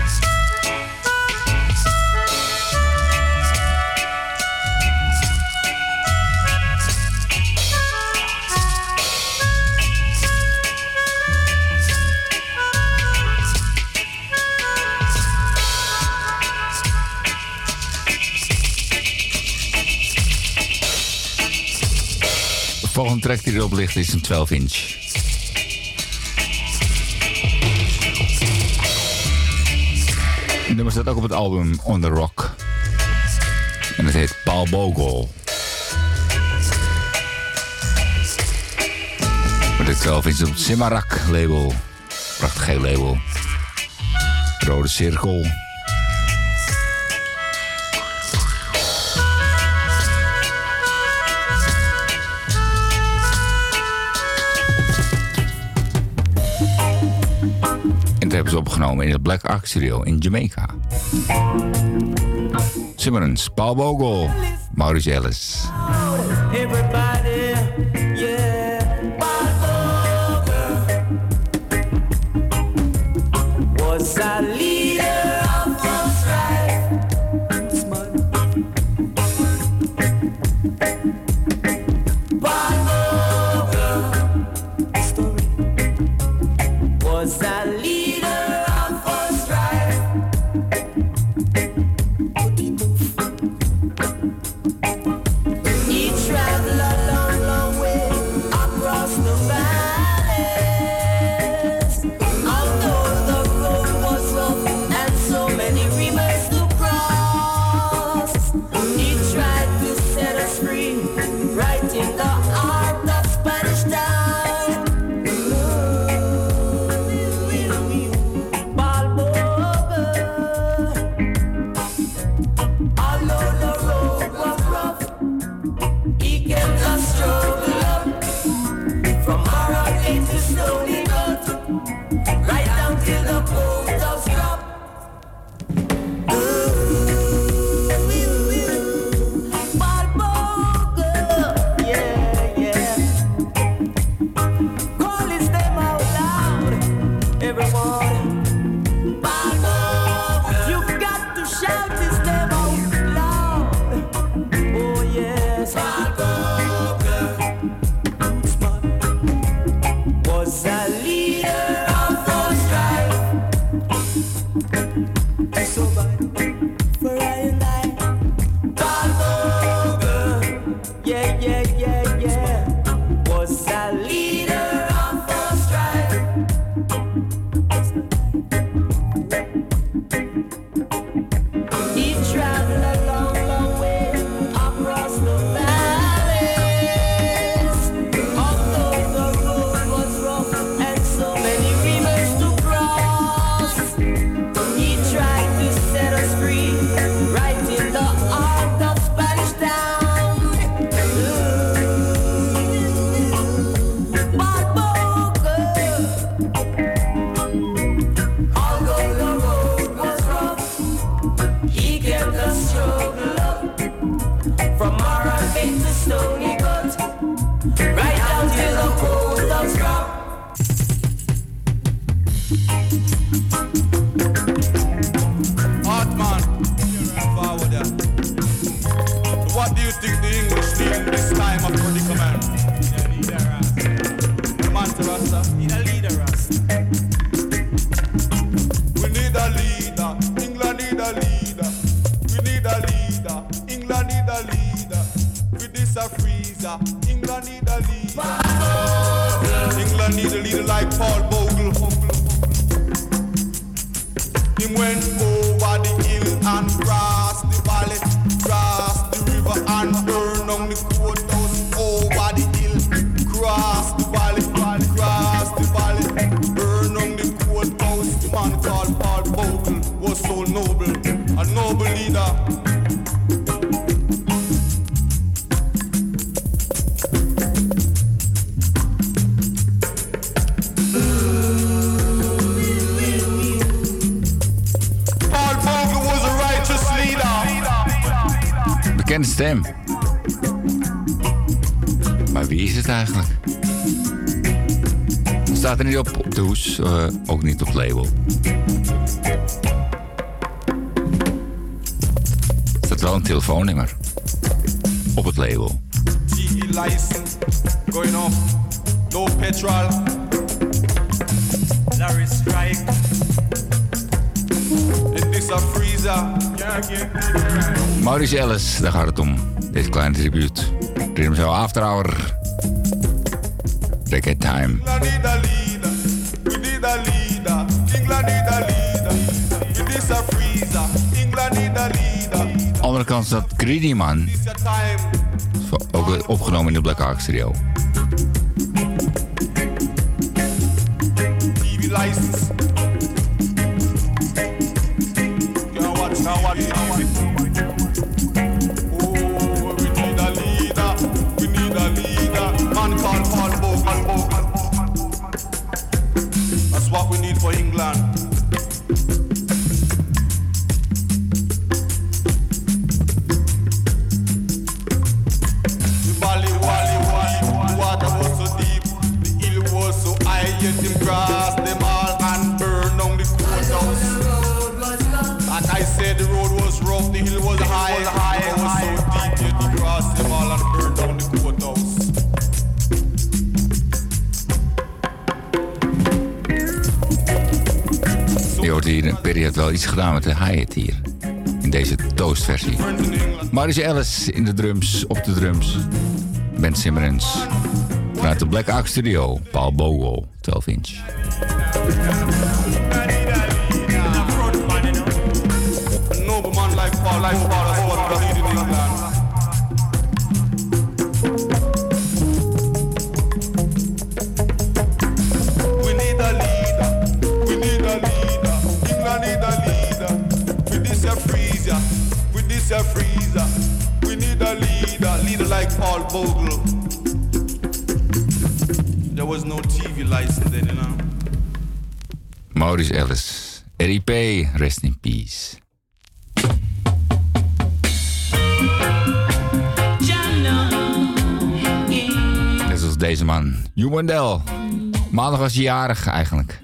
De volgende track die erop ligt is een 12-inch. Het nummer staat ook op het album On The Rock. En het heet Paul Bogle. Met de 12-inch op het Simarak label. Prachtig geel label. Rode cirkel. Dat hebben ze opgenomen in het Black Ark Studio in Jamaica. Simmerens, Paul Bogle, Maurice Ellis. Everybody, yeah, was a leader of the strife. Was a leader of the strife. He traveled a long, long way across the valleys. Although the road was rough and so many rivers to cross, he tried to set us free, right in the heart of Spanish Town. Although the road was rough, he kept us struggle up. From Marrakech to Stony Gut, right down till the coast of Scrap. Yeah, yeah. Call his name out loud, everyone. You got to shout his name out loud. Oh yes, was a leader of the strife. So bad for I and I. Yeah, yeah, yeah, yeah. Was a leader of the strife. He traveled a long, long way across the valleys. Although the road was rough and so many rivers to cross, he tried to set us free, right in the heart of Spanish Town. Although the road was rough, he kept us struggle up. From Marrakech to Stony Gut, right down till the coast of Scrap. Hartman, forward there. What do you think the English need in this time of predicament? Master Rasta. Need a leader, Rasta. We need a leader. England need a leader. We need a leader. England need a leader. With this a freezer. England need a leader. England need a leader like Paul Bogle. He went over the hill and crossed the valley, crossed the river and burned on the courthouse. Over the hill, crossed the valley, crossed the valley, burned on the courthouse. The man called Paul Bogle was so noble, a noble leader. stem. Maar wie is het eigenlijk? Staat er niet op de hoes, ook niet op het label. Er staat wel een telefoonnummer op het label. TV license going off. No petrol. Larry strike. In this a freezer. Maurice Ellis, daar gaat het om. Deze kleine tribute. Rhythm Show After Hour. Reggae Time. England need a leader. We need a leader. England need a leader. In this a freezer. England need a leader. Andere kant staat Greedy Man. This your time. Ook opgenomen in de Black Ark Studio. TV license. Now watch, now watch, now watch. Oh, we need a leader. We need a leader. Man called Paul Bogle. That's what we need for England. Get him grass them all and burn down the courthouse. Like I said, the road was rough, the hill was high, it was so deep. Get him grass them all and burn down the courthouse. Je hoort hier, Perry heeft wel iets gedaan met de hi-hat hier. In deze toastversie. Maurice Ellis in de drums, op de drums. Ben Simmons. Vanuit de Black Ark Studio, Paul Bogle, 12 inch. Nobleman like Paul, that's what we need in England. We need a leader, we need a leader. England need a leader. With this a freezer, with this a freezer. We need a leader like Paul Bogle. There was no TV license then, you know. Maurice Ellis, RIP, rest in peace. Net zoals deze man, Hugh Wendell. Maandag was hij jarig eigenlijk.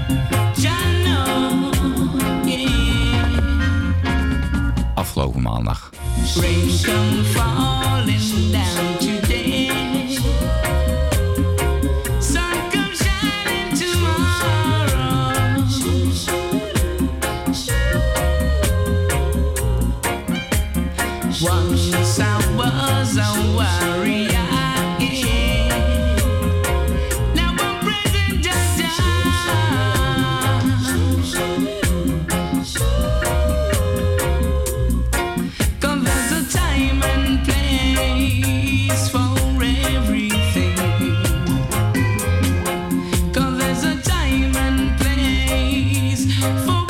Afgelopen maandag. Rain come falling down today. Once I was a warrior, now I'm present just cause there's a time and place for everything. Cause there's a time and place for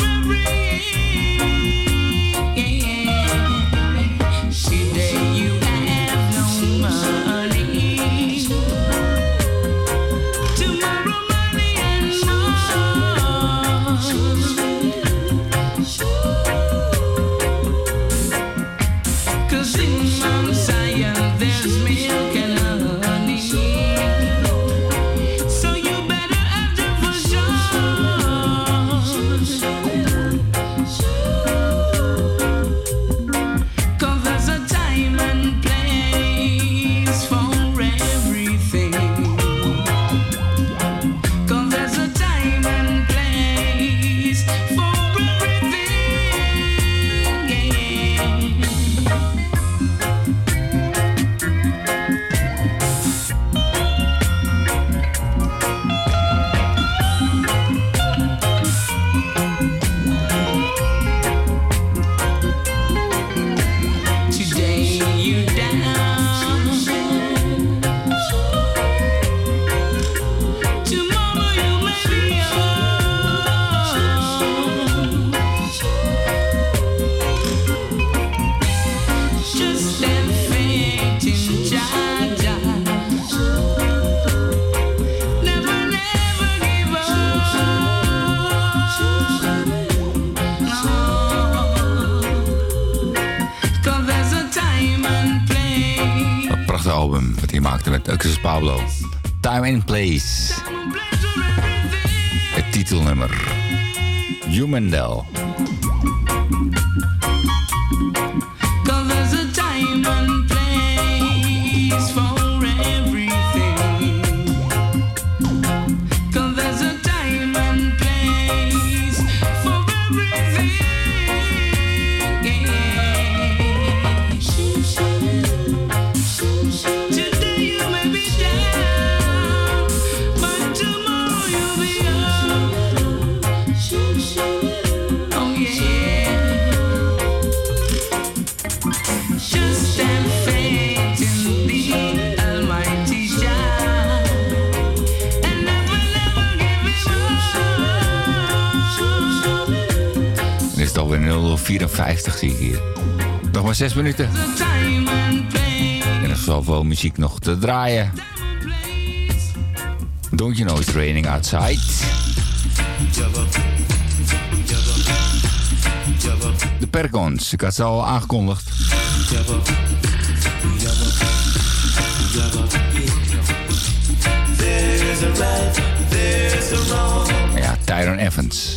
album wat hij maakte met Uxus Pablo. Time and Place. Het titelnummer. Humandel. Cause there's a time and place for everything. Cause there's a time and place for everything. Today you may be down, but tomorrow you'll be up. Oh yeah. Just have faith in the Almighty Jah, and never give it up. Dan is het alweer 0:54 zie ik hier. Nog maar 6 minuten. Time and place. En er is zoveel muziek nog te draaien. Don't you know it's raining outside? De Percons, ik had ze al aangekondigd. There's a right, there's a wrong. Ja, Tyrone Evans.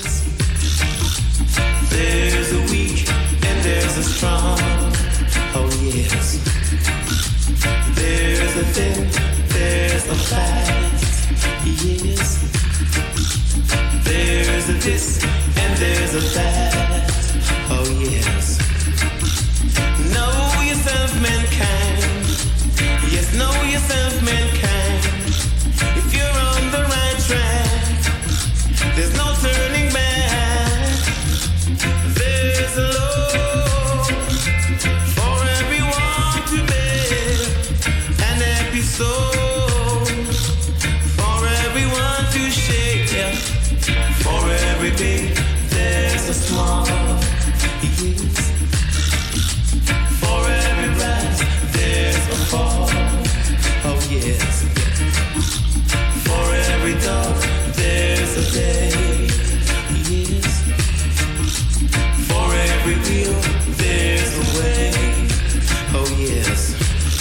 There's a weak and there's a strong. Oh yes. There's a thin, there's a fast. Yes. There's a this and there's a that. Oh yes. Know yourself, mankind. Yes, know yourself, mankind. If you're on the right track, there's no turning back. There's a law for everyone to live, an episode for everyone to share. For every big, there's a small. Yes. For every rise, there's a fall. Oh yes. For every dark, there's a day. Yes. For every wheel, there's a way. Oh yes.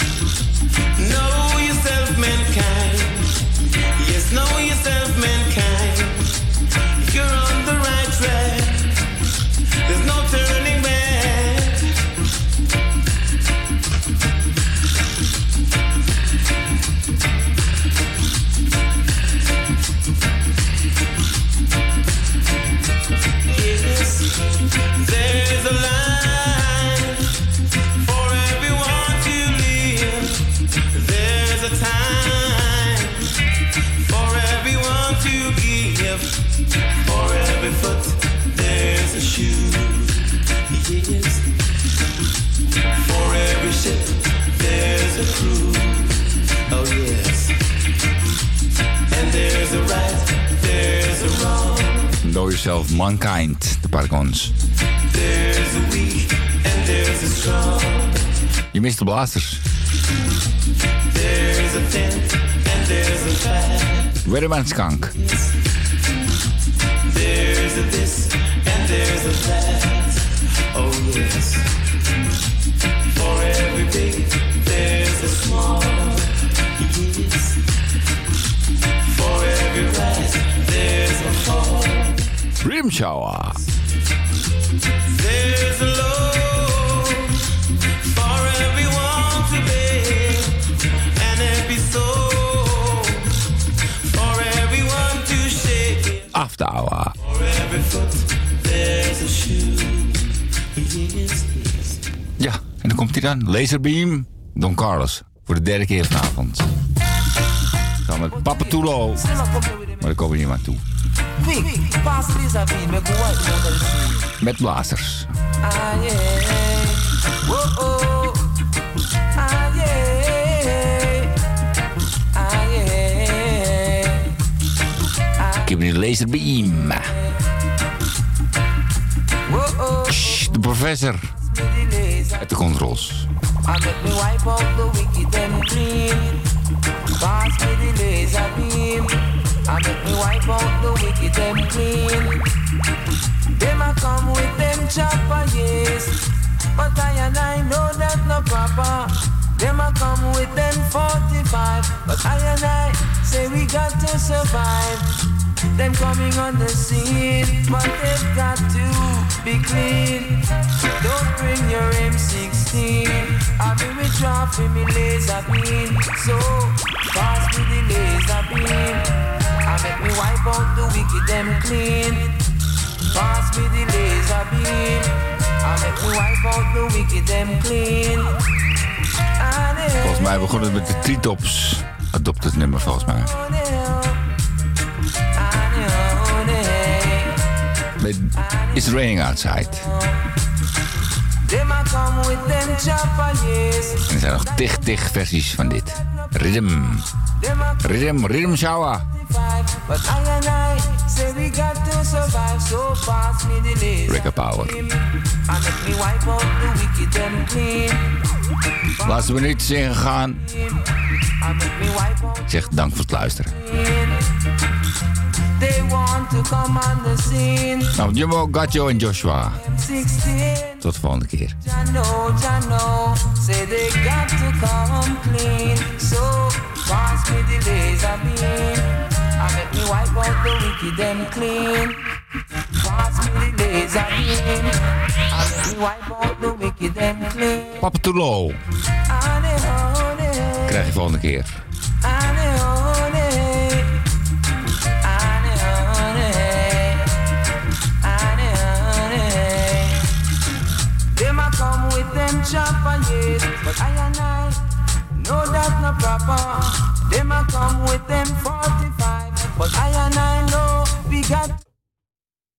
Know yourself, mankind. Yes, know yourself, mankind. If you're on the right track, there's no turning back. Yes, there's a line for everyone to live. There's a time for everyone to give. For every foot, there's a shoe. Yes. For every ship, there's a crew. Oh yes. And there's a right, there's a wrong. Know yourself, Mankind, de Percons. There's a weak and there's a strong. Je mist de blasters. There's a thin and there's a fat. Weatherman Skunk. There's a this and there's a that. Oh yes. For every big, there's a small. Yes. For every rise, there's a fall. Rhythm Shower. There's a load for everyone to bear. An episode for everyone to share. After Hour. For every foot, there's a shoe. Yes, yes. Ja, en dan komt hij dan. Laserbeam, Don Carlos. Voor de derde keer vanavond. Dan met Papatulo. Maar daar komen we niet meer aan toe. Met blasters. Ah yeah. Whoa, oh. Ah yeah. Ah yeah. Ik heb nu de Laserbeam. Shh, de professor. Uit de controls. I make me wipe out the wicked and clean. Pass me the laser beam. I make me wipe out the wicked and clean. Them a come with them chopper, yes. But I and I know that's not proper. Them a come with them 45, but I and I say we got to survive. Them coming on the scene, but they've got to be clean. Don't bring your M16. I'll be withdraw for me laser beam. So pass me the laser beam. I make me wipe out the wicked them clean. Pass me the laser beam. I make me wipe out the wicked them clean. Volgens mij begon het met de Treetops Adopted nummer, volgens mij. Met It's Raining Outside. En er zijn nog tig versies van dit. Rhythm Shower. Reggae Power. Laatste minuut is ingegaan. Ik zeg dank voor het luisteren. Nou, Jumbo, Gatjo en Joshua. Tot de volgende keer. Jano, say they got to come clean. So pass me the laser beam. I make me wipe out the wicked and clean. Pass me the laser beam. I make me wipe out the wicked and clean. Papa Tulo. Krijg je volgende keer. Chopper, yes, but I and I know that's not proper. Them a come with them for